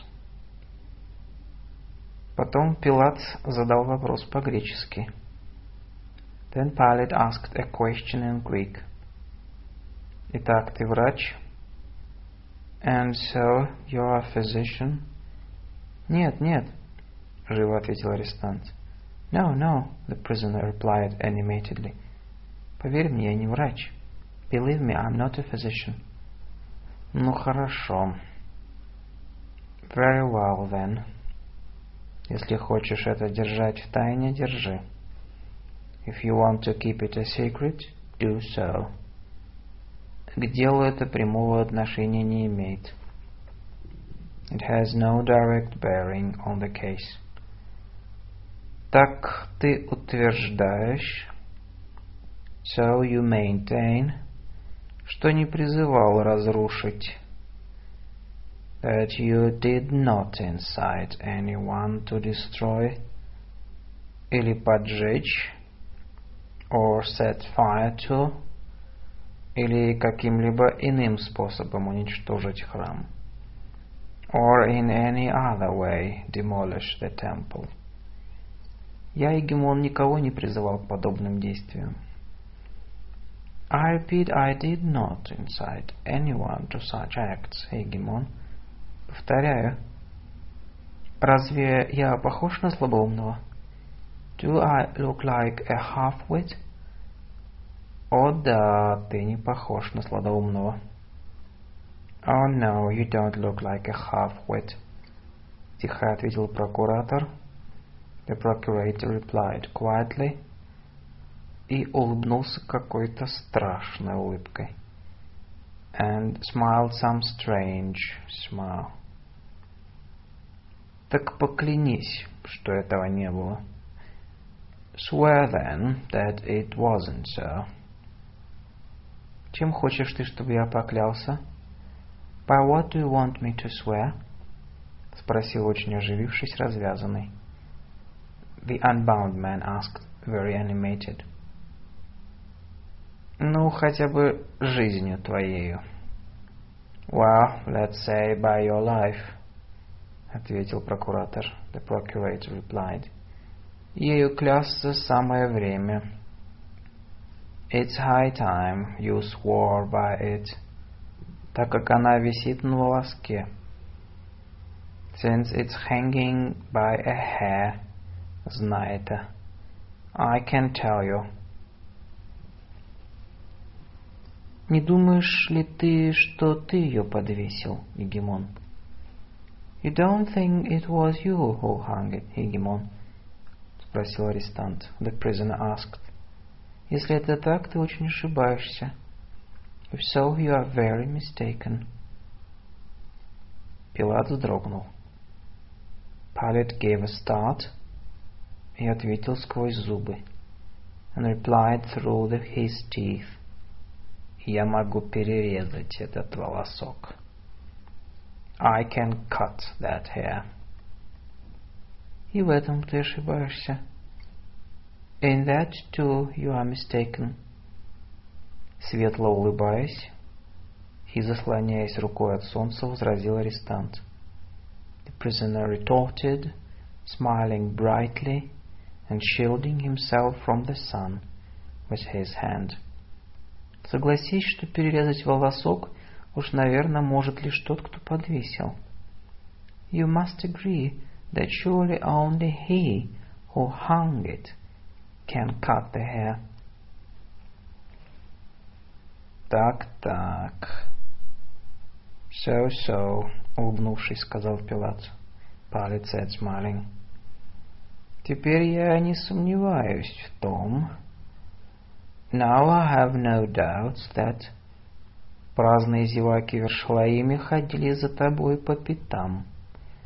Потом Пилат задал вопрос по-гречески. Then Pilate asked a question in Greek. Итак, ты врач? And so you're a physician? Нет, нет, живо ответил арестант. No, no, the prisoner replied animatedly. Поверь мне, я не врач. Believe me, I'm not a physician. Ну хорошо. Very well then. Если хочешь это держать в тайне, держи. If you want to keep it a secret, do so. К делу это прямого отношения не имеет. It has no direct bearing on the case. Так ты утверждаешь, so you maintain, что не призывал разрушить, that you did not incite anyone to destroy, или поджечь, or set fire to, или каким-либо иным способом уничтожить храм, or in any other way demolish the temple. Я, Егемон, никого не призывал к подобным действиям. I repeat, I did not incite anyone to such acts, Егемон. Повторяю. Разве я похож на слабоумного? Do I look like a half-wit? О да, ты не похож на слабоумного. Oh no, you don't look like a half-wit. Тихо ответил прокуратор. The procurator replied quietly и улыбнулся какой-то страшной улыбкой. And smiled some strange smile. Так поклянись, что этого не было. Swear then that it wasn't so. Чем хочешь ты, чтобы я поклялся? By what do you want me to swear? Спросил очень оживившись развязанный. The unbound man asked, very animated. Ну, хотя бы жизнью твоею. Well, let's say by your life, ответил прокуратор. The procurator replied. Ею клясться самое время. It's high time you swore by it, так как она висит на волоске. Since it's hanging by a hair, знай это. I can tell you. Не думаешь ли ты, что ты ее подвесил, Егемон? You don't think it was you who hung it, Егемон? Спросил арестант. The prisoner asked. Если это так, ты очень ошибаешься. If so, you are very mistaken. Пилат вздрогнул. Pilate gave a start и ответил сквозь зубы. And replied through his teeth. Я могу перерезать этот волосок. I can cut that hair. И в этом ты ошибаешься. In that too you are mistaken. Светло улыбаясь и заслоняясь рукой от солнца, возразил арестант. The prisoner retorted, smiling brightly and shielding himself from the sun with his hand. Согласись, что перерезать волосок уж, наверное, может лишь тот, кто подвесил. You must agree that surely only he who hung it can cut the hair. Так. So, улыбнувшись, сказал Пилат. Pilate said, smiling. Теперь я не сомневаюсь в том. Now I have no doubts that праздные зеваки Вершлаиме ходили за тобой по пятам,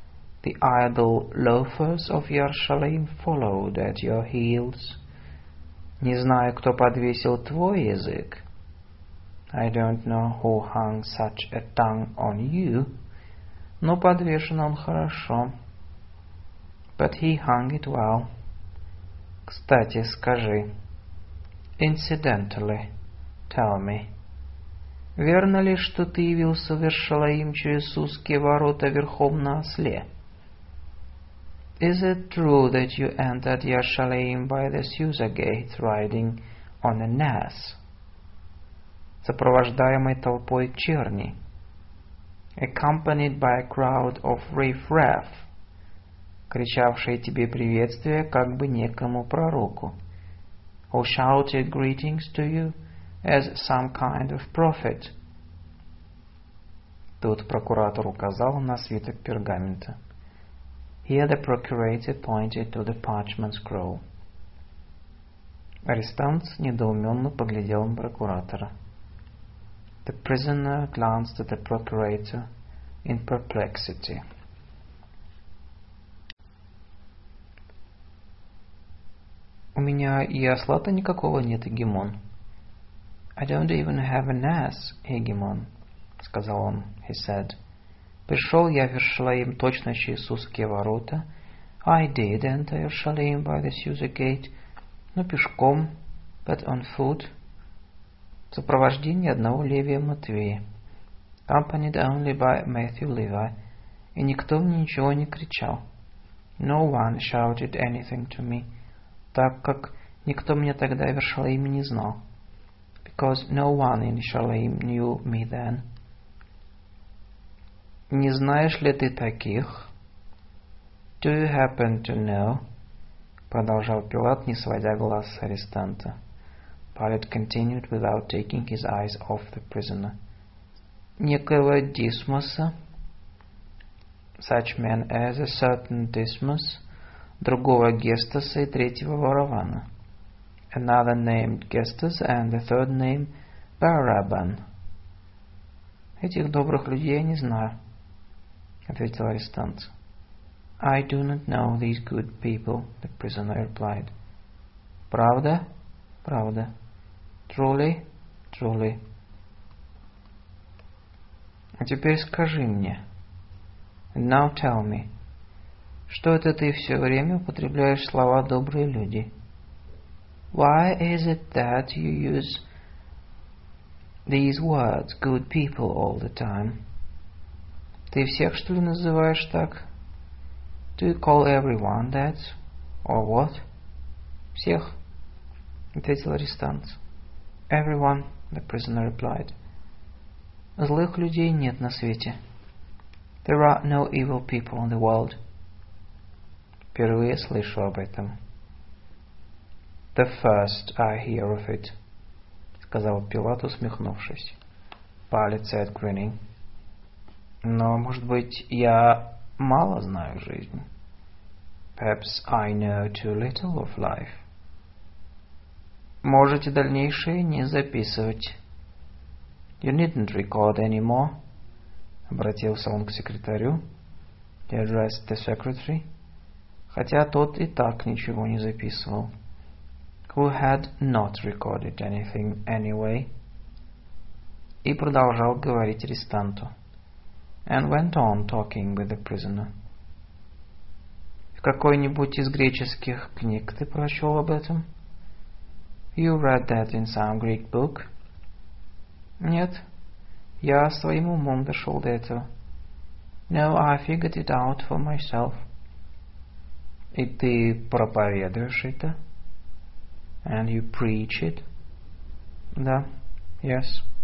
The idle loafers of Иерусалим followed at your heels. Не знаю, кто подвесил твой язык. I don't know who hung such a tongue on you. Но подвешен он хорошо. But he hung it well. Кстати, скажи. Incidentally, tell me. Верно ли, что ты явился в Иерусалим через узкие ворота верхом на осле? Is it true that you entered Yerushalayim by the Susa gate riding on an ass? Сопровождаемый толпой черни. Accompanied by a crowd of riff-raff, кричавшие тебе приветствия как бы некому пророку. Who shouted greetings to you as some kind of prophet. Тут прокуратор указал на свиток пергамента. Here the procurator pointed to the parchment scroll. Арестант недоуменно поглядел на прокуратора. The prisoner glanced at the procurator in perplexity. У меня и осла-то никакого нет, Егемон. I don't even have an ass, Егемон, сказал он, he said. Пришел я в Иерусалим точно через узкие ворота. I did enter Иерусалим by the Susa gate, но пешком, but on foot, в сопровождении одного Левия Матвея, accompanied only by Matthew Levi, и никто мне ничего не кричал. No one shouted anything to me, так как никто меня тогда в Иерусалиме не знал, because no one in Иерусалим knew me then. Не знаешь ли ты таких? Do you happen to know? Продолжал Пилат, не сводя глаз с арестанта. Pilate continued without taking his eyes off the prisoner. Некоего Дисмоса, such men as a certain Dismas, другого Гестаса и третьего Варавана, another named Gestas and the third name Baraban. Этих добрых людей я не знаю, ответил арестант. I do not know these good people, the prisoner replied. Правда? Правда. Truly? Truly. А теперь скажи мне. And now tell me. Что это ты все время употребляешь слова «добрые люди»? Why is it that you use these words, good people, all the time? Ты всех, что ли, называешь так? Do you call everyone that? Or what? Всех, ответил арестант. Everyone, the prisoner replied. Злых людей нет на свете. There are no evil people in the world. Впервые слышу об этом. The first I hear of it, сказал Пилат, усмехнувшись. Pilate said, grinning. Но, может быть, я мало знаю жизнь. Perhaps I know too little of life. Можете дальнейшее не записывать. You needn't record any more. Обратился он к секретарю. He addressed the secretary. Хотя тот и так ничего не записывал. Who had not recorded anything anyway. И продолжал говорить арестанту. And went on talking with the prisoner. В какой-нибудь из греческих книг ты прочел об этом? You read that in some Greek book? Нет, я своим умом дошел до этого. No, I figured it out for myself. И ты проповедуешь это? And you preach it? Да, yes.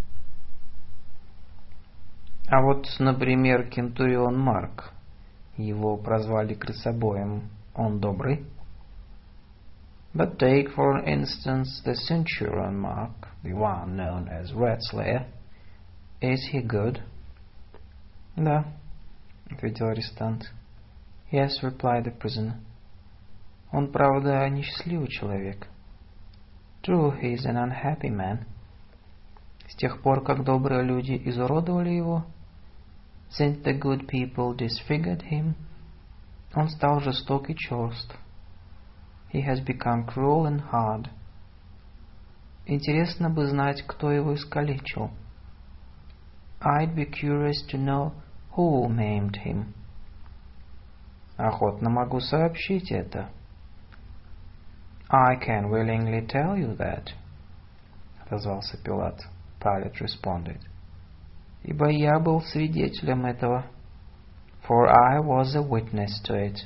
А вот, например, кентурион Марк, его прозвали крысобоем, он добрый? But take, for instance, the centurion Mark, the one known as Rat Slayer. Is he good? Да, ответил арестант. Yes, replied the prisoner. Он, правда, несчастливый человек. True, he is an unhappy man. С тех пор, как добрые люди изуродовали его, since the good people disfigured him, Он стал жесток и черст. He has become cruel and hard. Интересно бы знать, кто его искалечил. I'd be curious to know who maimed him. Охотно могу сообщить это. I can willingly tell you that. Отозвался Пилат. Pilate responded. Ибо я был свидетелем этого. For I was a witness to it.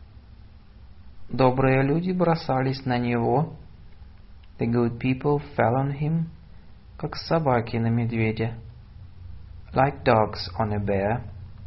Добрые люди бросались на него. The good people fell on him, как собаки на медведя. Like dogs on a bear.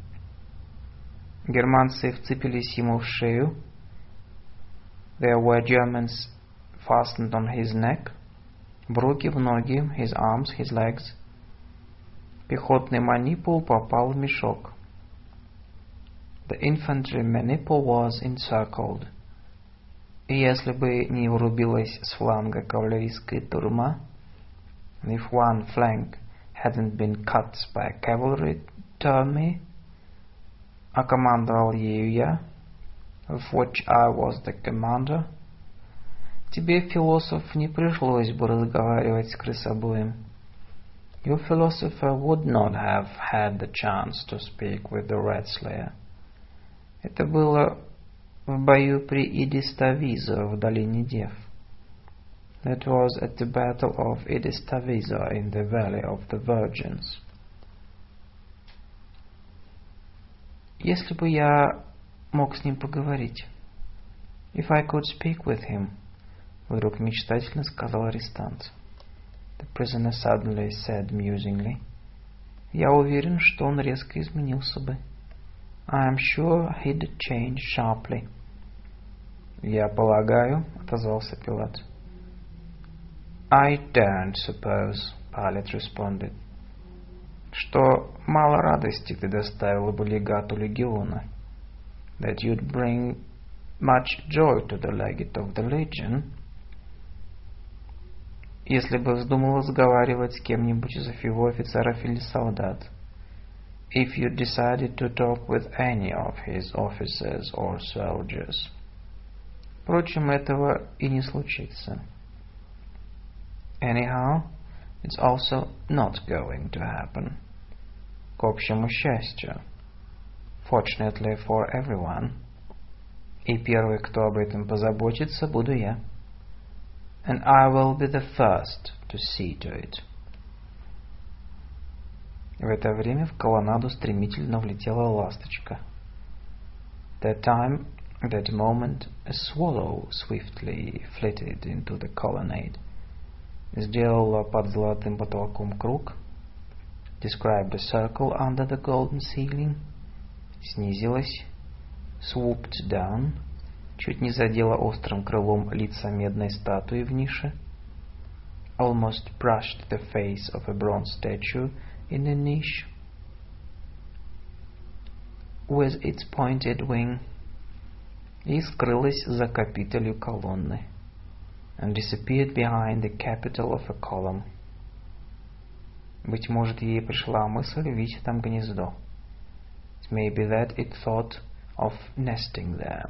Германцы вцепились ему в шею. There were Germans fastened on his neck. В руки, в ноги, his arms, his legs. Пехотный манипул попал в мешок. The infantry maniple was encircled. И если бы не врубилась с фланга кавалерийская турма, and if one flank hadn't been cut by a cavalry army, а командовал ею я, of which I was the commander, тебе, философ, не пришлось бы разговаривать с крысобоем. Your philosopher would not have had the chance to speak with the rat slayer. Это было в бою при Идиставизо в долине Дев. That was at the battle of Idistavizo in the valley of the Virgins. Если бы я мог с ним поговорить. If I could speak with him, вдруг мечтательно сказал арестант. The prisoner suddenly said musingly. Я уверен, что он резко изменился бы. I am sure he'd change sharply. Я полагаю, отозвался Пилат. I don't suppose, Pilate responded, что мало радости ты доставила бы легату легиона. That you'd bring much joy to the legate of the legion. Если бы вздумал разговаривать с кем-нибудь из его офицеров или солдат. If you decided to talk with any of his officers or soldiers. Впрочем, этого и не случится. Anyhow, it's also not going to happen. К общему счастью. Fortunately for everyone. И первый, кто об этом позаботится, буду я. And I will be the first to see to it. В это время в колоннаду стремительно влетела ласточка. That moment, a swallow swiftly flitted into the colonnade. Сделала под золотым потолком круг. Described a circle under the golden ceiling. Снизилась. Swooped down. Чуть не задела острым крылом лица медной статуи в нише. Almost brushed the face of a bronze statue in a niche. With its pointed wing. И скрылась за капителью колонны. And disappeared behind the capital of a column. Быть может, ей пришла мысль видеть там гнездо. It may be that it thought of nesting there.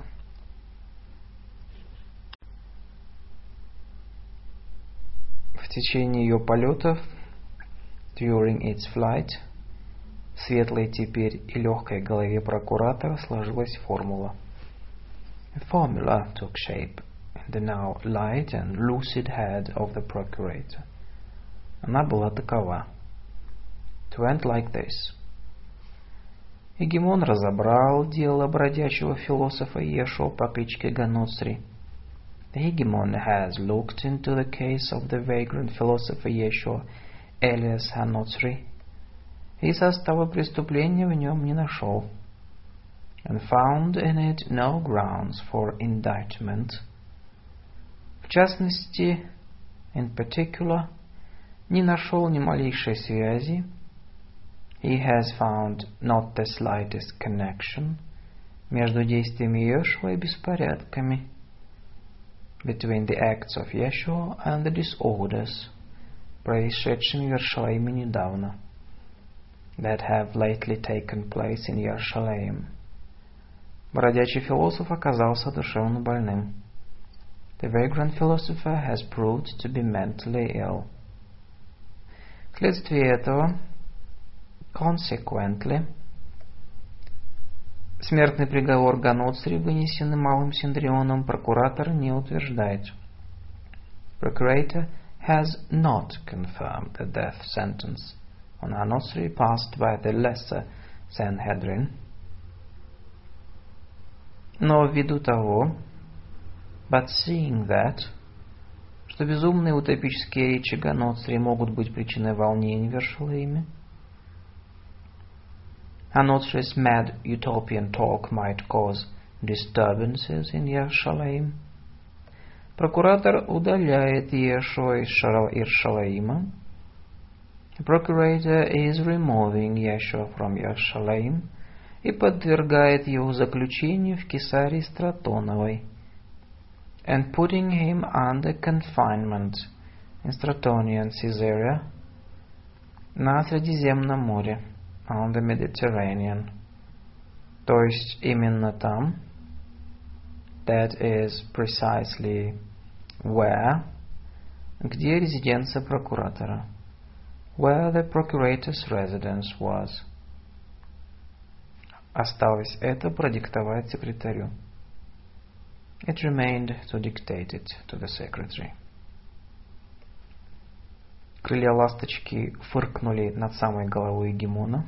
В течение ее полетов, during its flight, в светлой теперь и легкой голове прокуратора сложилась формула. A formula took shape in the now light and lucid head of the procurator. Она была такова. It went like this. Егемон разобрал дело бродячего философа Иешуа по кличке Ганоцри. The hegemon has looked into the case of the vagrant philosopher Yeshua, alias Hanotsri, и состава преступления в нем не нашел, and found in it no grounds for indictment. В частности, in particular, не нашел ни малейшей связи. He has found not the slightest connection между действиями Иешуа и беспорядками, between the acts of Yeshua and the disorders, происшедшими в Иерусалиме недавно, that have lately taken place in Jerusalem. Бродячий философ оказался душевно больным. The vagrant philosopher has proved to be mentally ill. Вследствие этого, consequently, смертный приговор Ганоцри, вынесенный Малым Синдрионом, прокуратор не утверждает. Procurator has not confirmed the death sentence on Ганоцри passed by the lesser Sanhedrin. Но ввиду того, but seeing that, что безумные утопические речи Ганоцри могут быть причиной волнений в Иерушалаиме, Ганоцри's mad utopian talk might cause disturbances in Yerushalayim, прокуратор удаляет Иешуа из Иерушалаима. The procurator is removing Yeshua from Yerushalayim и подвергает его заключению в Кесарии Стратоновой, and putting him under confinement in Stratonian Caesarea на Средиземном море, on the Mediterranean, то есть именно там, that is precisely where, где резиденция прокуратора, where the procurator's residence was. Осталось это продиктовать секретарю. It remained to dictate it to the secretary. Крылья ласточки фыркнули над самой головой Гегемона.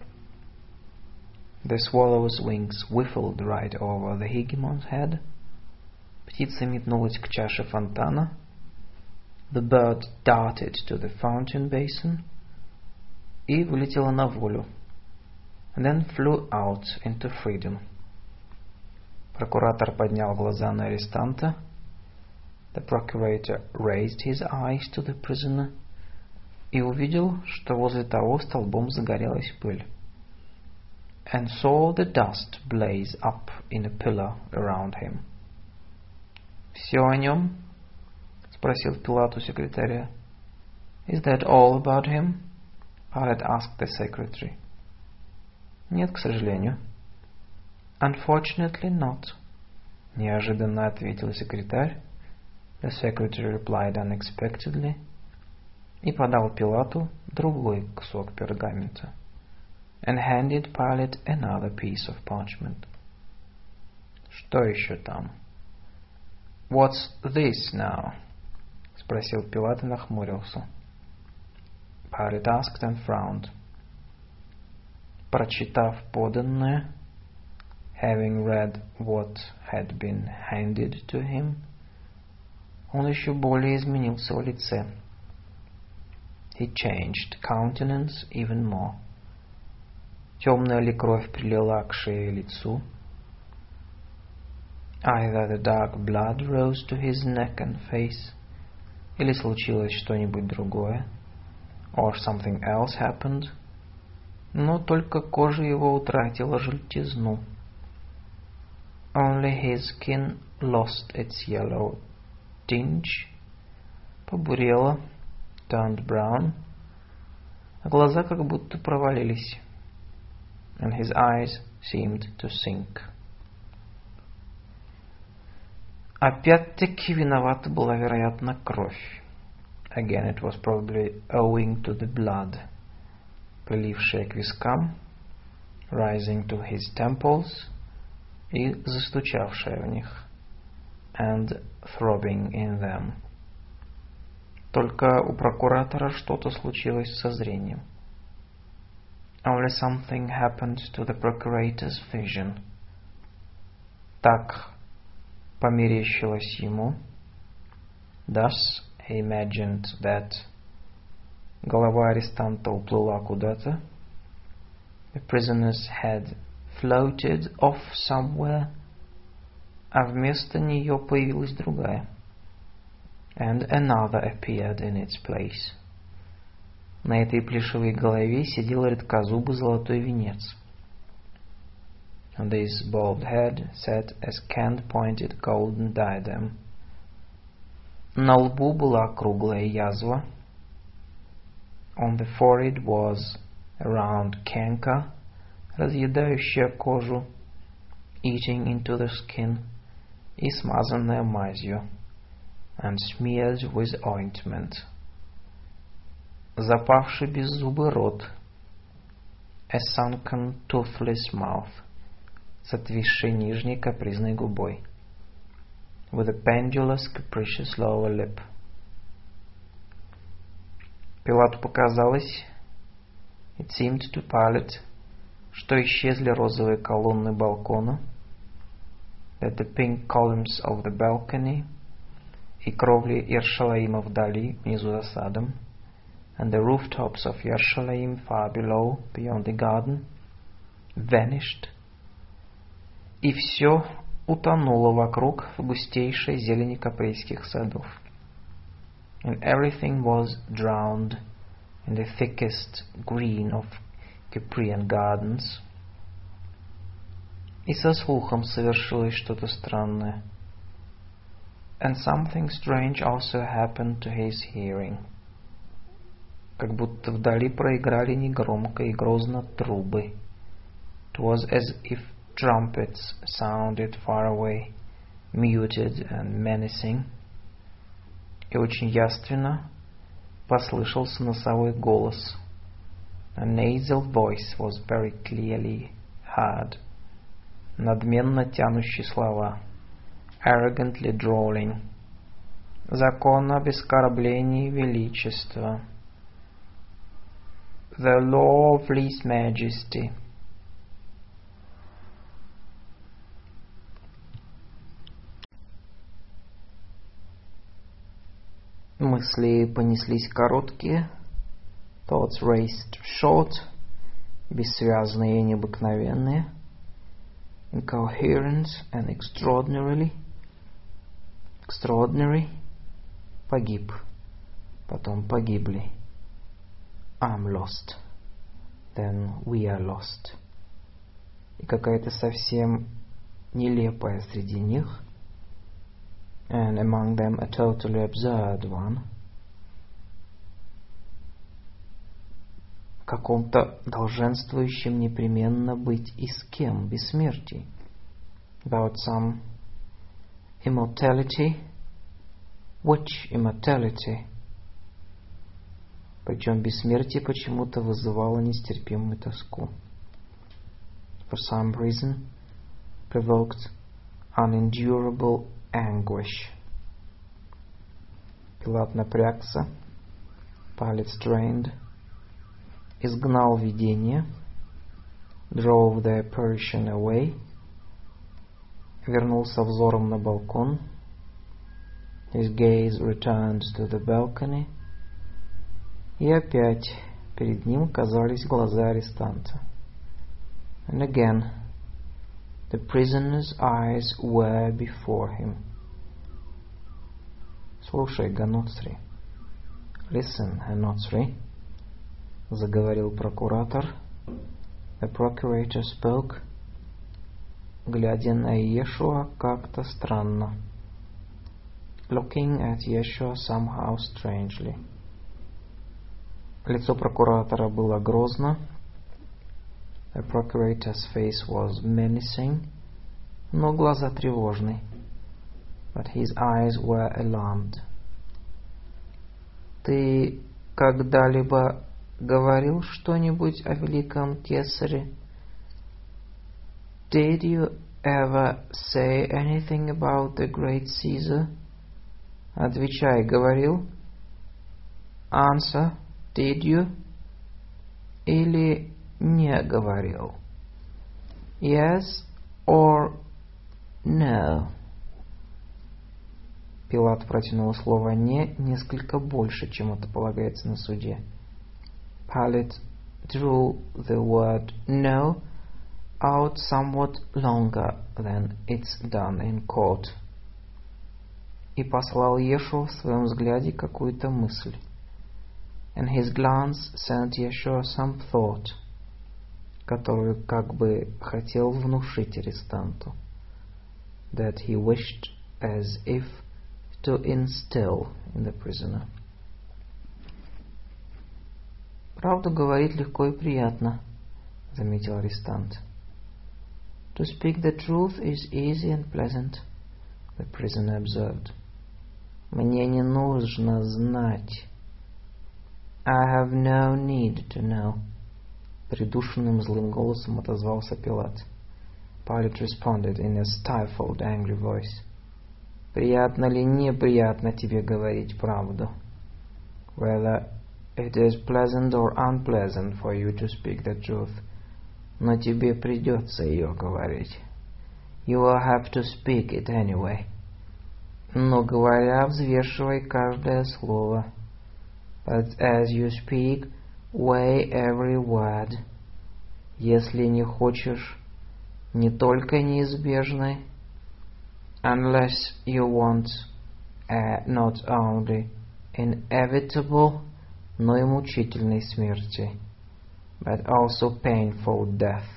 The swallow's wings whiffled right over the hegemon's head. Птица метнулась к чаше фонтана. The bird darted to the fountain basin и вылетела на волю. And then flew out into freedom. Прокуратор поднял глаза на арестанта. The procurator raised his eyes to the prisoner и увидел, что возле того столбом загорелась пыль. And saw the dust blaze up in a pillar around him. «Все о нем?» — спросил Пилат у секретаря. Is that all about him? Pilate asked the secretary. Нет, к сожалению. Unfortunately not. Неожиданно ответил секретарь. The secretary replied unexpectedly. И подал Пилату другой кусок пергамента. And handed Pilate another piece of parchment. Что еще там? What's this now? Спросил Пилат и нахмурился. Pilate asked and frowned. Прочитав поданное, having read what had been handed to him, он еще более изменился в лице. He changed countenance even more. Темная ли кровь прилила к шее и лицу? Either the dark blood rose to his neck and face, или случилось что-нибудь другое, or something else happened, но только кожа его утратила желтизну. Only his skin lost its yellow tinge, побурела, turned brown, а глаза как будто провалились, and his eyes seemed to sink. Опять-таки виновата была, вероятно, кровь. Again, it was probably owing to the blood, прилившая к вискам, rising to his temples, и застучавшая в них, and throbbing in them. Только у прокуратора что-то случилось со зрением. Only something happened to the procurator's vision. Так померещилось ему. Thus he imagined that голова арестанта уплыла куда-то. The prisoner's head floated off somewhere, а вместо нее появилась другая. And another appeared in its place. На этой плешивой голове сидел редкозубый золотой венец. On this bald head sat a scant-pointed golden diadem. На лбу была круглая язва. On the forehead was a round canker, разъедающая кожу eating into the skin и смазанная мазью, and smeared with ointment. Запавший беззубый рот, a sunken toothless mouth, с отвисшей нижней капризной губой, with a pendulous capricious lower lip. Пилату показалось, it seemed to Pilate, что исчезли розовые колонны балкона, that the pink columns of the balcony, и кровли Иерушалаима вдали, внизу за садом, and the rooftops of Yerushalayim far below, beyond the garden, vanished, и все утонуло вокруг в густейшей зелени капрейских садов. And everything was drowned in the thickest green of Cyprian gardens. И со слухом совершилось что-то странное. And something strange also happened to his hearing. Как будто вдали проиграли негромко и грозно трубы. It was as if trumpets sounded far away, muted and menacing. И очень явственно послышался носовой голос. A nasal voice was very clearly heard, надменно тянущий слова, arrogantly drawling. Закон об оскорблении величества. The law of least majesty. Мысли понеслись короткие, thoughts raced short, бессвязные и необыкновенные, incoherent and extraordinary, погиб, потом погибли, I'm lost, then we are lost, и какая-то совсем нелепая среди них, and among them a totally absurd one, в каком-то долженствующем непременно быть и с кем, бессмертии, about some immortality, which immortality, причем бессмертие почему-то вызывало нестерпимую тоску, for some reason provoked unendurable anguish. Пилат напрягся, Pilate strained, изгнал видение, drove the apparition away, вернулся взором на балкон, his gaze returned to the balcony, и опять перед ним казались глаза арестанта. And again the prisoner's eyes were before him. Слушай, Ганоцри. Listen, Ганоцри, заговорил прокуратор. The procurator spoke, глядя на Иешуа как-то странно. Looking at Yeshua somehow strangely. Лицо прокуратора было грозно. The procurator's face was menacing, но глаза тревожны. But his eyes were alarmed. Ты когда-либо говорил что-нибудь о великом кесаре? Did you ever say anything about the great Caesar? Отвечай, говорил? Answer, did you? Или не говорил? Yes or no? Пилат протянул слово «не» несколько больше, чем это полагается на суде. Pilate drew the word «no» out somewhat longer than it's done in court. И послал Иешуа в своем взгляде какую-то мысль. And his glance sent Yeshua some thought, которую как бы хотел внушить арестанту. That he wished as if to instill in the prisoner. Правду говорить легко и приятно, заметил арестант. To speak the truth is easy and pleasant, the prisoner observed. Мне не нужно знать. I have no need to know. Придушенным злым голосом отозвался Пилат. Pilate responded in a stifled, angry voice. Приятно ли неприятно тебе говорить правду? Whether it is pleasant or unpleasant for you to speak the truth, но тебе придется ее говорить. You will have to speak it anyway. Но говоря, взвешивай каждое слово. But as you speak, weigh every word. Если не хочешь не только неизбежной, unless you want not only inevitable, но и мучительной смерти, but also painful death.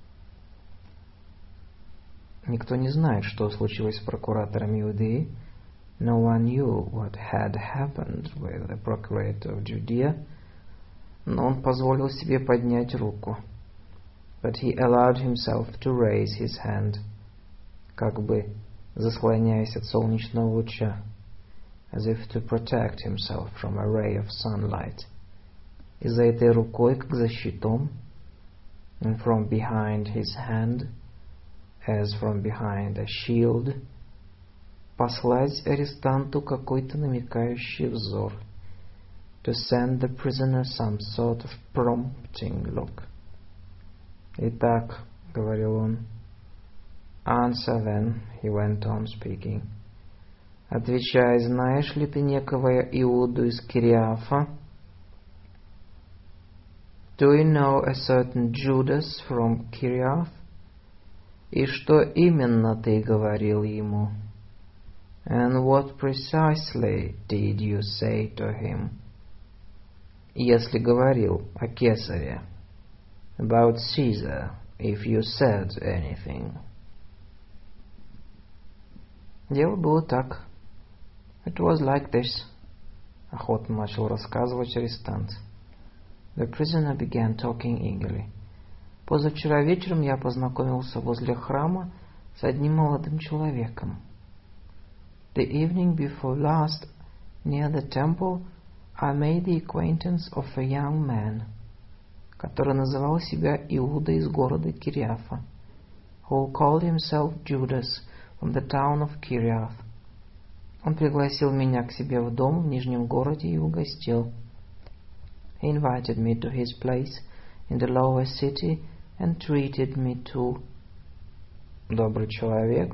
Никто не знает, что случилось с прокуратором Иудеи. No one knew what had happened with the procurator of Judea, но он позволил себе поднять руку. But he allowed himself to raise his hand, как бы заслоняясь от солнечного луча, as if to protect himself from a ray of sunlight. И за этой рукой, как за щитом, and from behind his hand, as from behind a shield, послать арестанту какой-то намекающий взор, to send the prisoner some sort of prompting look. Итак, говорил он, answer then, he went on speaking. Отвечай, знаешь ли ты некого Иуду из Кириафа? Do you know a certain Judas from Kiriath? И что именно ты говорил ему? And what precisely did you say to him? Если говорил о Кесаре. About Caesar, if you said anything. Дело было так. It was like this. Охотно начал рассказывать арестант. The prisoner began talking eagerly. Позавчера вечером я познакомился возле храма с одним молодым человеком. The evening before last, near the temple, I made the acquaintance of a young man, который называл себя Иуда из города Кириафа, who called himself Judas from the town of Kiriath. Он пригласил меня к себе в дом в Нижнем городе и угостил. He invited me to his place in the lower city and treated me too. Добрый человек.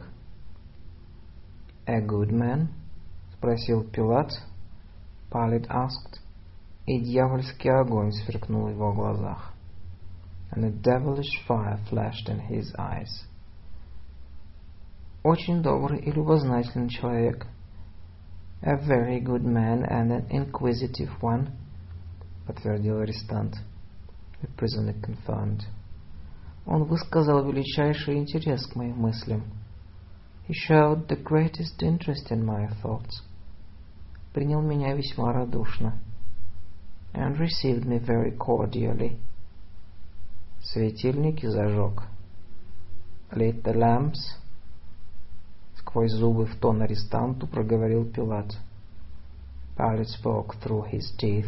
A good man? Спросил Пилат. Pilate asked. И дьявольский огонь сверкнул в его глазах. And a devilish fire flashed in his eyes. Очень добрый и любознательный человек. A very good man and an inquisitive one, подтвердил арестант. The prisoner confirmed. Он высказал величайший интерес к моим мыслям. He showed the greatest interest in my thoughts. Принял меня весьма радушно. And received me very cordially. Светильники зажег. Lit the lamps. Сквозь зубы в тон арестанту проговорил Пилат. Pilate spoke through his teeth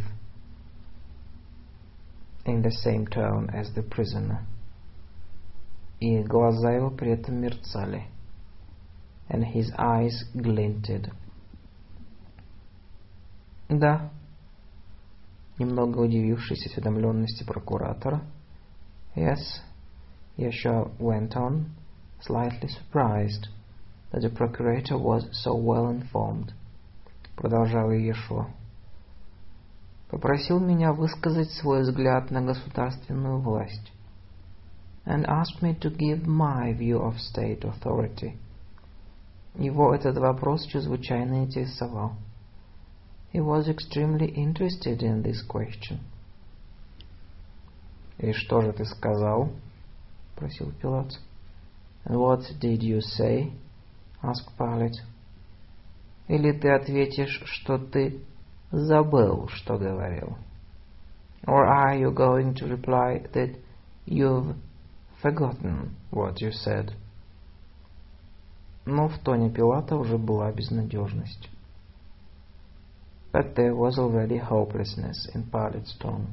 in the same tone as the prisoner. И глаза его при этом мерцали. And his eyes glinted. Да. Немного удивившись осведомленности прокуратора. Yes, Yeshua went on, slightly surprised that the procurator was so well informed. Продолжал Иешуа. Попросил меня высказать свой взгляд на государственную власть. And asked me to give my view of state authority. Его этот вопрос чрезвычайно интересовал. He was extremely interested in this question. И что же ты сказал? Спросил Пилат. And what did you say? Asked Pilate. Или ты ответишь, что ты забыл, что говорил? Or are you going to reply that you've forgotten what you said. Но в тоне Пилата уже была безнадежность. But there was already hopelessness in Pilate's tone.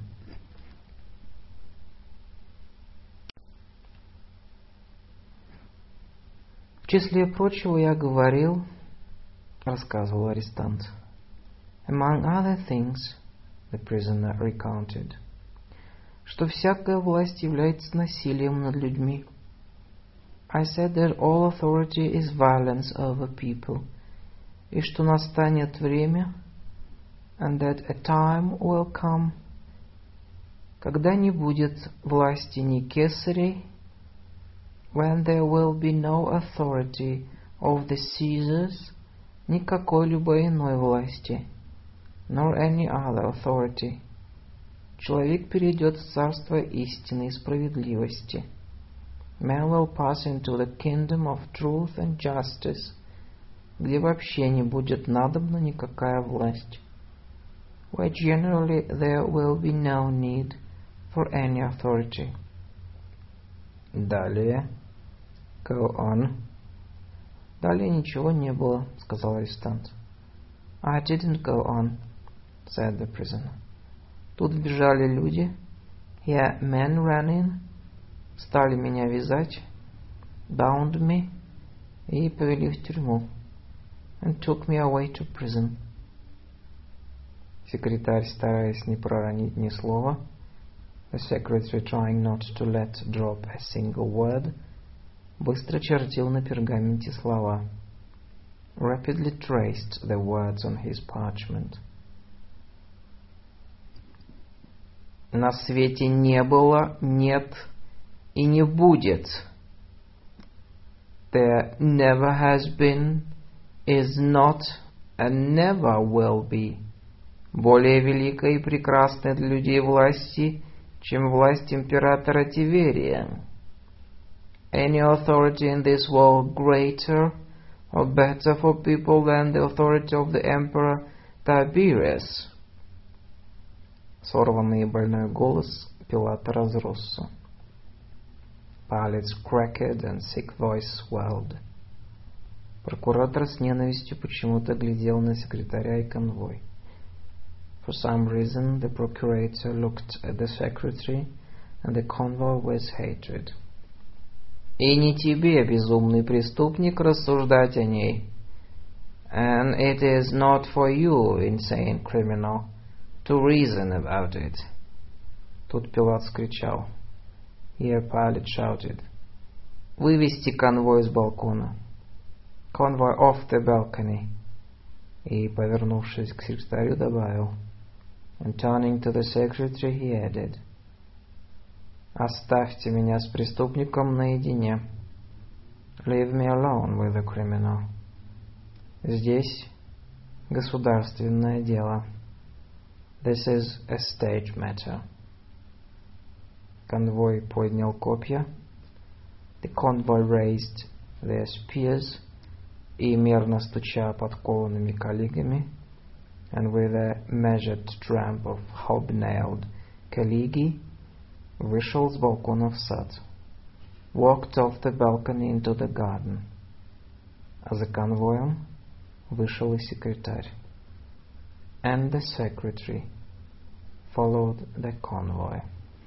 В числе прочего я говорил, рассказывал арестант. Among other things, the prisoner recounted, что всякая власть является насилием над людьми. I said that all authority is violence over people, и что настанет время, and that a time will come, когда не будет власти ни кесарей, when there will be no authority of the Caesars, ни какой-либо иной власти, nor any other authority. Человек перейдет в царство истины и справедливости. Man will pass into the kingdom of truth and justice, где вообще не будет надобна никакая власть. Where generally there will be no need for any authority. Далее. Go on. Далее ничего не было, сказал арестант. I didn't go on, said the prisoner. Тут бежали люди. Here men ran in, стали меня вязать, bound me, и повели в тюрьму, and took me away to prison. Секретарь, стараясь не проронить ни слова, the secretary trying not to let drop a single word, быстро чертил на пергаменте слова, rapidly traced the words on his parchment. На свете не было, нет и не будет. There never has been, is not, and never will be более великой и прекрасной для людей власти, чем власть императора Тиверия. Any authority in this world greater or better for people than the authority of the emperor Tiberius. Сорванный и больной голос Пилата разросся. Pilate's cracked and sick voice swelled. Прокуратор с ненавистью почему-то глядел на секретаря и конвой. For some reason, the procurator looked at the secretary and the convoy with hatred. И не тебе, безумный преступник, рассуждать о ней. And it is not for you, insane criminal, to reason about it. Тут Пилат вскричал. Here Pilate shouted. Вывести конвой с балкона. Convoy off the balcony. И, повернувшись к секретарю, добавил. And turning to the secretary, he added. Оставьте меня с преступником наедине. Leave me alone with the criminal. Здесь государственное дело. This is a state matter. Конвой поднял копья. The convoy raised their spears, и мерно стуча подкованными коллегами, and with a measured tramp of hobnailed colleague, вышел с балкона в сад. Walked off the balcony into the garden. А за конвоем вышел и секретарь. And the secretary followed the convoy.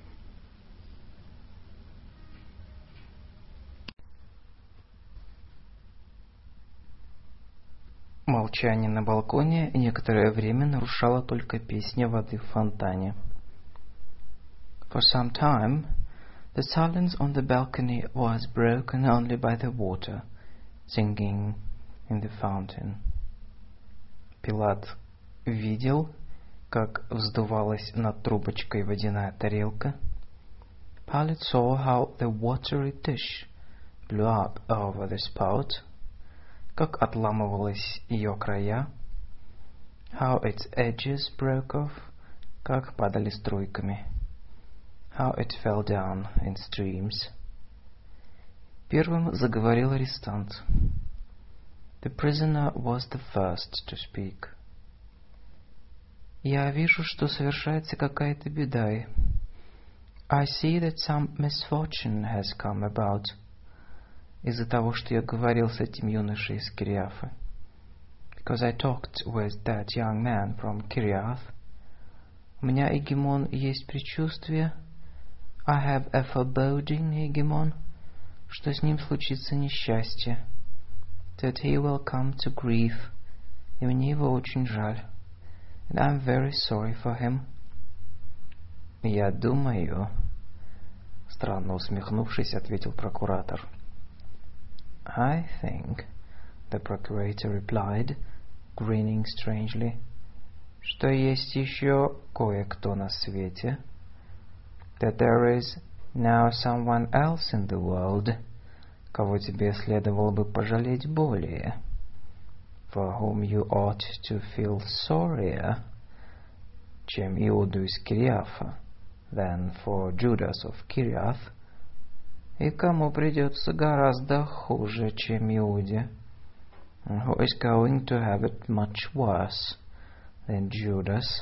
Молчание на балконе некоторое время нарушала только песня воды в фонтане. For some time, the silence on the balcony was broken only by the water singing in the fountain. Пилат видел, как вздувалась над трубочкой водяная тарелка. Pilate saw how the watery dish blew up over the spout, как отламывалась ее края, how its edges broke off, как падали струйками, how it fell down in streams. Первым заговорил арестант. The prisoner was the first to speak. Я вижу, что совершается какая-то беда. I see that some misfortune has come about. Из-за того, что я говорил с этим юношей из Кириафа. Because I talked with that young man from Kiriath. У меня, Егемон, есть предчувствие. I have a foreboding, Егемон, что с ним случится несчастье. That he will come to grief. И мне его очень жаль. And I'm very sorry for him. Я думаю, странно усмехнувшись, ответил прокуратор. I think, the procurator replied, grinning strangely, что есть еще кое-кто на свете. That there is now someone else in the world, кого тебе следовало бы пожалеть более. For whom you ought to feel sorrier, чем Иуду из Кириафа, than for Judas of Kiriath, и кому придется гораздо хуже, чем Иуде, who is going to have it much worse than Judas.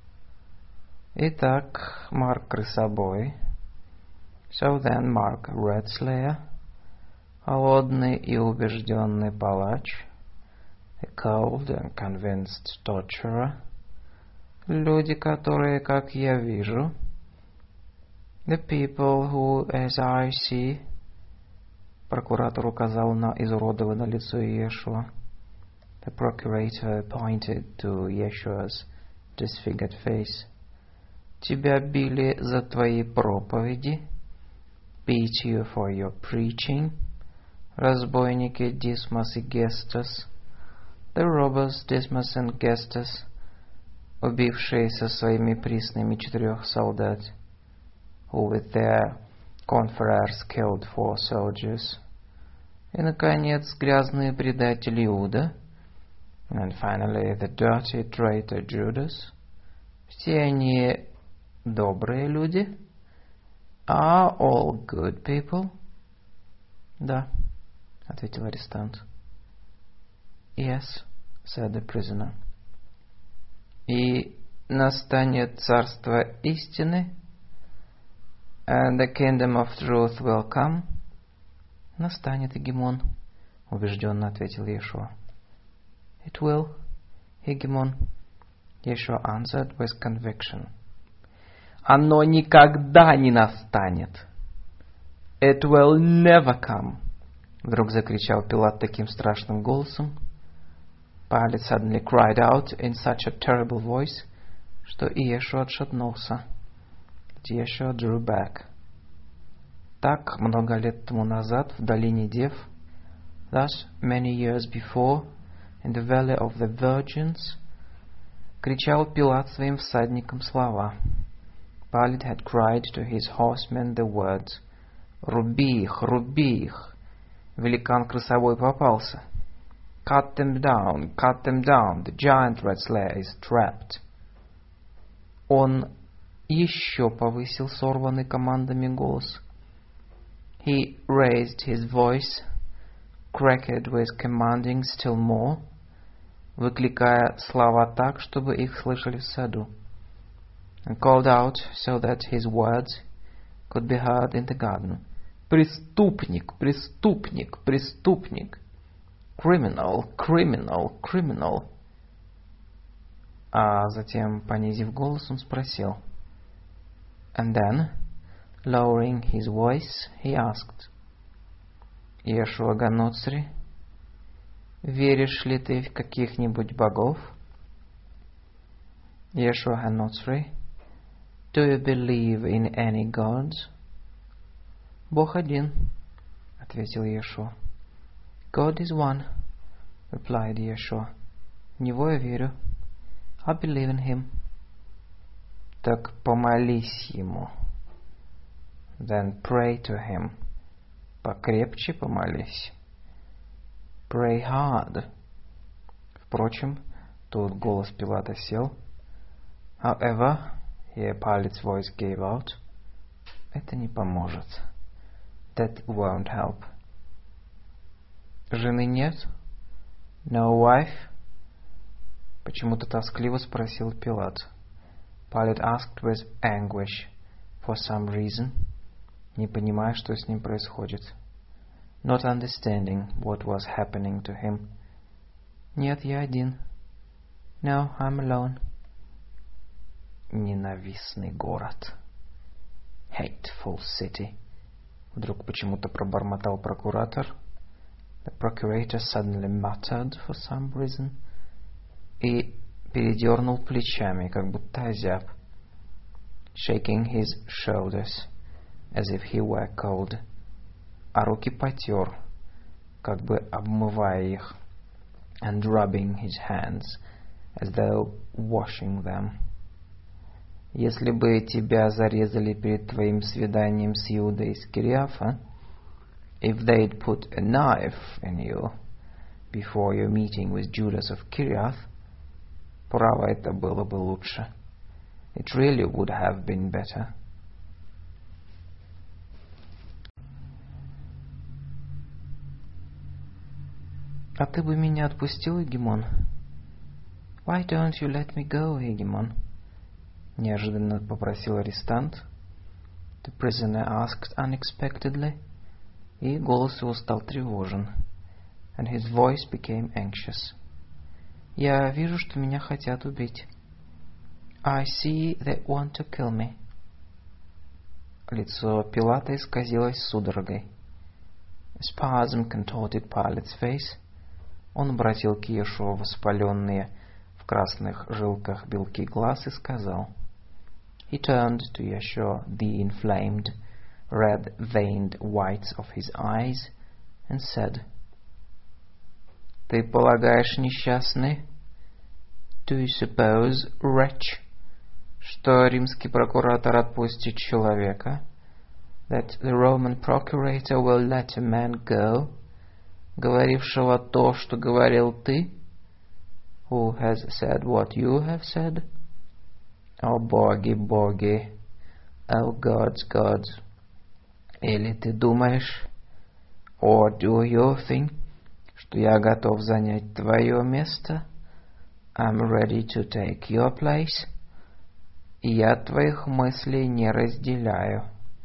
Итак, Марк Крысобой, so then Mark Redslayer, холодный и убежденный палач, a cold and convinced torturer, люди, которые, как я вижу, the people who, as I see, прокуратор указал на изуродованное лицо Иешуа. The procurator pointed to Yeshua's disfigured face. Тебя били за твои проповеди, beat you for your preaching, разбойники Дисмос и Гестас, the robbers Dismas and Gestas, убившие со своими приснами 4 солдат, who with their confreres killed 4 soldiers, и, наконец, грязные предатели Иуда, and finally the dirty traitor Judas. Все они добрые люди? Are all good people? Да, ответил арестант. Yes, said the prisoner. И настанет царство истины? And the kingdom of truth will come? Настанет, Егемон, убежденно ответил Иешуа. It will, Егемон, Yeshua answered with conviction. Оно никогда не настанет. It will never come. Вдруг закричал Пилат таким страшным голосом. Pilate suddenly cried out in such a terrible voice, что Иешуа отшатнулся. Yeshua drew back. Так много лет тому назад в долине Дев, thus many years before, in the valley of the virgins, кричал Пилат своим всадникам слова. Pilate had cried to his horsemen the words, «Руби их, руби их!» Великан крысовой попался. «Cut them down, the giant red slayer is trapped!» Он еще повысил сорванный командами голос. He raised his voice, cracked with commanding still more, выкликая слова так, чтобы их слышали в саду, and called out so that his words could be heard in the garden. Преступник, преступник, преступник. Criminal, criminal, criminal. А затем, понизив голос, он спросил. And then, lowering his voice, he asked, Иешуа Ганоцри, веришь ли ты в каких-нибудь богов? Иешуа Ганоцри, do you believe in any gods? Бог один, ответил Иешуа. God is one, replied Yeshua. В него я верю. I believe in him. Так помолись ему. Then pray to him. Покрепче помолись. Pray hard. Впрочем, тут голос Пилата сел. However, here Pilate's voice gave out. Это не поможет. That won't help. Жены нет? No wife? Почему-то тоскливо спросил Пилат. Pilate asked with anguish. for some reason, не понимая, что с ним происходит. Not understanding what was happening to him. Нет, я один. No, I'm alone. Ненавистный город. Hateful city. Вдруг почему-то пробормотал прокуратор. The procurator suddenly muttered for some reason. И передернул плечами, как будто озяб. Shaking his shoulders, as if he were cold. А руки потер, как бы обмывая их. And rubbing his hands, as though washing them. Если бы тебя зарезали перед твоим свиданием с Иудой из Кириафа, if they'd put a knife in you before your meeting with Judas of Kiriath, право, это было бы лучше. It really would have been better. А ты бы меня отпустил, Егемон? Why don't you let me go, Егемон? Неожиданно попросил арестант. The prisoner asked unexpectedly. И голос его стал тревожен. And his voice became anxious. Я вижу, что меня хотят убить. I see they want to kill me. Лицо Пилата исказилось судорогой. A spasm contorted Pilate's face. Он обратил к Иешуа воспаленные в красных жилках белки глаз и сказал. He turned to Yeshua the inflamed, red-veined whites of his eyes and said, Ты полагаешь, несчастный? Do you suppose, wretch, что римский прокуратор отпустит человека? That the Roman procurator will let a man go, говорившего то, что говорил ты? Who has said what you have said? О боги, боги, о gods, gods. Или ты думаешь, or do you think, что я готов занять твое место? I'm ready to take your place. И я твоих мыслей не разделяю.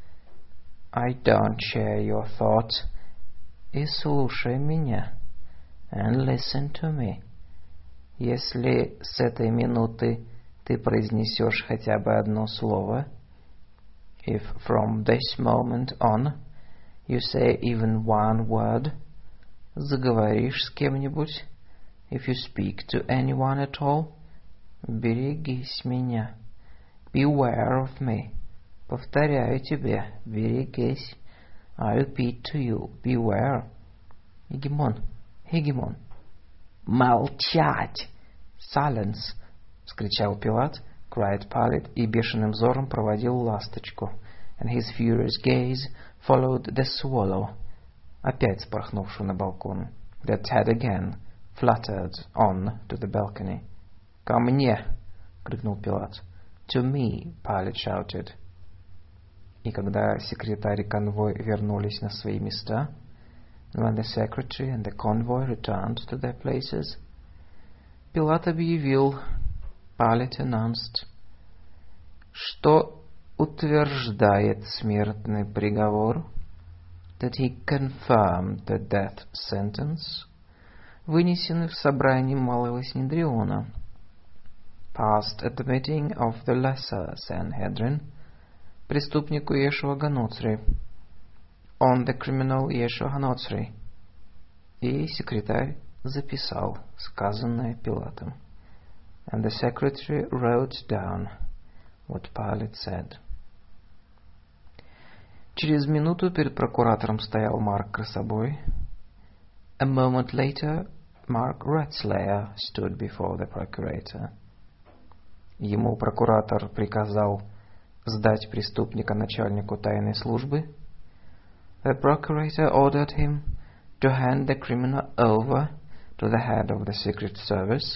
I don't share your thoughts. И слушай меня. And listen to me. Если с этой минуты ты произнесешь хотя бы одно слово, if from this moment on you say even one word, заговоришь с кем-нибудь, if you speak to anyone at all, берегись меня. Beware of me. Повторяю тебе, берегись. I repeat to you, beware. Егемон, Егемон. Молчать! Silence! — вскричал Пилат, cried Pilate, и бешеным взором проводил ласточку. And his furious gaze followed the swallow, опять спорхнувшую на балкон, that had again fluttered on to the balcony. «Ко мне!» — крикнул Пилат. «To me!» — Pilate shouted. И когда секретарь и конвой вернулись на свои места, when the secretary and the convoy returned to their places, Пилат объявил, Pilate announced, что утверждает смертный приговор, that he confirmed the death sentence, вынесенный в собрании Малого Синедриона, passed at the meeting of the Lesser Sanhedrin, преступнику Иешуа Ганоцри, on the criminal Иешуа Ганоцри. И секретарь записал сказанное Пилатом. And the secretary wrote down what Pilate said. Через минуту перед прокуратором стоял Марк Красобой. A moment later, Mark Ratslayer stood before the procurator. Ему прокуратор приказал сдать преступника начальнику тайной службы. The procurator ordered him to hand the criminal over to the head of the secret service.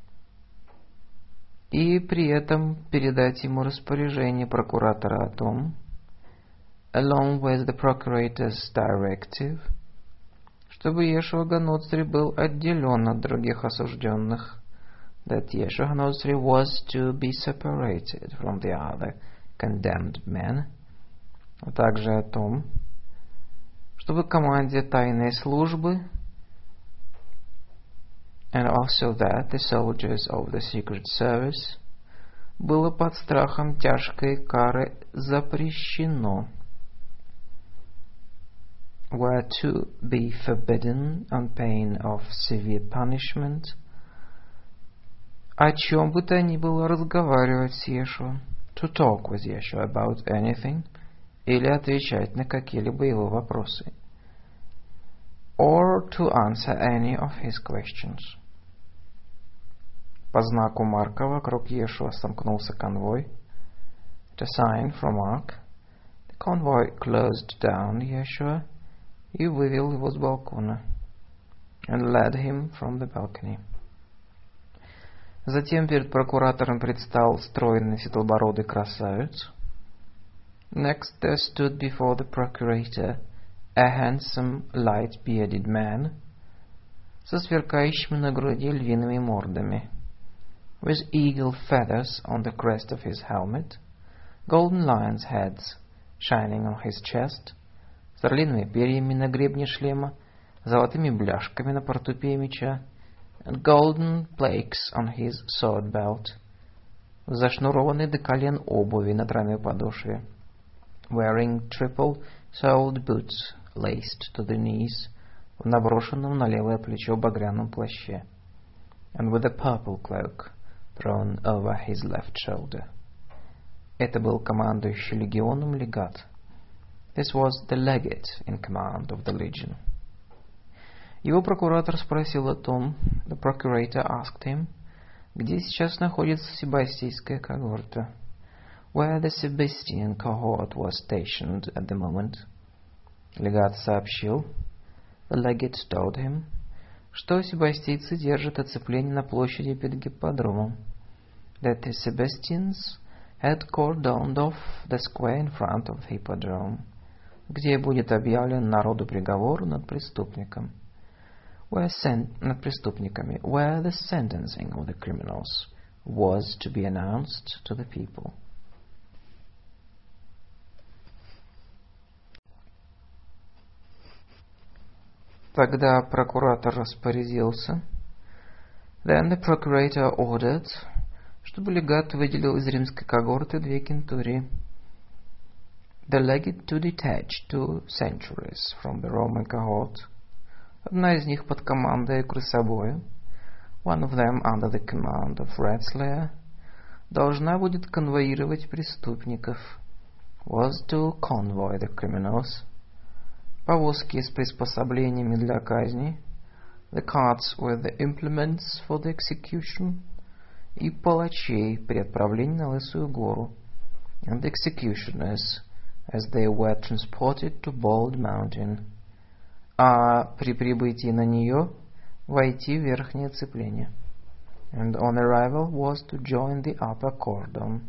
И при этом передать ему распоряжение прокуратора о том, along with the procurator's directive, чтобы Иешуа Ганоцри был отделен от других осужденных, that Иешуа Ганоцри was to be separated from the other condemned men, а также о том, чтобы команде тайной службы, and also that the soldiers of the secret service, было под страхом тяжкой кары запрещено, were to be forbidden on pain of severe punishment, о чем бы то ни было разговаривать с Иешуа, to talk with Yeshua about anything, или отвечать на какие-либо его вопросы, or to answer any of his questions. По знаку Марка вокруг Иешуа сомкнулся конвой. The sign from Mark, the convoy closed down Yeshua и вывел его с балкона, and led him from the balcony. Затем перед прокуратором предстал стройный седобородый красавец. Next there stood before the procurator a handsome light-bearded man со сверкающими на груди львиными мордами, with eagle feathers on the crest of his helmet, golden lions' heads shining on his chest, с орлиными перьями на гребне шлема, золотыми бляшками на портупее меча, and golden plaques on his sword belt, в зашнурованной до колен обуви на тройной подошве, wearing triple-soled boots laced to the knees, в наброшенном на левое плечо багряном плаще, and with a purple cloak thrown over his left shoulder. Это был командующий легионом легат. This was the legate in command of the legion. Его прокуратор спросил о том, the procurator asked him, где сейчас находится Себастийская когорта, where the Sebastian cohort was stationed at the moment. Легат сообщил, the legate told him, что себастийцы держат оцепление на площади перед гипподромом, that the Sebastians had cordoned off the square in front of the hippodrome, где будет объявлен народу приговор над преступником, над преступниками, where the sentencing of the criminals was to be announced to the people. Тогда прокуратор распорядился, then the procurator ordered, чтобы легат выделил из римской когорты 2 кентурии, the legate to detach 2 centuries from the Roman cohort, одна из них под командой крысобоя, one of them under the command of Wrestler, должна будет конвоировать преступников, was to convoy the criminals, повозки с приспособлениями для казни, the carts with the implements for the execution, и палачей при отправлении на Лысую гору, and the executioners as they were transported to Bald Mountain, а при прибытии на нее войти в верхнее оцепление, and on arrival was to join the upper cordon.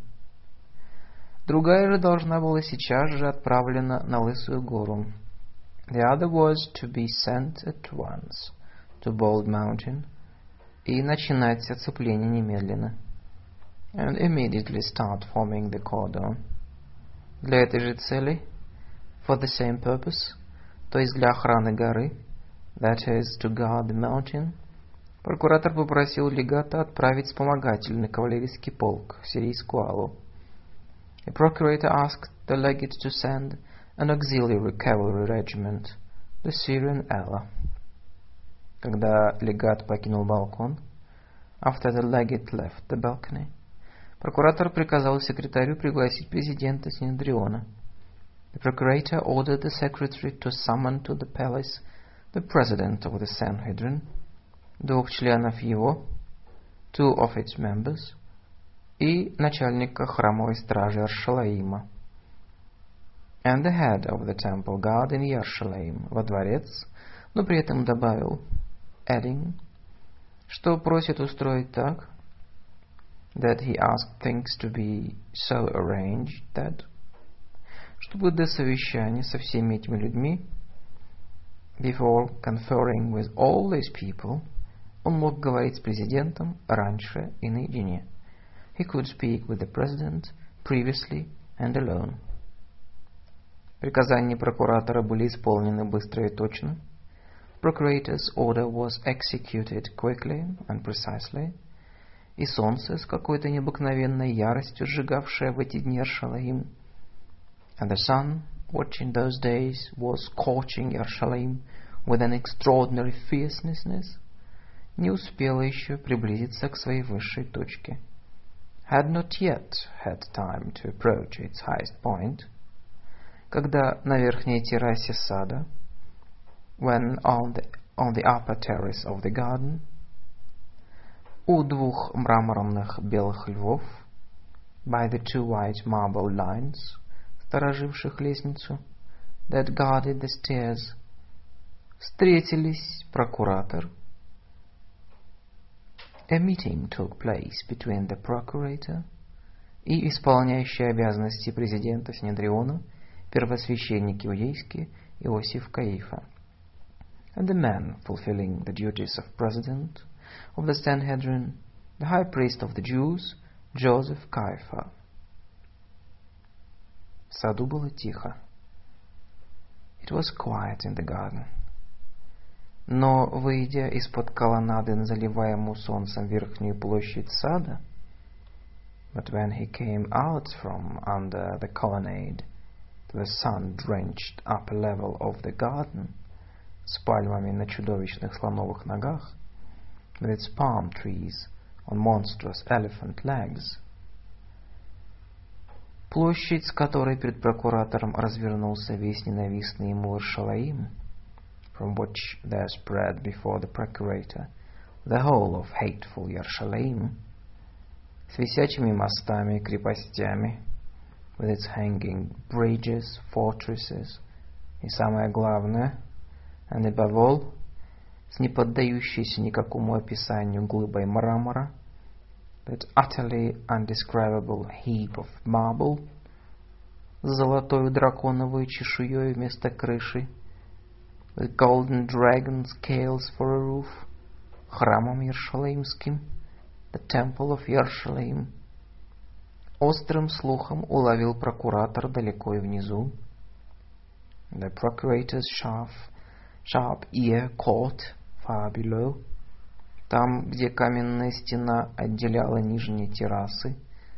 Другая же должна была сейчас же отправлена на Лысую гору. The other was to be sent at once to Bald Mountain и начинать оцепление немедленно, and immediately start forming the cordon. Для этой же цели, for the same purpose, то есть для охраны горы, that is, to guard the mountain, прокуратор попросил легата отправить вспомогательный кавалерийский полк в сирийскую Аллу. The procurator asked the legate to send an auxiliary cavalry regiment, the Syrian Ala. Когда легат покинул балкон, after the legate left the balcony, прокуратор приказал секретарю пригласить президента Синедриона. The procurator ordered the secretary to summon to the palace the president of the Sanhedrin, 2 членов его, 2 of its members, и начальника храмовой стражи Аршалаима, and the head of the temple guard in Yerushalayim, во дворец, но при этом добавил, adding, что просит устроить так, that he asked things to be so arranged that, чтобы до совещания со всеми этими людьми, before conferring with all these people, он мог говорить с президентом раньше и наедине. He could speak with the president previously and alone. Приказания прокуратора были исполнены быстро и точно. Procurator's order was executed quickly and precisely. И солнце с какой-то необыкновенной яростью, сжигавшее в эти дни Иерусалим. And the sun, which in those days was scorching Jerusalem with an extraordinary fierceness, не успело еще приблизиться к своей высшей точке. Had not yet had time to approach its highest point. Когда на верхней террасе сада, when on the upper terrace of the garden, у двух мраморных белых львов, by the two white marble lions, стороживших лестницу, that guarded the stairs, встретились прокуратор. A meeting took place between the procurator и исполняющий обязанности президента Синедриона, первосвященник иудейский Иосиф Каифа, and the man fulfilling the duties of president of the Sanhedrin, the high priest of the Jews, Joseph Caiapha. В саду было тихо. It was quiet in the garden. Но, выйдя из-под колоннады на заливаемую солнцем верхнюю площадь сада, but when he came out from under the colonnade to the sun-drenched upper level of the garden, с пальмами на чудовищных слоновых ногах, with its palm trees on monstrous elephant legs, площадь, с которой перед прокуратором развернулся весь ненавистный ему Иерусалим, from which there spread before the procurator the whole of hateful Jerusalem, с висячими мостами, крепостями, with its hanging bridges, fortresses, и самое главное, and above all, с неподдающейся никакому описанию глыбой мрамора, that utterly undescribable heap of marble, с золотою драконовой чешуей вместо крыши, with golden dragon scales for a roof, храмом Иерусалимским, the temple of Jerusalem. Острым слухом уловил прокуратор далеко и внизу. The procurator's sharp ear caught far below, там, где каменная стена отделяла нижние террасы,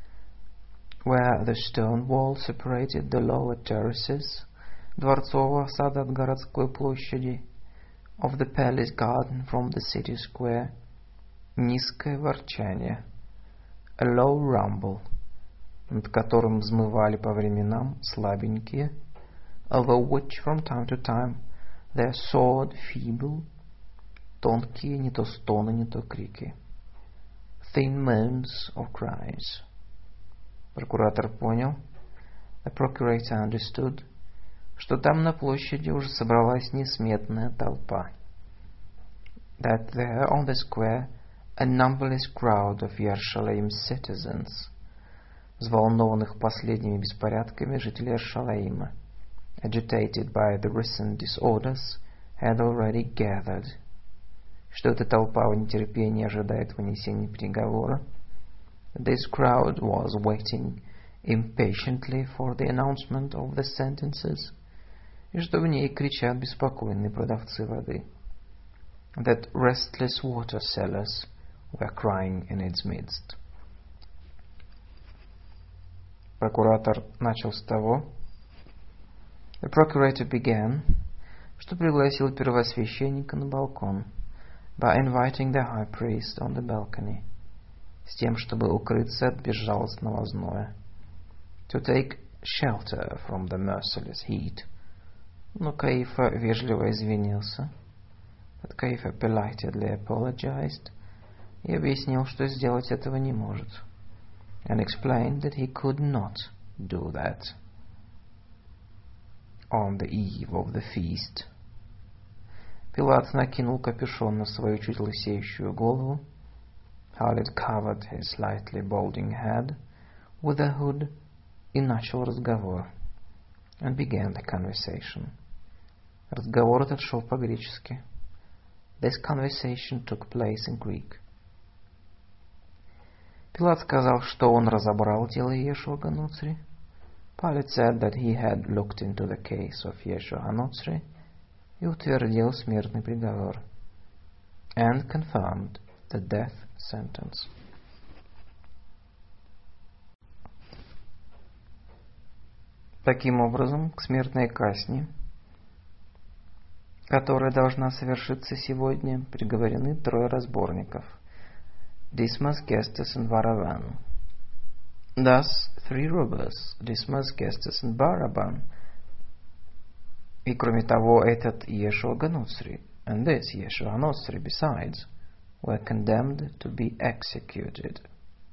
where the stone wall separated the lower terraces, дворцового сада от городской площади, of the palace garden from the city square, низкое ворчание, a low rumble, над которым взмывали по временам слабенькие, over which from time to time there soared feeble, тонкие не то стоны, не то крики, thin moans or cries. Прокуратор понял, the procurator understood, что там на площади уже собралась несметная толпа, that there on the square a numberless crowd of Jerusalem's citizens, взволнованных последними беспорядками жителей Иерусалима, agitated by the recent disorders, had already gathered, что эта толпа в нетерпении ожидает вынесения приговора. This crowd was waiting impatiently for the announcement of the sentences, и что в ней кричат беспокойные продавцы воды. That restless water sellers were crying in its midst. Прокуратор начал с того, the procurator began, что пригласил первосвященника на балкон, by inviting the high priest on the balcony, с тем, чтобы укрыться от безжалостного зноя, to take shelter from the merciless heat. Но Каифа вежливо извинился, but Каифа politely apologized, и объяснил, что сделать этого не может, and explained that he could not do that on the eve of the feast. Пилат накинул капюшон на свою чуть лысеющую голову, Pilate covered his slightly balding head with a hood, и начал разговор, and began the conversation. Разговор этот шел по-гречески. This conversation took place in Greek. Пилат сказал, что он разобрал тело Иешуа Гануцри. Pilate said that he had looked into the case of Yeshua HaNotzri и утвердил смертный приговор, and confirmed the death sentence. Таким образом, к смертной казни, которая должна совершиться сегодня, приговорены трое разборников: Dismas, Gestas and Baraban. Thus, three robbers, Dismas, Gestas and Baraban. И кроме того, этот Yeshua HaNotzri, and this Yeshua HaNotzri besides, were condemned to be executed.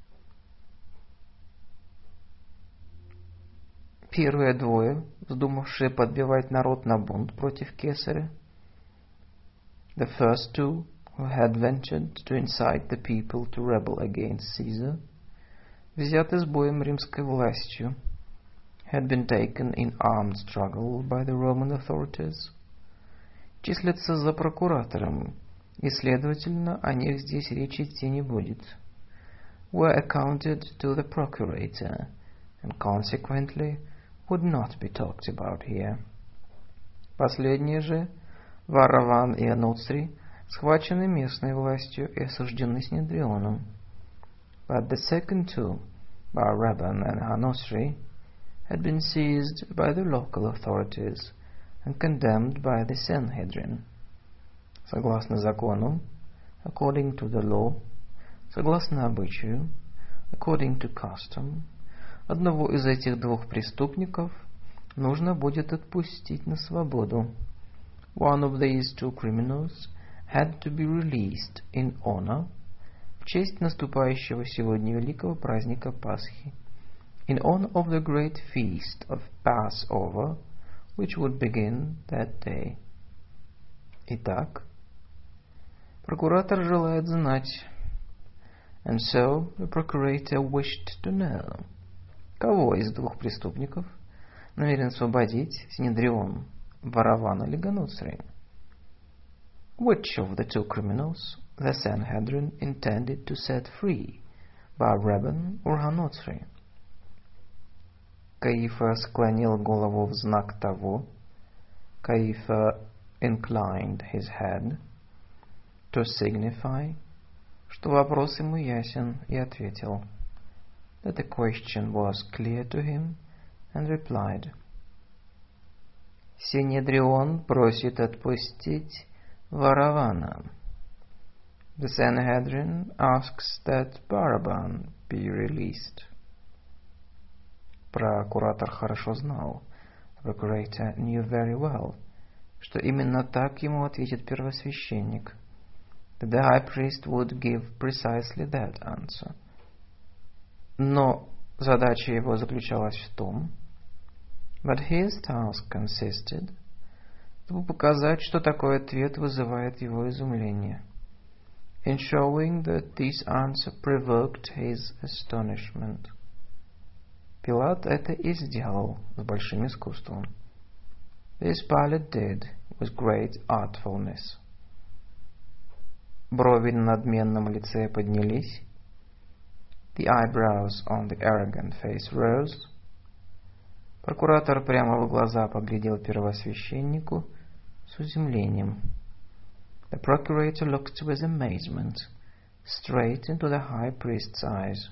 Первые двое, вздумавшие подбивать народ на бунт против Кесаря, the first two, who had ventured to incite the people to rebel against Caesar, взяты с боем римской властью, had been taken in armed struggle by the Roman authorities, числятся за прокуратором, и, следовательно, о них здесь речи идти не будет, were accounted to the procurator, and consequently would not be talked about here. Последние же, Вараван и Аноцри, схвачены местной властью и осуждены Синедрионом. But the second two, Baraban and Hanosri, had been seized by the local authorities and condemned by the Sanhedrin. Согласно закону, according to the law, согласно обычаю, according to custom, одного из этих двух преступников нужно будет отпустить на свободу. One of these two criminals had to be released in honor в честь наступающего сегодня великого праздника Пасхи, in honor of the great feast of Passover, which would begin that day. Итак, прокуратор желает знать, and so the procurator wished to know, кого из двух преступников намерен освободить Синедрион, Вараван или Ганоцри? Which of the two criminals the Sanhedrin intended to set free, Baraban or Haноцри? Каифа склонил голову в знак того, Каифа inclined his head, to signify, что вопрос ему ясен, и ответил, that the question was clear to him, and replied, Синедрион просит отпустить Варавана. The Sanhedrin asks that Baraban be released. Прокуратор хорошо знал, the procurator knew very well, что именно так ему ответит первосвященник, that the high priest would give precisely that answer. Но задача его заключалась в том, but his task consisted, чтобы показать, что такой ответ вызывает его изумление, in showing that this answer provoked his astonishment. Пилат это и сделал с большим искусством. This Pilate did with great artfulness. Брови на надменном лице поднялись, the eyebrows on the arrogant face rose. Прокуратор прямо в глаза поглядел первосвященнику с изумлением. The procurator looked with amazement straight into the high priest's eyes.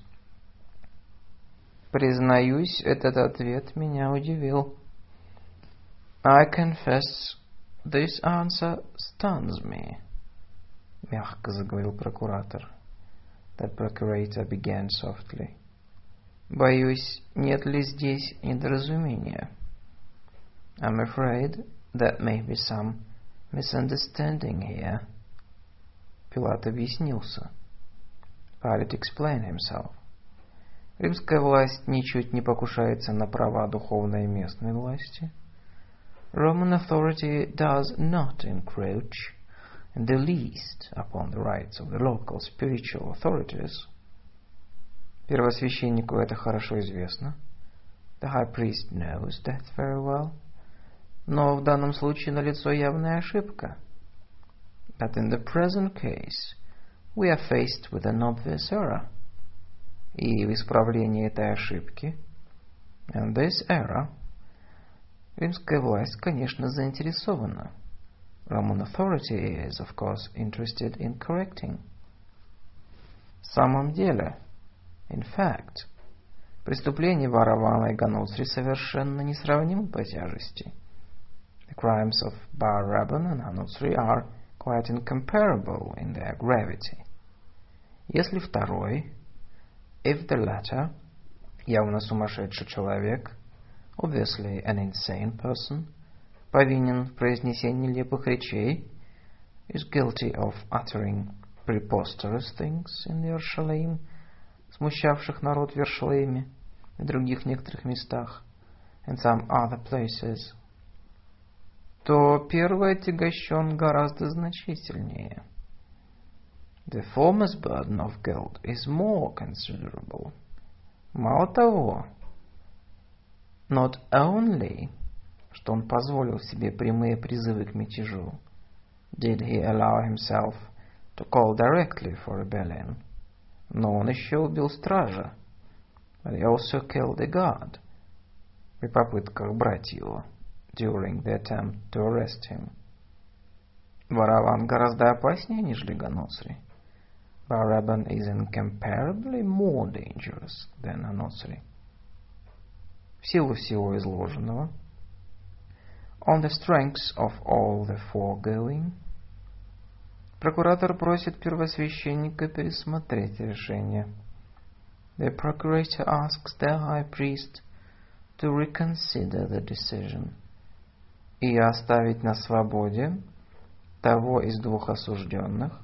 Признаюсь, этот ответ меня удивил. I confess, this answer stuns me. Мягко заговорил прокуратор. That procurator began softly. Боюсь, нет ли здесь недоразумения? I'm afraid there may be some misunderstanding here. Пилат объяснился. Pilate explained himself. Римская власть ничуть не покушается на права духовной и местной власти. Roman authority does not encroach in the least upon the rights of the local spiritual authorities. Первосвященнику это хорошо известно. The high priest knows that very well. Но в данном случае налицо явная ошибка. But in the present case, we are faced with an obvious error. И в исправлении этой ошибки, In this era, римская власть, конечно, заинтересована. Roman authority is, of course, interested in correcting. В самом деле, in fact, преступления Варавана и Ганотри совершенно несравнимы по тяжести. The crimes of Baraban and Ganotri are quite incomparable in their gravity. Если второй, if the latter, явно сумасшедший человек, obviously an insane person, повинен в произнесении нелепых речей, is guilty of uttering preposterous things in the Yerushalayim, смущавших народ в Yerushalayim и других некоторых местах, and some other places, то первый отягощен гораздо значительнее. The former's burden of guilt is more considerable. Мало того, not only, что он позволил себе прямые призывы к мятежу, did he allow himself to call directly for rebellion, но он еще убил стража, but he also killed a guard, при попытках брать его, during the attempt to arrest him. Вараван гораздо опаснее, нежели Ганотри. Baraban is incomparably more dangerous than Ganotri. В силу всего изложенного, on the strengths of all the foregoing, прокуратор просит первосвященника пересмотреть решение. The procurator asks the high priest to reconsider the decision и оставить на свободе того из двух осужденных,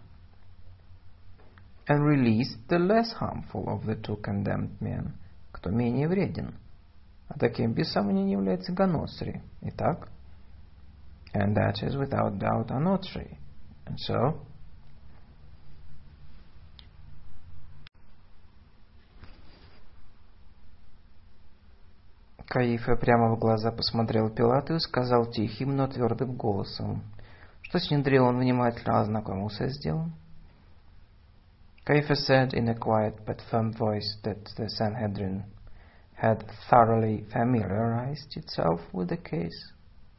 and release the less harmful of the two condemned men, кто менее вреден, а таким без сомнения является Ганотри. Итак, and that is without doubt Ganotri. And so, Каифа прямо в глаза посмотрел Пилату и сказал тихим, но твердым голосом, что Синедрион внимательно ознакомился с делом. Caiaphas said in a quiet but firm voice that the Sanhedrin had thoroughly familiarized itself with the case.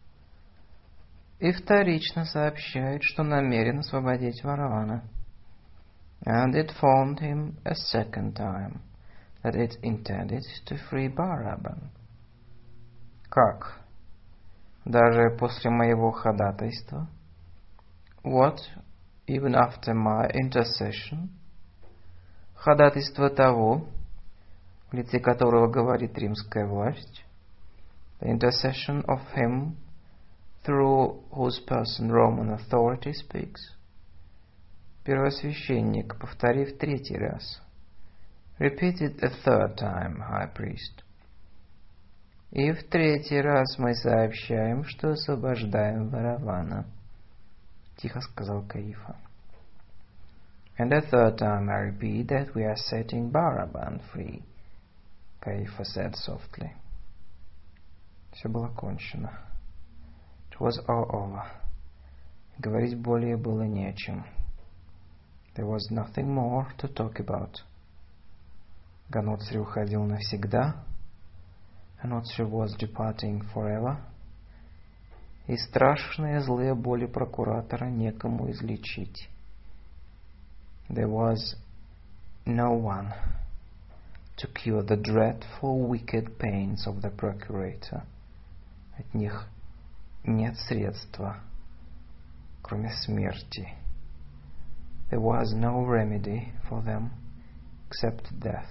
И вторично сообщает, что намерен освободить Варавана. And it informed him a second time that it intended to free Baraban. Как? Даже после моего ходатайства? What? Even after my intercession? Ходатайство того, в лице которого говорит римская власть, the intercession of him through whose person Roman authority speaks. Первосвященник, повторив третий раз, repeated a third time, high priest. И в третий раз мы сообщаем, что освобождаем Варавана, тихо сказал Каифа. And the third time I repeat that we are setting Baraban free, Каифа said softly. Все было кончено. It was all over. Говорить более было не о чем. There was nothing more to talk about. Ганотри уходил навсегда. Ganotri was departing forever. И страшные злые боли прокуратора некому излечить. There was no one to cure the dreadful wicked pains of the procurator. От них нет средства, кроме смерти. There was no remedy for them except death.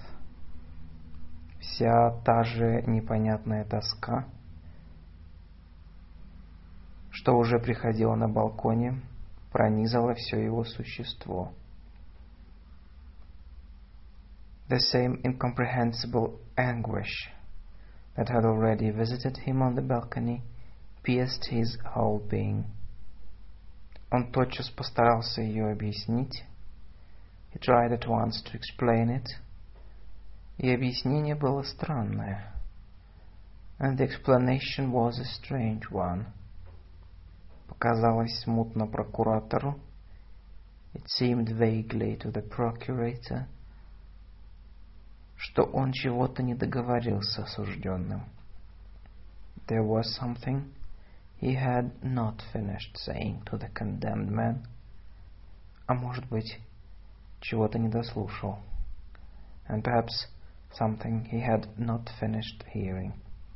Вся та же непонятная тоска, что уже приходила на балконе, пронизала все его существо. The same incomprehensible anguish that had already visited him on the balcony pierced his whole being. Он тотчас постарался ее объяснить. He tried at once to explain it. И объяснение было странное. And the explanation was a strange one. Показалось смутно прокуратору. It seemed vaguely to the procurator, что он чего-то не договорил с осужденным. There was something he had not finished saying to the condemned man. А может быть, чего-то не дослушал. And perhaps something he had not finished hearing.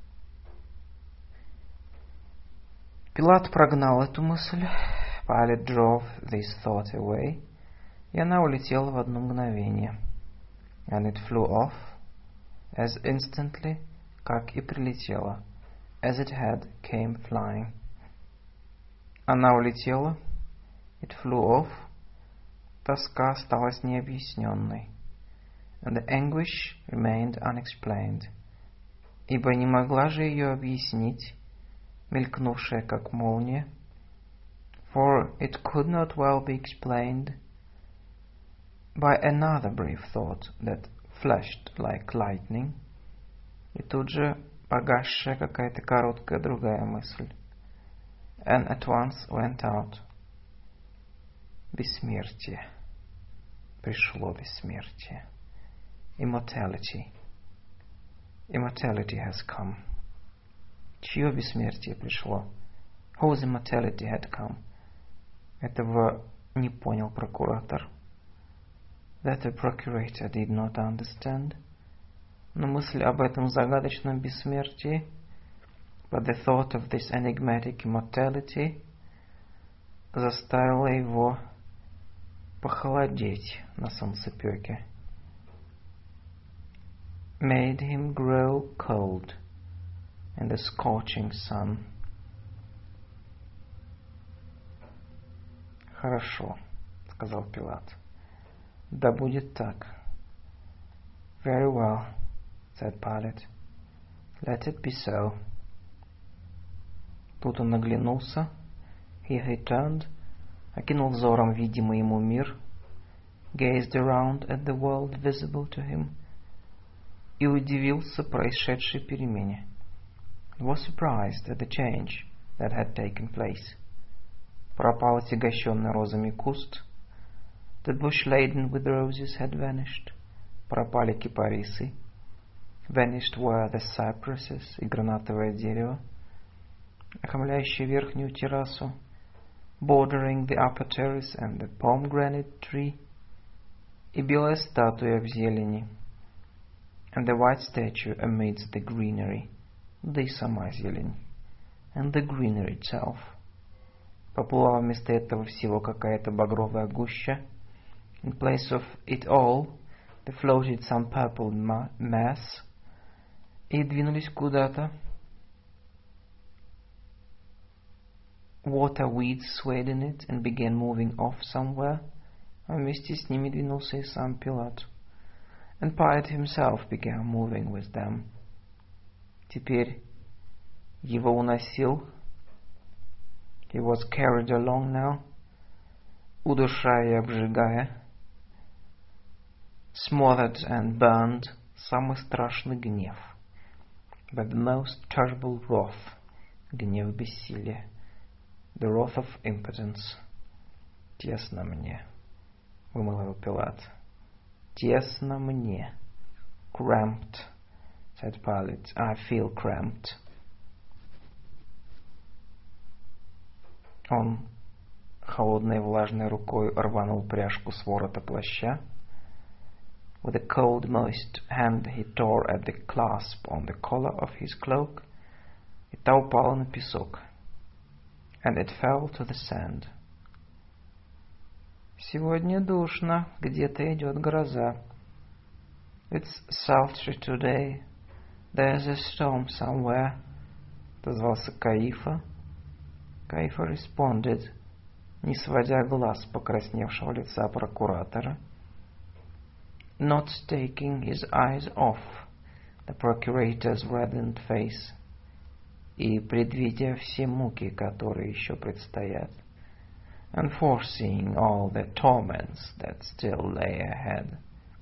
Пилат прогнал эту мысль. Pilate drove this thought away. И она улетела в одно мгновение. And it flew off as instantly, как и прилетела, as it had came flying. Она улетела. It flew off. Тоска осталась необъясненной. And the anguish remained unexplained. Ибо не могла же ее объяснить, мелькнувшая как молния. For it could not well be explained by another brief thought that flashed like lightning. И тут же погасшая какая-то короткая другая мысль. And at once went out. Бессмертие. Пришло бессмертие. Immortality. Immortality has come. Чье бессмертие пришло? Whose immortality had come? Этого не понял прокуратор. That the procurator did not understand. Но мысль об этом загадочном бессмертии, but the thought of this enigmatic immortality, заставила его похолодеть на солнцепёке. Made him grow cold in the scorching sun. Хорошо, сказал Пилат. Да будет так. Very well, said Pilate. Let it be so. Тут он оглянулся. He returned, окинул взором видимый ему мир, gazed around at the world visible to him, и удивился происшедшей перемене. Was surprised at the change that had taken place. Пропал отягощенный розами куст. The bush laden with roses had vanished. Пропали кипарисы. Vanished were the cypresses и гранатовое дерево, окаймляющее верхнюю террасу, bordering the upper terrace and the pomegranate tree, и белая статуя в зелени, and the white statue amidst the greenery, да и сама зелень, and the greenery itself. Поплыла вместо этого всего какая-то багровая гуща. In place of it all, there floated some purple mass, и двинулись куда-то. Water weeds swayed in it and began moving off somewhere. А вместе с ними двинулся и сам Пилат. And Pilate himself began moving with them. Теперь его уносил. He was carried along now, удушая и обжигая, smothered and burned, самый страшный гнев, but the most terrible wrath, гнев бессилия, the wrath of impotence. Тесно мне, вымолвил Пилат. Тесно мне. Cramped, said Pilate. I feel cramped. Он холодной влажной рукой рванул пряжку с ворота плаща. With a cold, moist hand he tore at the clasp on the collar of his cloak. И та упала на песок. And it fell to the sand. Сегодня душно, где-то идет гроза. It's sultry today. There's a storm somewhere. Отозвался Каифа. Каифа responded, не сводя глаз с покрасневшего лица прокуратора. Not taking his eyes off the procurator's reddened face, и предвидя все муки, которые еще предстоят, and foreseeing all the torments that still lay ahead.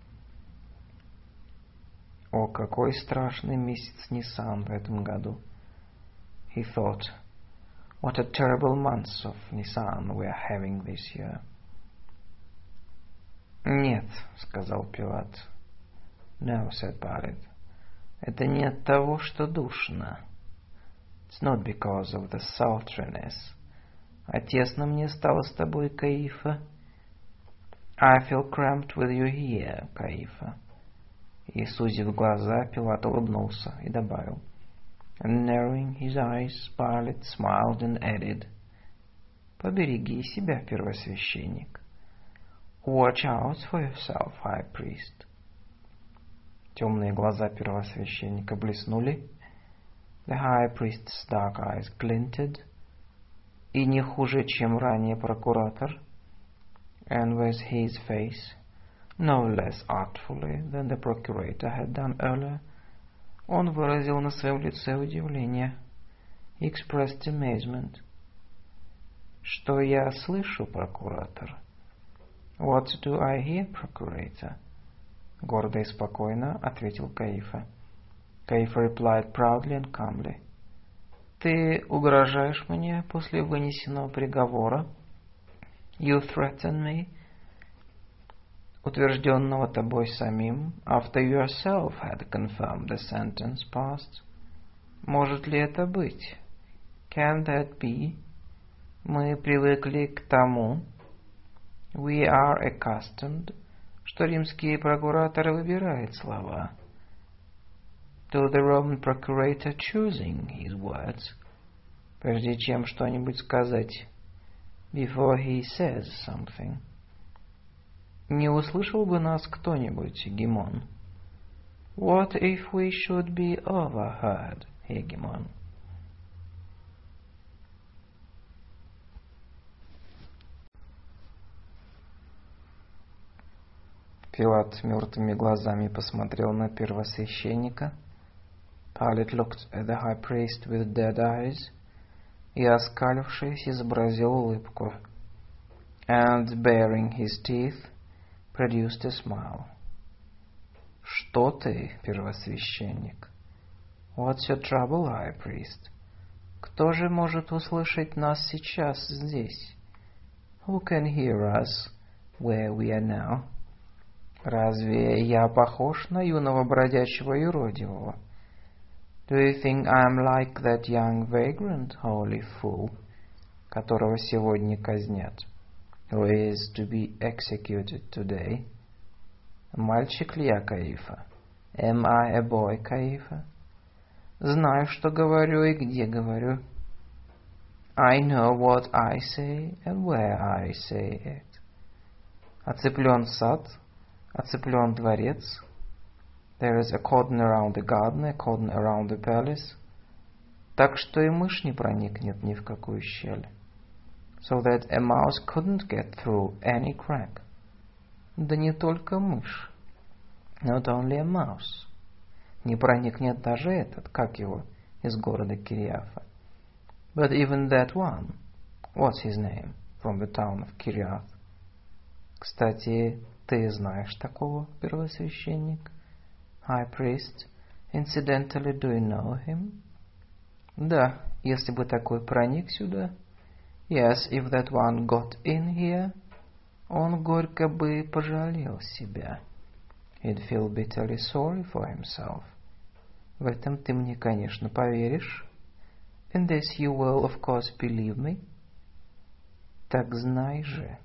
О, какой страшный месяц Нисан в этом году! He thought, what a terrible month of Nisan we are having this year. Нет, сказал Пилат. No, said Pilate. Это не от того, что душно. It's not because of the sultriness. А тесно мне стало с тобой, Каифа. I feel cramped with you here, Каифа. И, сузив глаза, Пилат улыбнулся и добавил. And narrowing his eyes, Pilate smiled and added. Побереги себя, первосвященник. Watch out for yourself, high priest. Темные глаза первосвященника блеснули. The high priest's dark eyes glinted. И не хуже, чем ранее прокуратор. And with his face, no less artfully than the procurator had done earlier, он выразил на своем лице удивление. He expressed amazement. Что я слышу, прокуратор? What do I hear, procurator? Гордо и спокойно ответил Каифа. Каифа replied proudly and calmly. Ты угрожаешь мне после вынесенного приговора? You threaten me, утвержденного тобой самим, after you yourself had confirmed the sentence passed. Может ли это быть? Can that be? Мы привыкли к тому, we are accustomed, что римский прокуратор выбирает слова. To the Roman procurator choosing his words, прежде чем что-нибудь сказать, before he says something. Не услышал бы нас кто-нибудь, Гемон? What if we should be overheard, Hegemon? Пилат мертвыми глазами посмотрел на первосвященника. Pilate looked at the high priest with dead eyes и, оскалившись, изобразил улыбку. And, baring his teeth, produced a smile. Что ты, первосвященник? What's your trouble, high priest? Кто же может услышать нас сейчас здесь? Who can hear us where we are now? Разве я похож на юного бродячего юродивого? Do you think I'm like that young vagrant, holy fool, которого сегодня казнят? Who is to be executed today? Мальчик ли я, Каифа? Am I a boy, Каифа? Знаю, что говорю и где говорю. I know what I say and where I say it. Оцеплен сад, оцеплен дворец. There is a cordon around the garden, a cordon around the palace. Так что и мышь не проникнет ни в какую щель. So that a mouse couldn't get through any crack. Да не только мышь. Not only a mouse. Не проникнет даже этот, как его, из города Кириафа. But even that one. What's his name? From the town of Kiriath. Кстати, ты знаешь такого, первосвященник? High priest. Incidentally, do you know him? Да, если бы такой проник сюда. Yes, if that one got in here, он горько бы пожалел себя. He'd feel bitterly sorry for himself. В этом ты мне, конечно, поверишь. In this you will, of course, believe me. Так знай же.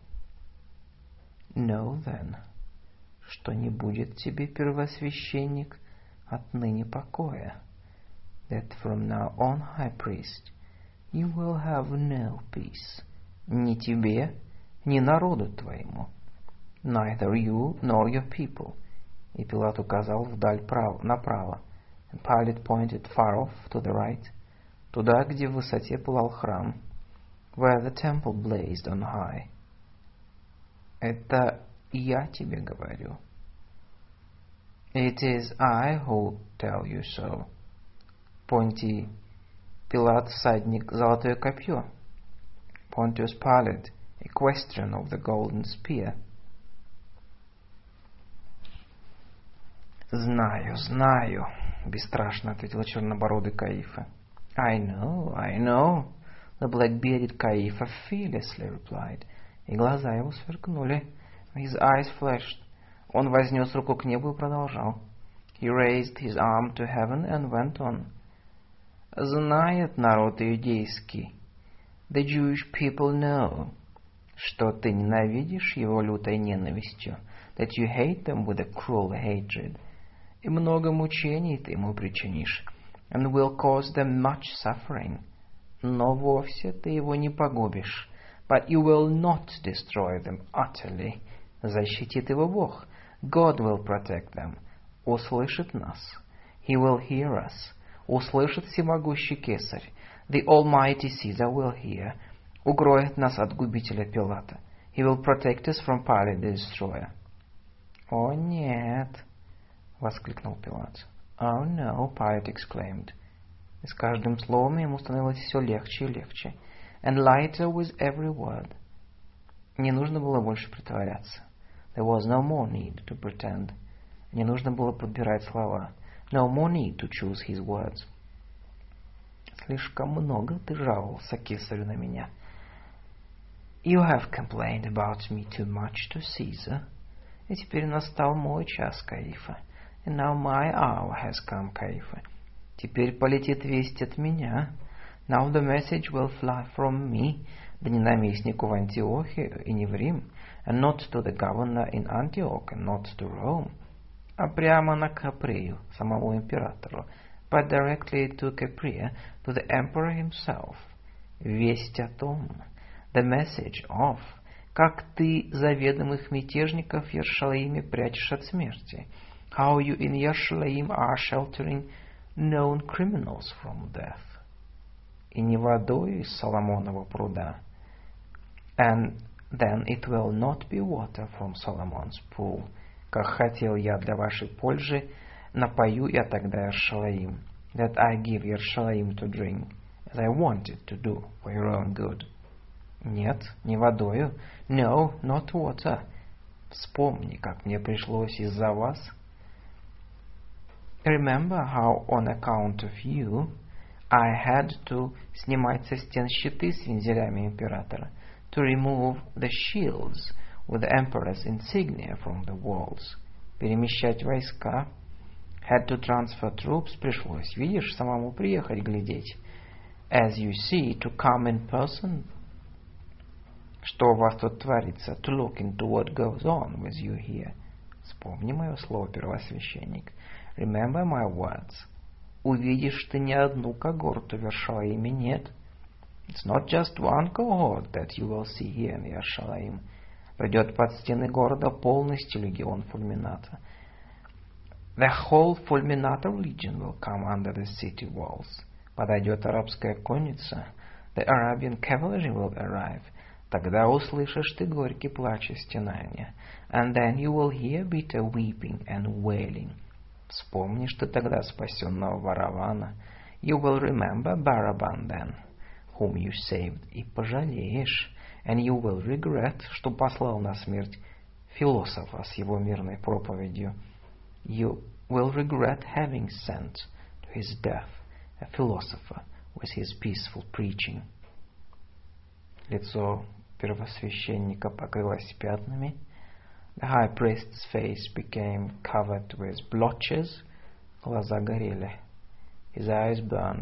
Know then, что не будет тебе, первосвященник, отныне покоя. That from now on, high priest, you will have no peace. Ни тебе, ни народу твоему. Neither you nor your people. И Пилат указал вдаль направо. And Pilate pointed far off to the right, туда, где в высоте пылал храм, where the temple blazed on high. Это я тебе говорю. It is I who tell you so. Понтий Пилат, всадник, золотое копье. Pontius Pilate, equestrian of the golden spear. Знаю, знаю, бесстрашно ответил чернобородый Каифа. I know, the black-bearded Каифа fearlessly replied. И глаза его сверкнули. His eyes flashed. Он вознес руку к небу и продолжал. He raised his arm to heaven and went on. Знает народ иудейский, the Jewish people know, что ты ненавидишь его лютой ненавистью, that you hate them with a cruel hatred, и много мучений ты ему причинишь, and will cause them much suffering. Но вовсе ты его не погубишь, but you will not destroy them utterly. Защитит его Бог. God will protect them. Услышит нас. He will hear us. Услышит всемогущий Кесарь. The Almighty Caesar will hear. Укроет нас от губителя Пилата. He will protect us from Pilate the Destroyer. «О, нет!» — воскликнул Пилат. «Oh, no!» — Pilate exclaimed. И с каждым словом ему становилось все легче и легче. And lighter with every word. Не нужно было больше притворяться. There was no more need to pretend. Не нужно было подбирать слова. No more need to choose his words. Слишком много ты жаловался Кесарю на меня. You have complained about me too much to Caesar. И теперь настал мой час, Каифа. And now my hour has come, Каифа. Теперь полетит весть от меня. Now the message will fly from me, да не наместнику в Антиохию и не в Рим, and not to the governor in Antioch, and not to Rome, а прямо на Каприю, самому императору, but directly to Capreia, to the emperor himself. Весть о том, the message of, как ты заведомых мятежников в Иерушалиме прячешь от смерти, how you in Yerushalayim are sheltering known criminals from death. И не водой из Соломонова пруда. And then it will not be water from Solomon's pool. Как хотел я для вашей пользы, напою я тогда Иерушалаим. That I give Yerushalayim to drink, as I wanted to do for your own good. Нет, не водою. No, not water. Вспомни, как мне пришлось из-за вас. Remember how on account of you I had to снимать со стен щиты с вензелями императора, to remove the shields with the emperor's insignia from the walls, перемещать войска, had to transfer troops, пришлось, видишь, самому приехать глядеть, as you see, to come in person, что у вас тут творится, to look into what goes on with you here. Вспомни мое слово, первосвященник. Remember my words. Увидишь ты не одну когорту в Иерушалиме, нет. It's not just one cohort that you will see here in Yerushalayim. Придет под стены города полностью легион Фульмината. The whole Fulminata legion will come under the city walls. Подойдет арабская конница. The Arabian cavalry will arrive. Тогда услышишь ты горький плач и стенания. And then you will hear bitter weeping and wailing. Вспомнишь ты тогда спасенного Варавана. You will remember Baraban then, whom you saved, и пожалеешь. And you will regret, что послал на смерть философа с его мирной проповедью. You will regret having sent to his death a philosopher with his peaceful preaching. Лицо первосвященника покрылось пятнами. The high priest's face became covered with blotches. Глаза горели. His eyes burned.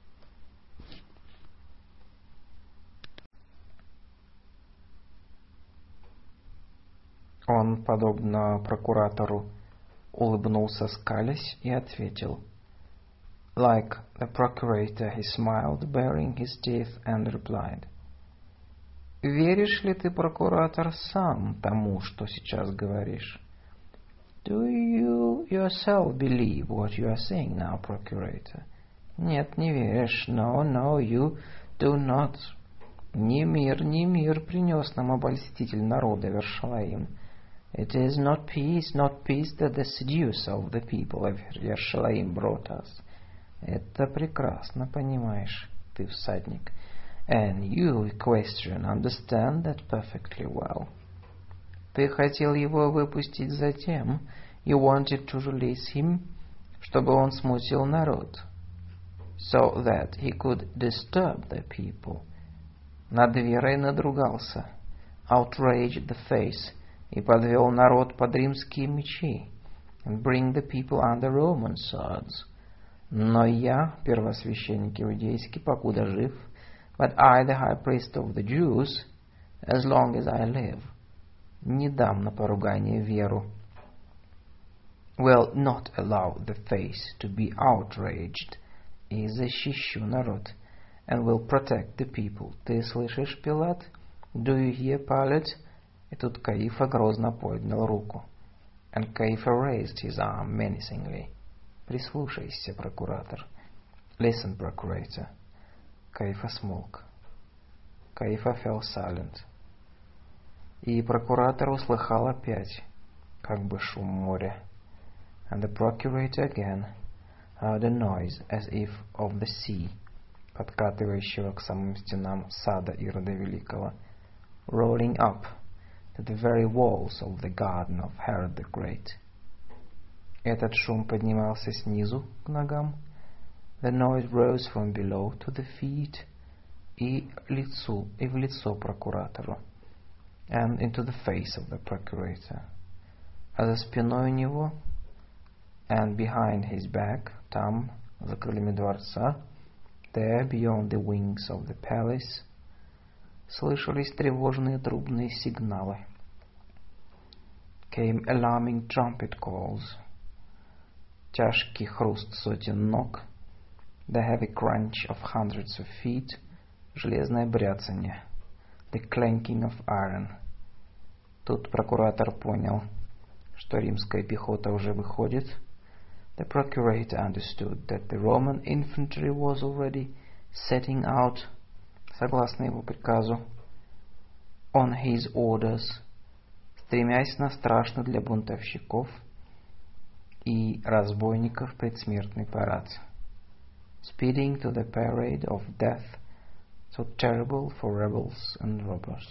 Он, подобно прокуратору, улыбнулся, скалясь, и ответил. Like the procurator, he smiled, baring his teeth, and replied. Веришь ли ты, прокуратор, сам тому, что сейчас говоришь? Do you yourself believe what you are saying now, procurator? Нет, не веришь. No, no, you do not. Не мир принес нам обольститель народа Иерушалаим. It is not peace that the seducer of the people of Yerushalayim brought us. Это прекрасно понимаешь, ты всадник. And you, equestrian, understand that perfectly well. Ты хотел его выпустить затем, you wanted to release him, чтобы он смутил народ, so that he could disturb the people. Над верой надругался, outraged the faith, и подвел народ под римские мечи, and bring the people under Roman swords. Но я, первосвященник иудейский, покуда жив, but I, the high priest of the Jews, as long as I live, не дам на поругание веру, will not allow the faith to be outraged, и защищу народ, and will protect the people. Ты слышишь, Пилат? Do you hear, Pilate? И тут Каифа грозно поднял руку. And Caiaphas raised his arm menacingly. Прислушайся, прокуратор. Listen, procurator. Каифа смолк. Каифа fell silent. И прокуратор услыхал опять, как бы шум моря. And the procurator again heard a noise as if of the sea, подкатывающего к самым стенам сада Ирода Великого, rolling up to the very walls of the garden of Herod the Great. Этот шум поднимался снизу к ногам. The noise rose from below to the feet, и в лицо прокуратору, and into the face of the procurator. А за спиной у него, and behind his back, там, за крыльями дворца, there beyond the wings of the palace, слышались тревожные трубные сигналы. Came alarming trumpet calls. Тяжкий хруст сотен ног, the heavy crunch of hundreds of feet, железное бряцанье, the clanking of iron. Тут прокуратор понял, что римская пехота уже выходит. The procurator understood that the Roman infantry was already setting out, согласно его приказу, on his orders, стремясь на страшный для бунтовщиков и разбойников предсмертный парад, speeding to the parade of death, so terrible for rebels and robbers.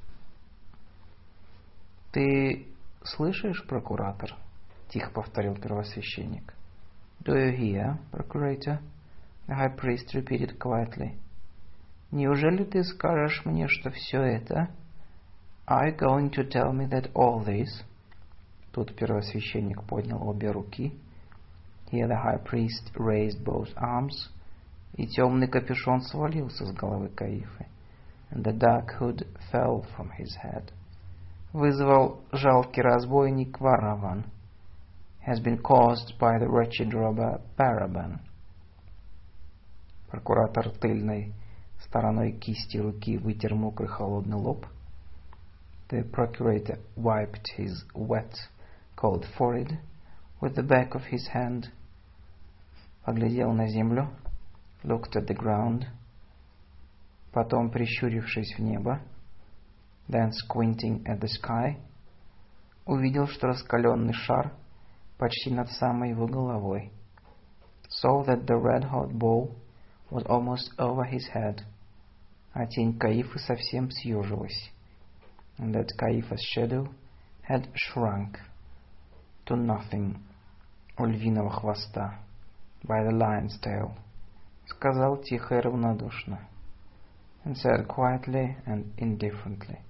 Ты слышишь, прокуратор? Тихо повторил первосвященник. Do you hear, procurator? The high priest repeated quietly. Неужели ты скажешь мне, что все это? Are you going to tell me that all this? Тут первосвященник поднял обе руки. Here the high priest raised both arms, и темный капюшон свалился с головы Каифы, and the dark hood fell from his head. Вызвал жалкий разбойник Вараван, has been caused by the wretched robber Baraban. Прокуратор тыльной стороной кисти руки вытер мокрый холодный лоб. The procurator wiped his wet, cold forehead with the back of his hand, поглядел на землю, looked at the ground, потом, прищурившись в небо, then squinting at the sky, увидел, что раскаленный шар почти над самой его головой, saw that the red-hot ball was almost over his head, а тень Каифы совсем съежилась, and that Caiaphas' shadow had shrunk to nothing у львиного хвоста, by the lion's tail, сказал тихо и равнодушно, and said quietly and indifferently.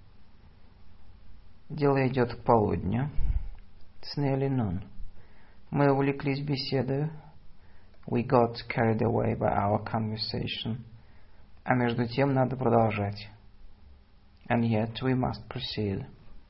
Дело идет к полудню. It's nearly noon. Мы увлеклись беседой. We got carried away by our conversation. А между тем надо продолжать. And yet we must proceed.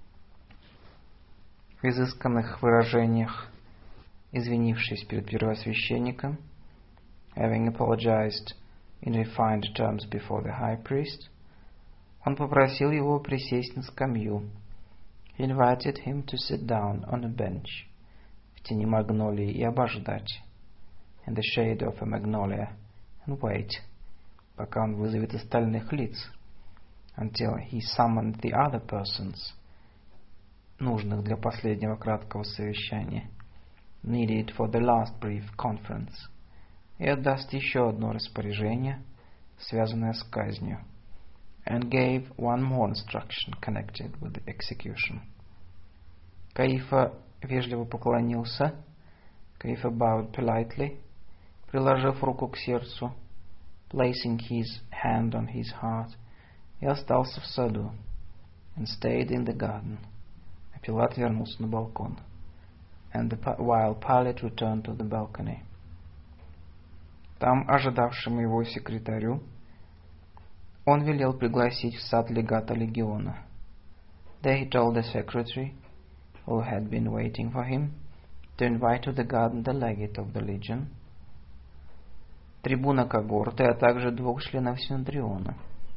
В изысканных выражениях, извинившись перед первосвященником, having apologized in refined terms before the high priest, он попросил его присесть на скамью. He invited him to sit down on a bench, в тени магнолии, и обождать, in the shade of a magnolia, and wait, пока он вызовет остальных лиц, until he summoned the other persons, нужных для последнего краткого совещания, needed for the last brief conference, и отдаст еще одно распоряжение, связанное с казнью, and gave one more instruction connected with the execution. Каифа вежливо поклонился. Каифа bowed politely, приложив руку к сердцу, placing his hand on his heart, и остался в саду, and stayed in the garden. А Пилат вернулся на балкон. while Pilate returned to the balcony. Там, ожидавшему его секретарю, он велел пригласить в сад легата легиона. There he told the secretary, who had been waiting for him, to invite to the garden the legate of the legion, трибуна когорты, а также двух членов Синедриона,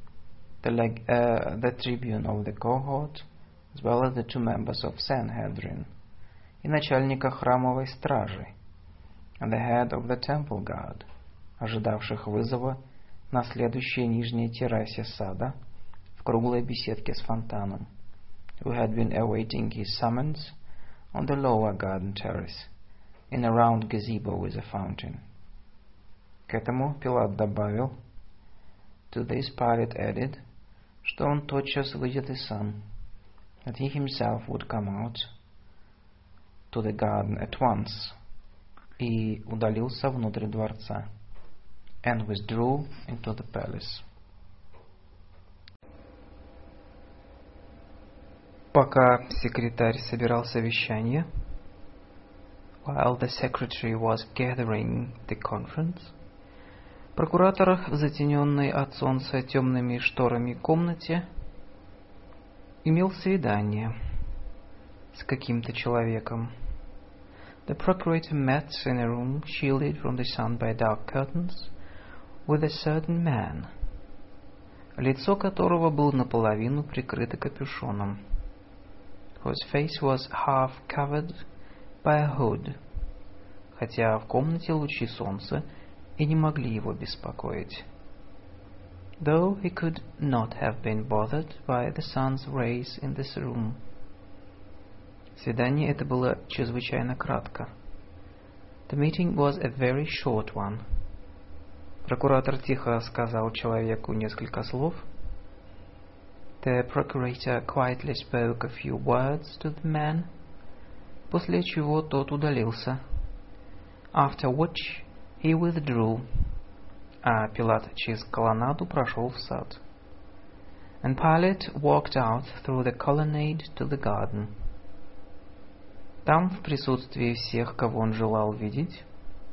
the tribune of the cohort, as well as the 2 members of Sanhedrin, и начальника храмовой стражи, and the head of the temple guard, ожидавших вызова на следующей нижней террасе сада в круглой беседке с фонтаном, who had been awaiting his summons on the lower garden terrace in a round gazebo with a fountain. К этому Пилат добавил, to this Pilate added, что он тотчас выйдет и сам, that he himself would come out to the garden at once, и удалился внутрь дворца, and withdrew into the palace. Пока секретарь собирал совещание, while the secretary was gathering the conference, прокуратор в затененной от солнца темными шторами комнате имел свидание с каким-то человеком. The procurator met in a room shielded from the sun by dark curtains with a certain man, лицо которого было наполовину прикрыто капюшоном, whose face was half covered by a hood, хотя в комнате лучи солнца и не могли его беспокоить. Though he could not have been bothered by the sun's rays in this room. Свидание это было чрезвычайно кратко. The meeting was a very short one. Прокуратор тихо сказал человеку несколько слов. The procurator quietly spoke a few words to the man, после чего тот удалился. After which he withdrew, а Пилат через колоннаду прошел в сад. And Pilate walked out through the colonnade to the garden. Там, в присутствии всех, кого он желал видеть,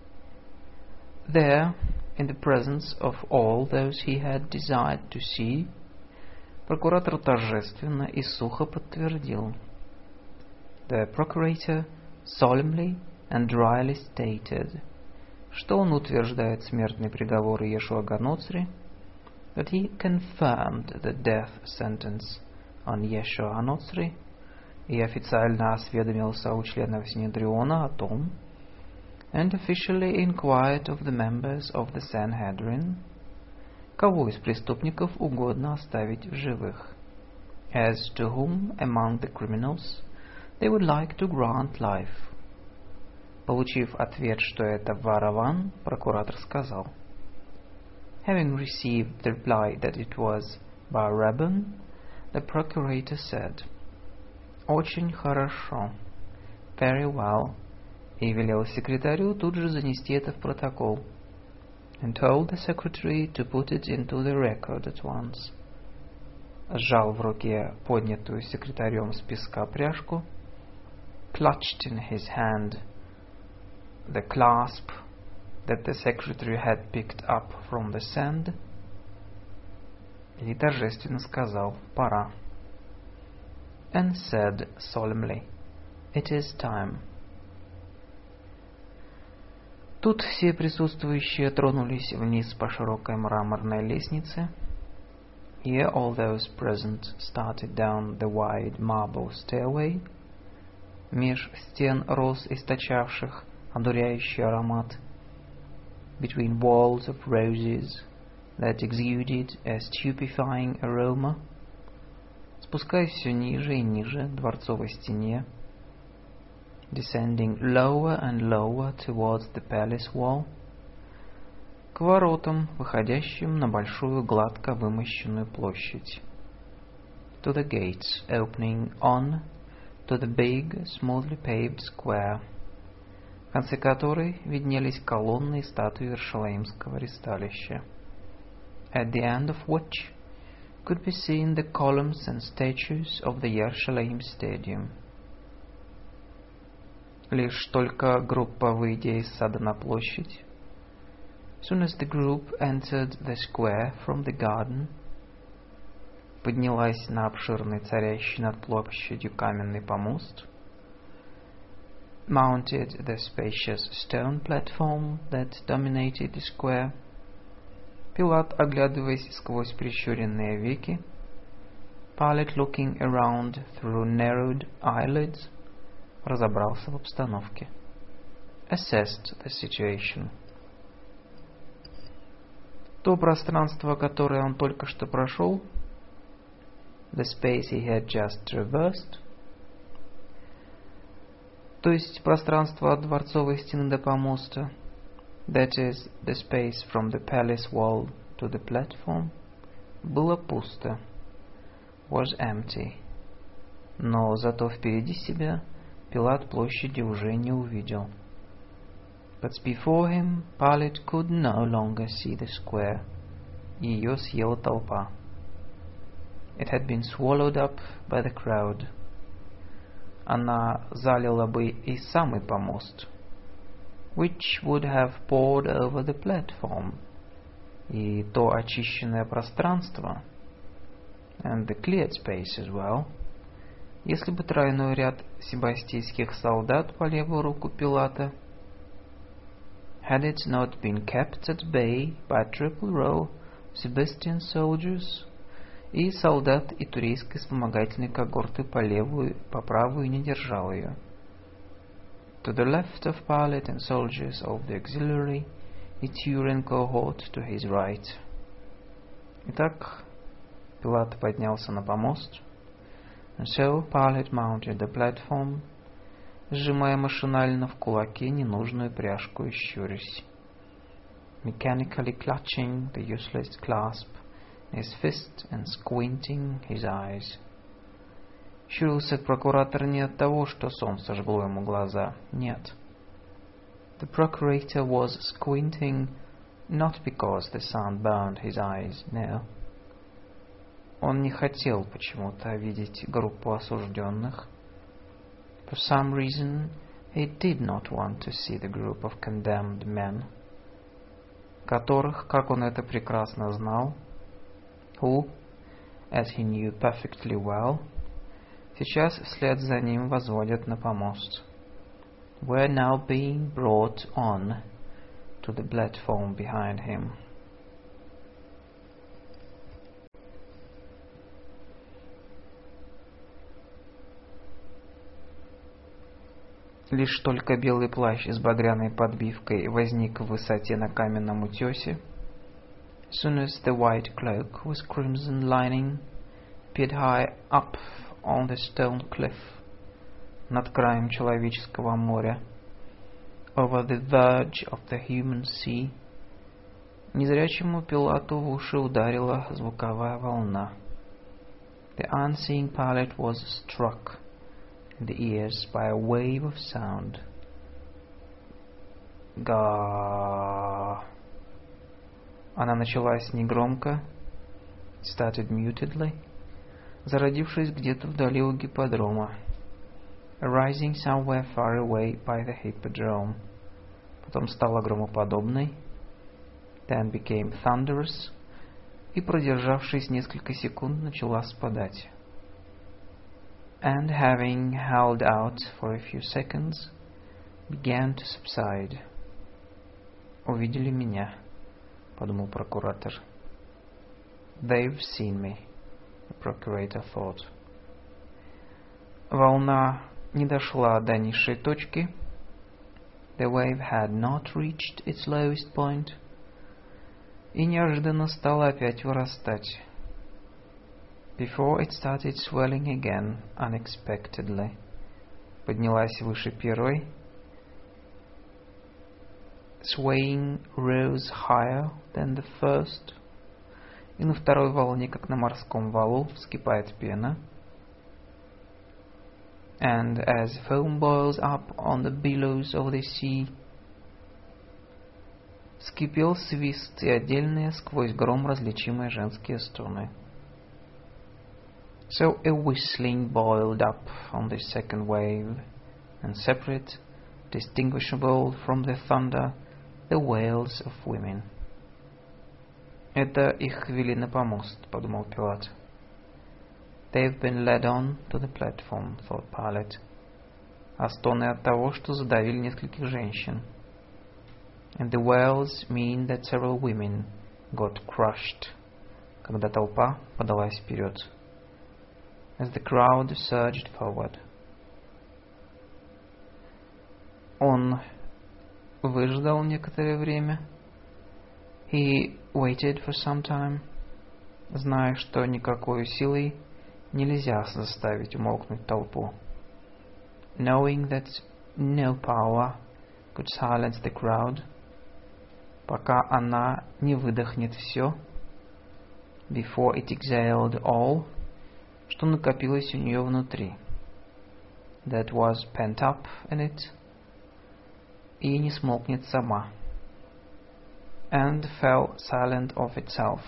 there, in the presence of all those he had desired to see, прокуратор торжественно и сухо подтвердил. The procurator solemnly and dryly stated, что он утверждает смертный приговор Иешуа Ганоцри, that he confirmed the death sentence on Yeshua Hanotzri, и официально осведомился у членов Синедриона о том, and officially inquired of the members of the Sanhedrin, кого из преступников угодно оставить в живых, as to whom among the criminals they would like to grant life. Получив ответ, что это Вараван, прокуратор сказал, having received the reply that it was Barabbas, the procurator said, очень хорошо, very well, и велел секретарю тут же занести это в протокол, and told the secretary to put it into the record at once. Сжал в руке поднятую секретарем с песка пряжку, clutched in his hand the clasp that the secretary had picked up from the sand, и торжественно сказал, пора, and said solemnly, it is time. Тут все присутствующие тронулись вниз по широкой мраморной лестнице. Here all those present started down the wide marble stairway, меж стен роз, источавших одуряющий аромат, between walls of roses that exuded a stupefying aroma, спускаясь все ниже и ниже дворцовой стене, descending lower and lower towards the palace wall, к воротам, выходящим на большую гладко вымощенную площадь, to the gates opening on to the big, smoothly paved square, в конце которой виднелись колонны и статуи Иерусалимского ристалища, at the end of which could be seen the columns and statues of the Yerushalayim Stadium. Лишь только группа, выйдя из сада на площадь, soon as the group entered the square from the garden, поднялась на обширный царящий над площадью каменный помост, mounted the spacious stone platform that dominated the square, Пилат, оглядываясь сквозь прищуренные веки, Pilate, looking around through narrowed eyelids, разобрался в обстановке. Assessed the situation. То пространство, которое он только что прошел, the space he had just traversed, то есть пространство от дворцовой стены до помоста, that is, the space from the palace wall to the platform, было пусто, was empty. Но зато впереди себя Пилат площади уже не увидел. But before him, Pilate could no longer see the square. Ее съела толпа. It had been swallowed up by the crowd. Она залила бы и самый помост, which would have poured over the platform, и то очищенное пространство, and the cleared space as well, если бы тройной ряд себастийских солдат по левую руку Пилата, had it not been kept at bay by a triple row of Sebastian soldiers, и солдат и турейской вспомогательной когорты по правую не держал ее. To the left of Pilate and soldiers of the auxiliary, Ithurian cohort to his right. Итак, Пилат поднялся на помост, and so Pilate mounted the platform, сжимая машинально в кулаке ненужную пряжку и щурясь, mechanically clutching the useless clasp in his fist and squinting his eyes. Щурился прокуратор не от того, что солнце жгло ему глаза. Нет. The procurator was squinting not because the sun burned his eyes. No. Он не хотел почему-то видеть группу осужденных. For some reason, he did not want to see the group of condemned men, которых, как он это прекрасно знал, who, as he knew perfectly well, сейчас вслед за ним возводят на помост, were now being brought on to the platform behind him. Лишь только белый плащ с багряной подбивкой возник в высоте на каменном утесе, soon as the white cloak with crimson lining appeared high up on the stone cliff, над краем человеческого моря, over the verge of the human sea, незрячему Пилату в уши ударила звуковая волна. The unseeing Pilate was struck in the ears by a wave of sound. Ga. Она началась негромко, started mutedly, зародившись где-то вдали у гипподрома, arising somewhere far away by the hippodrome, потом стала громоподобной, then became thunderous, и, продержавшись несколько секунд, начала спадать. And having held out for a few seconds, began to subside. Увидели меня, подумал прокуратор. They've seen me, the procurator thought. Волна не дошла до низшей точки. The wave had not reached its lowest point. И неожиданно стала опять вырастать. Before it started swelling again unexpectedly. Поднялась выше первой. Swaying rose higher than the first. И на второй волне, как на морском валу, вскипает пена. And as foam boils up on the billows of the sea, вскипел свист и отдельные сквозь гром различимые женские стоны. So a whistling boiled up on the second wave, and separate, distinguishable from the thunder, the wails of women. «Это их вели на помост», — подумал Пилат. «They've been led on to the platform», — thought Pilate. А стоны от того, что задавили нескольких женщин. And the wails mean that several women got crushed, когда толпа подалась вперед. As the crowd surged forward. Он выждал некоторое время. He waited for some time, зная, что никакой силой нельзя заставить умолкнуть толпу. Knowing that no power could silence the crowd, пока она не выдохнет все, before it exhaled all, что накопилось у нее внутри, that was pent up in it, и не смолкнет сама, and fell silent of itself.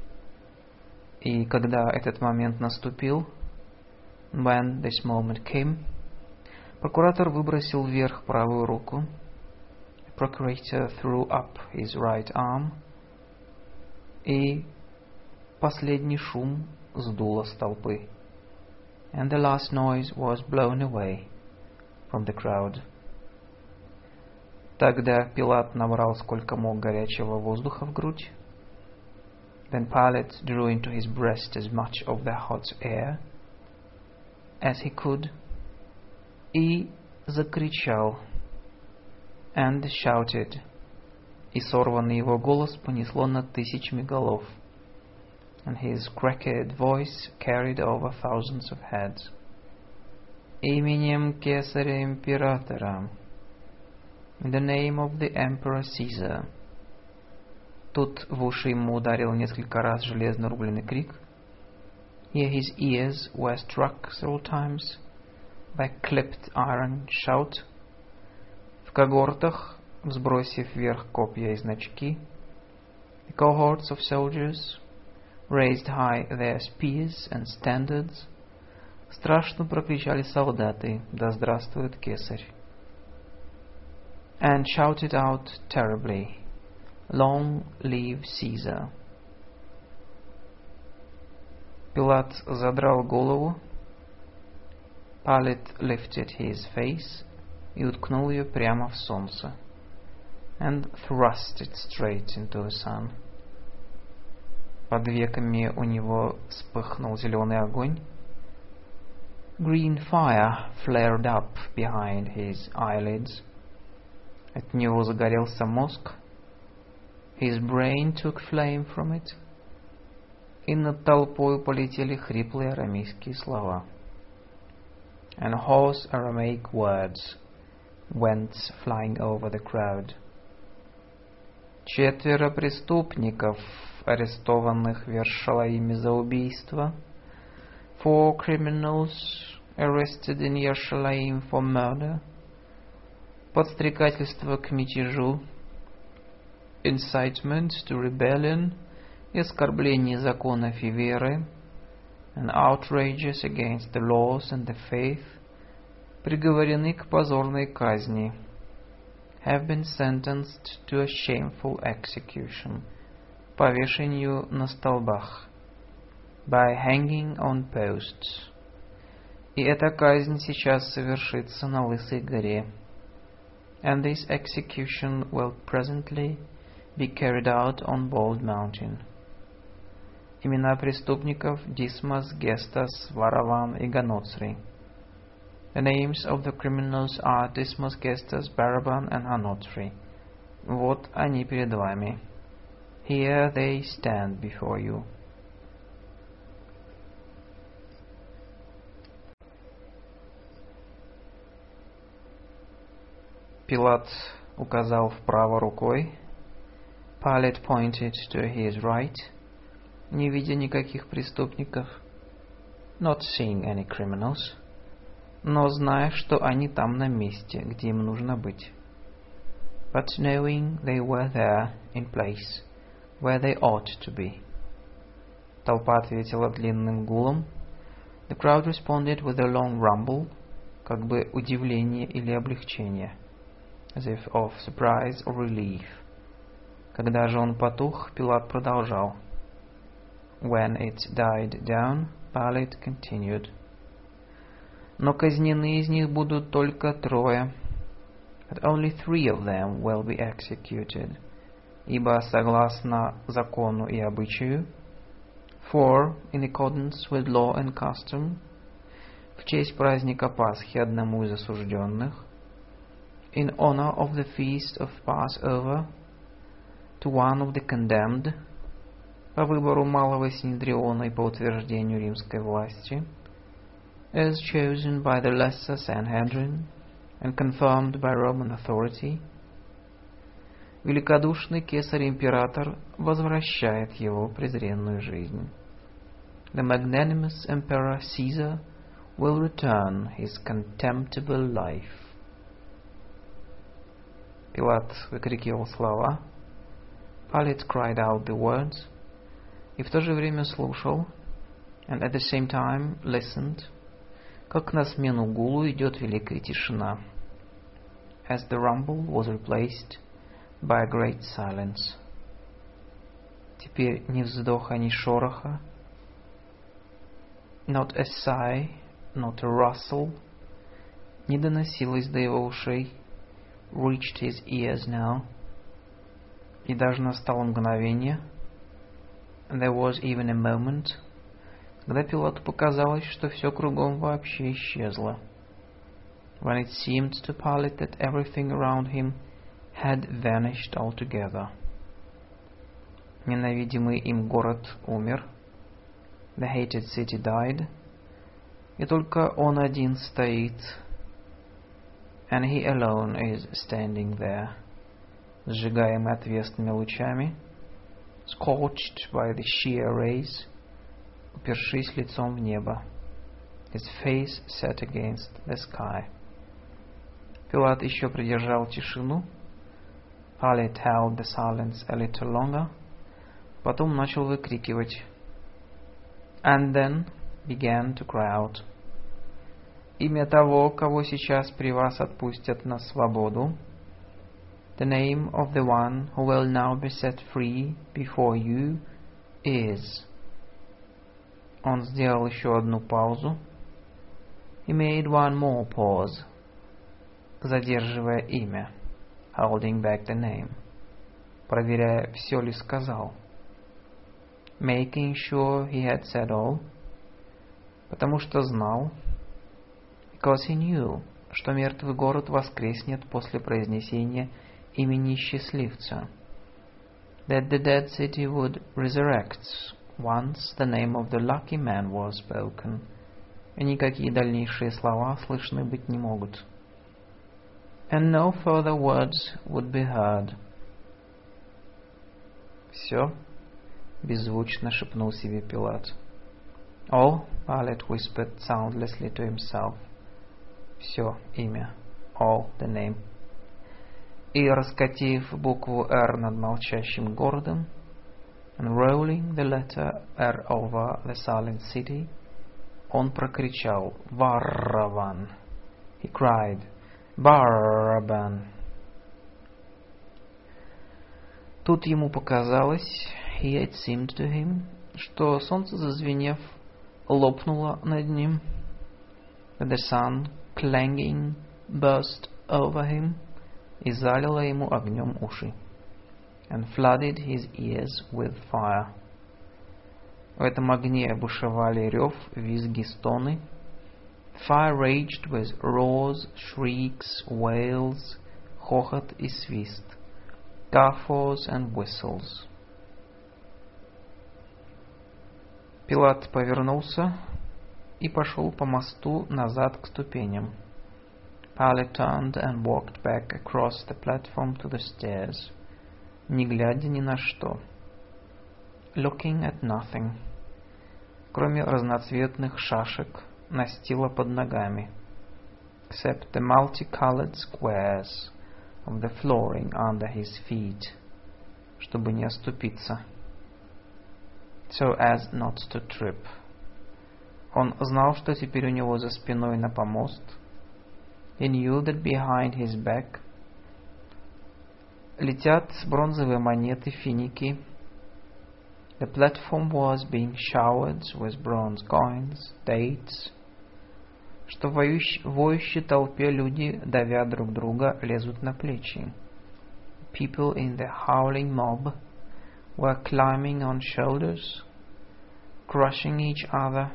И когда этот момент наступил, when this moment came, прокуратор выбросил вверх правую руку, the procurator threw up his right arm, и последний шум сдуло с толпы, and the last noise was blown away from the crowd. Тогда Пилат набрал сколько мог горячего воздуха в грудь. Then Pilate drew into his breast as much of the hot air as he could, и закричал, and shouted, и сорванный его голос понесло над тысячами голов, and his cracked voice carried over thousands of heads. Именем Кесаря-императора, in the name of the Emperor Caesar. Тут в уши ему ударил несколько раз железно рубленый крик. Here his ears were struck several times by clipped iron shout. В когортах, взбросив вверх копья и значки, the cohorts of soldiers raised high their spears and standards. Страшно прокричали солдаты: «Да здравствует Кесарь!» And shouted out terribly, «Long live Caesar!» Пилат задрал голову. Pilate lifted his face и уткнул ее прямо в солнце, and thrust it straight into the sun. Под веками у него вспыхнул зеленый огонь. Green fire flared up behind his eyelids. От него загорелся мозг. His brain took flame from it. И над толпой полетели хриплые арамейские слова. And hoarse Aramaic words went flying over the crowd. 4 преступников, арестованных в Иерушалиме за убийство. 4 criminals arrested in Yerushalayim for murder. Подстрекательство к мятежу, incitement to rebellion, и оскорбление законов и веры, and outrages against the laws and the faith, приговорены к позорной казни, have been sentenced to a shameful execution, повешению на столбах, by hanging on posts. И эта казнь сейчас совершится на Лысой горе. And this execution will presently be carried out on Bald Mountain. Имена преступников Дисмас, Гестас, Вараван и Ганоцрий. The names of the criminals are Dismas, Gestas, Baraban and Hanotri. Вот они перед вами. Here they stand before you. Пилат указал вправо рукой. Pilate pointed to his right, не видя никаких преступников, not seeing any criminals, но зная, что они там на месте, где им нужно быть. But knowing they were there in place, where they ought to be. Толпа ответила длинным гулом. The crowd responded with a long rumble, как бы удивление или облегчение. as if of surprise or relief. Когда же он потух, Пилат продолжал. When it died down, Pilate continued. Но казнены из них будут только 3. But only 3 of them will be executed. Ибо согласно закону и обычаю, for, in accordance with law and custom, в честь праздника Пасхи одному из осужденных, in honor of the feast of Passover, to one of the condemned, по выбору малого Синедриона и по утверждению римской власти, as chosen by the lesser Sanhedrin and confirmed by Roman authority, великодушный кесарь-император возвращает его презренную жизнь. The magnanimous Emperor Caesar will return his contemptible life. Пилат выкрикивал слова, Pilate cried out the words, и в то же время слушал, and at the same time listened, как на смену гулу идет великая тишина, as the rumble was replaced by a great silence. Теперь ни вздоха, ни шороха, not a sigh, not a rustle, не доносилось до его ушей, reached his ears now, и даже настало мгновение, and there was even a moment, когда Пилату показалось, что все кругом вообще исчезло, when it seemed to Pilate that everything around him had vanished altogether. Ненавидимый им город умер, the hated city died, и только он один стоит, and he alone is standing there, сжигаемый отвесными лучами, scorched by the sheer rays, упершись лицом в небо, his face set against the sky. Пилат еще придержал тишину, Pilate held the silence a little longer, потом начал выкрикивать, and then began to cry out. Имя того, кого сейчас при вас отпустят на свободу, the name of the one who will now be set free before you is. Он сделал еще одну паузу. He made one more pause, задерживая имя, holding back the name, проверяя, все ли сказал, making sure he had said all, потому что знал, because he knew, что мертвый город воскреснет после произнесения имени счастливца, that the dead city would resurrect once the name of the lucky man was spoken, и никакие дальнейшие слова слышны быть не могут. And no further words would be heard. Все, беззвучно шепнул себе Пилат. All, Pilate whispered soundlessly to himself. Все, имя. All, the name. И, раскатив букву «Р» над молчащим городом, and rolling the letter R over the silent city, он прокричал «Варраван!» He cried «Барабан!» Тут ему показалось, here it seemed to him, что солнце, зазвенев, лопнуло над ним, that the sun, clanging, burst over him, и залило ему огнем уши, and flooded his ears with fire. В этом огне бушевали рев, визги, стоны. Fire raged with roars, shrieks, wails, хохот и свист, guffaws and whistles. Пилат повернулся и пошел по мосту назад к ступеням. Pilate turned and walked back across the platform to the stairs, не глядя ни на что, looking at nothing, кроме разноцветных шашек, настила под ногами, except the multicolored squares of the flooring under his feet, чтобы не оступиться, so as not to trip. Он знал, что теперь у него за спиной на помост. He knew that behind his back, Летят бронзовые монеты, финики. The platform was being showered with bronze coins, dates. Что в воющей толпе люди, давя друг друга, лезут на плечи. People in the howling mob were climbing on shoulders, crushing each other.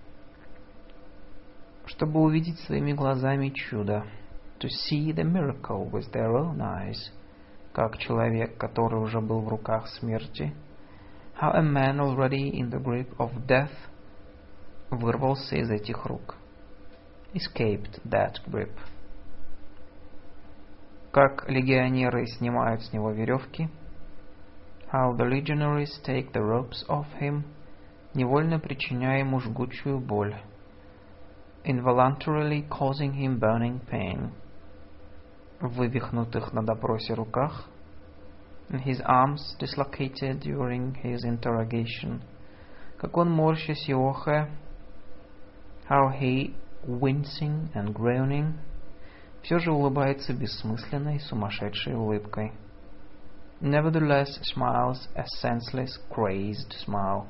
Чтобы увидеть своими глазами чудо. To see the miracle with their own eyes. Как человек, который уже был в руках смерти. How a man already in the grip of death вырвался из этих рук. Escaped that grip. Как легионеры снимают с него веревки. How the legionaries take the ropes off him, невольно причиняя ему жгучую боль. Involuntarily causing him burning pain. В вывихнутых на допросе руках. In his arms dislocated during his interrogation. Как он, морщась и охая. How he, wincing and groaning, все же улыбается бессмысленной, сумасшедшей улыбкой. Nevertheless smiles a senseless, crazed smile.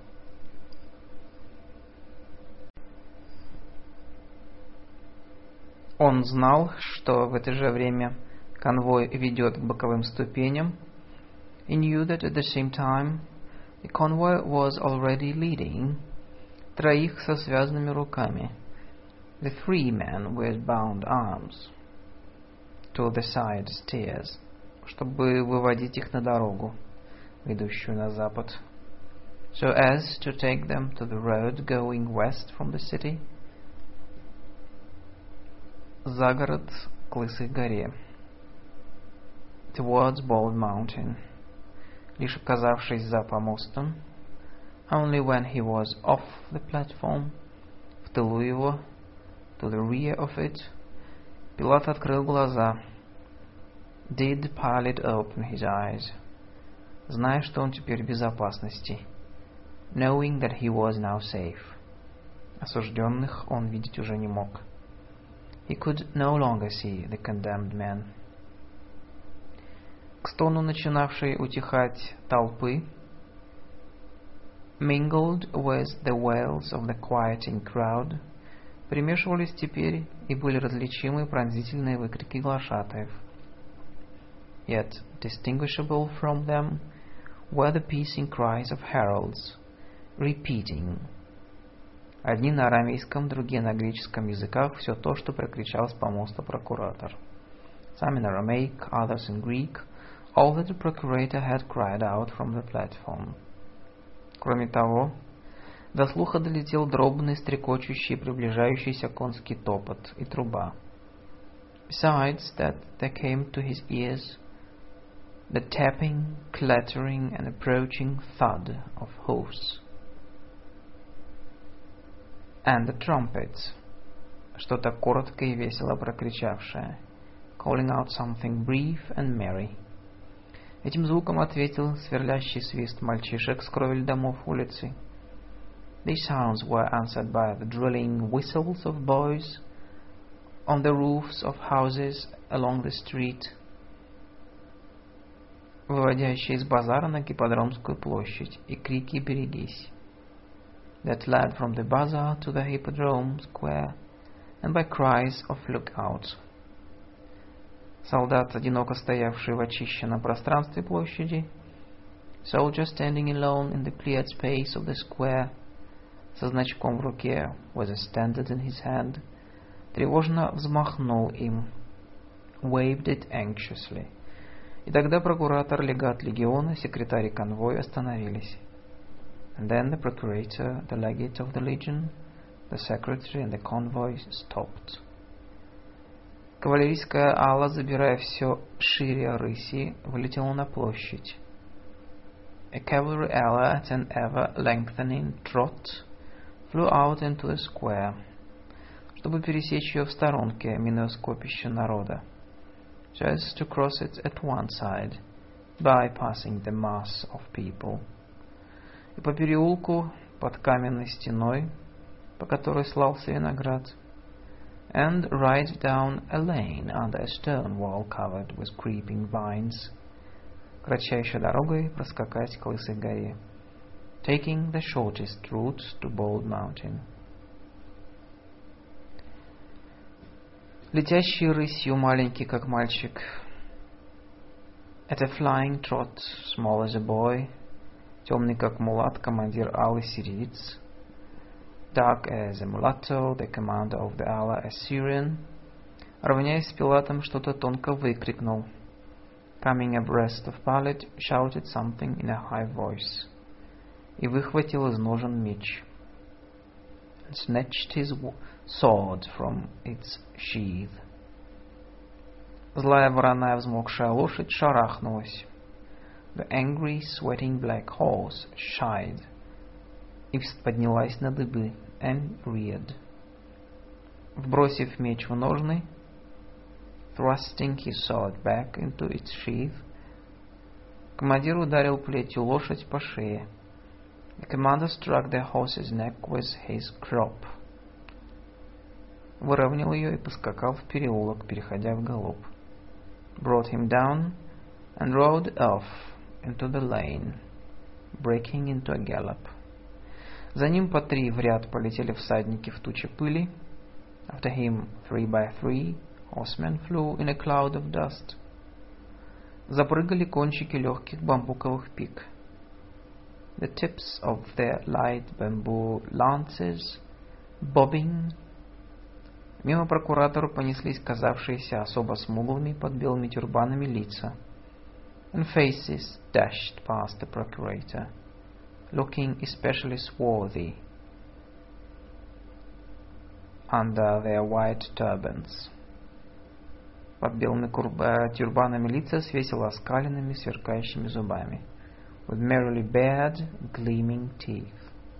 Он знал, что в это же время конвой ведет к боковым ступеням. He knew that at the same time the convoy was already leading троих со связанными руками. The 3 men with bound arms. To the side stairs. Чтобы выводить их на дорогу, ведущую на запад. So as to take them to the road going west from the city. За город к Лысой горе. Towards Bald Mountain. Лишь оказавшись за помостом. Only when he was off the platform. В тылу его. To the rear of it. Пилат открыл глаза. Did Pilate open his eyes? Зная, что он теперь в безопасности. Knowing that he was now safe. Осужденных он видеть уже не мог. He could no longer see the condemned men. К стону начинавшей утихать толпы, mingled with the wails of the quieting crowd, примешивались теперь и были различимы пронзительные выкрики глашатаев. Yet distinguishable from them were the piercing cries of heralds, repeating, одни на арамейском, другие на греческом языках, все то, что прокричал с помоста прокуратор. Some in Aramaic, others in Greek, all that the procurator had cried out from the platform. Кроме того, до слуха долетел дробный, стрекочущий, приближающийся конский топот и труба. Besides that, there came to his ears the tapping, clattering, and approaching thud of hoofs. And the trumpets, что-то коротко и весело прокричавшее, calling out something brief and merry. Этим звуком ответил сверлящий свист мальчишек с кровель домов улицы. These sounds were answered by the drilling whistles of boys on the roofs of houses along the street, выводящие из базара на Гипподромскую площадь, и крики «Берегись!» that led from the bazaar to the Hippodrome Square, and by cries of "Look out!" Солдат, одиноко стоявший в очищенном пространстве площади, soldier standing alone in the cleared space of the square, со значком в руке, with a standard in his hand, тревожно взмахнул им, waved it anxiously. И тогда прокуратор, легат легиона, секретарь и конвой остановились. And then the procurator, the legate of the legion, the secretary and the convoy stopped. Кавалерийская ала, забирая все шире рыси, вылетела на площадь. A cavalry ala at an ever-lengthening trot flew out into the square, чтобы пересечь ее в сторонке, минуя скопище народа, so as to cross it at one side, bypassing the mass of people. И по переулку под каменной стеной, по которой слался виноград, and right down a lane under a stone wall covered with creeping vines, кратчайшей дорогой проскакать к Лысой горе. Taking the shortest route to Bald Mountain. Летящий рысью, маленький как мальчик. At a flying trot, small as a boy. Темный как мулат, командир Алый сириец. Dark as a mulatto, the commander of the Allah Assyrian. Равняясь с Пилатом, что-то тонко выкрикнул. Coming abreast of Pilate, shouted something in a high voice. И выхватил из ножен меч. And snatched his sword from its sheath. Злая вороная взмокшая лошадь шарахнулась. The angry, sweating black horse shied. И поднялась на дыбы. And reared. Вбросив меч в ножны, thrusting his sword back into its sheath, командир ударил плетью лошадь по шее. The commander struck the horse's neck with his crop. Выровнял ее и поскакал в переулок, переходя в галоп. Brought him down and rode off into the lane, breaking into a gallop. За ним по три в ряд полетели всадники в туче пыли. After him, 3 by 3, horsemen flew in a cloud of dust. Запрыгали кончики легких бамбуковых пик. The tips of their light bamboo lances, bobbing. Мимо прокуратору понеслись казавшиеся особо смуглыми под белыми тюрбанами лица. And faces dashed past the procurator, looking especially swarthy under their white turbans. Под белыми тюрбанами лица с весело оскаленными, сверкающими зубами. With merrily bared, gleaming teeth.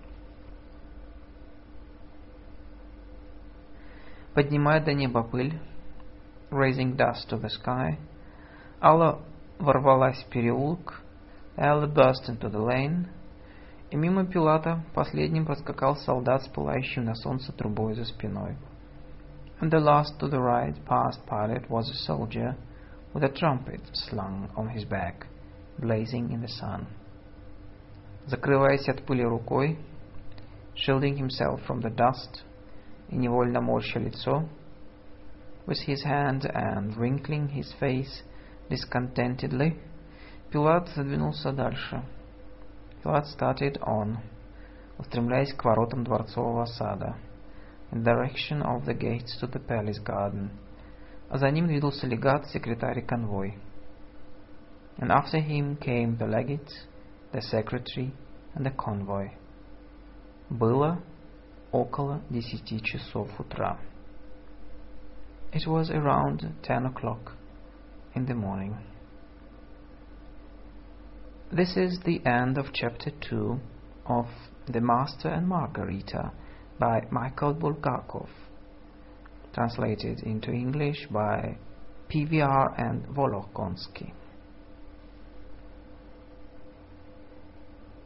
Поднимая до неба пыль, raising dust to the sky, Алла ворвалась в переулок, Алла burst into the lane, и мимо Пилата последним проскакал солдат с пылающим на солнце трубой за спиной. And the last to the right past Pilate was a soldier with a trumpet slung on his back, blazing in the sun. Закрываясь от пыли рукой, shielding himself from the dust, и невольно морща лицо, with his hand and wrinkling his face discontentedly, Пилат задвинулся дальше. Pilate started on, устремляясь к воротам дворцового сада, in direction of the gates to the palace garden. А за ним двинулся легат, секретарь и конвой. And after him came the legate, the secretary and the convoy. Было около 10 часов утра. It was around 10 o'clock in the morning. This is the end of chapter 2 of The Master and Margarita by Michael Bulgakov, translated into English by PVR and Volokonsky.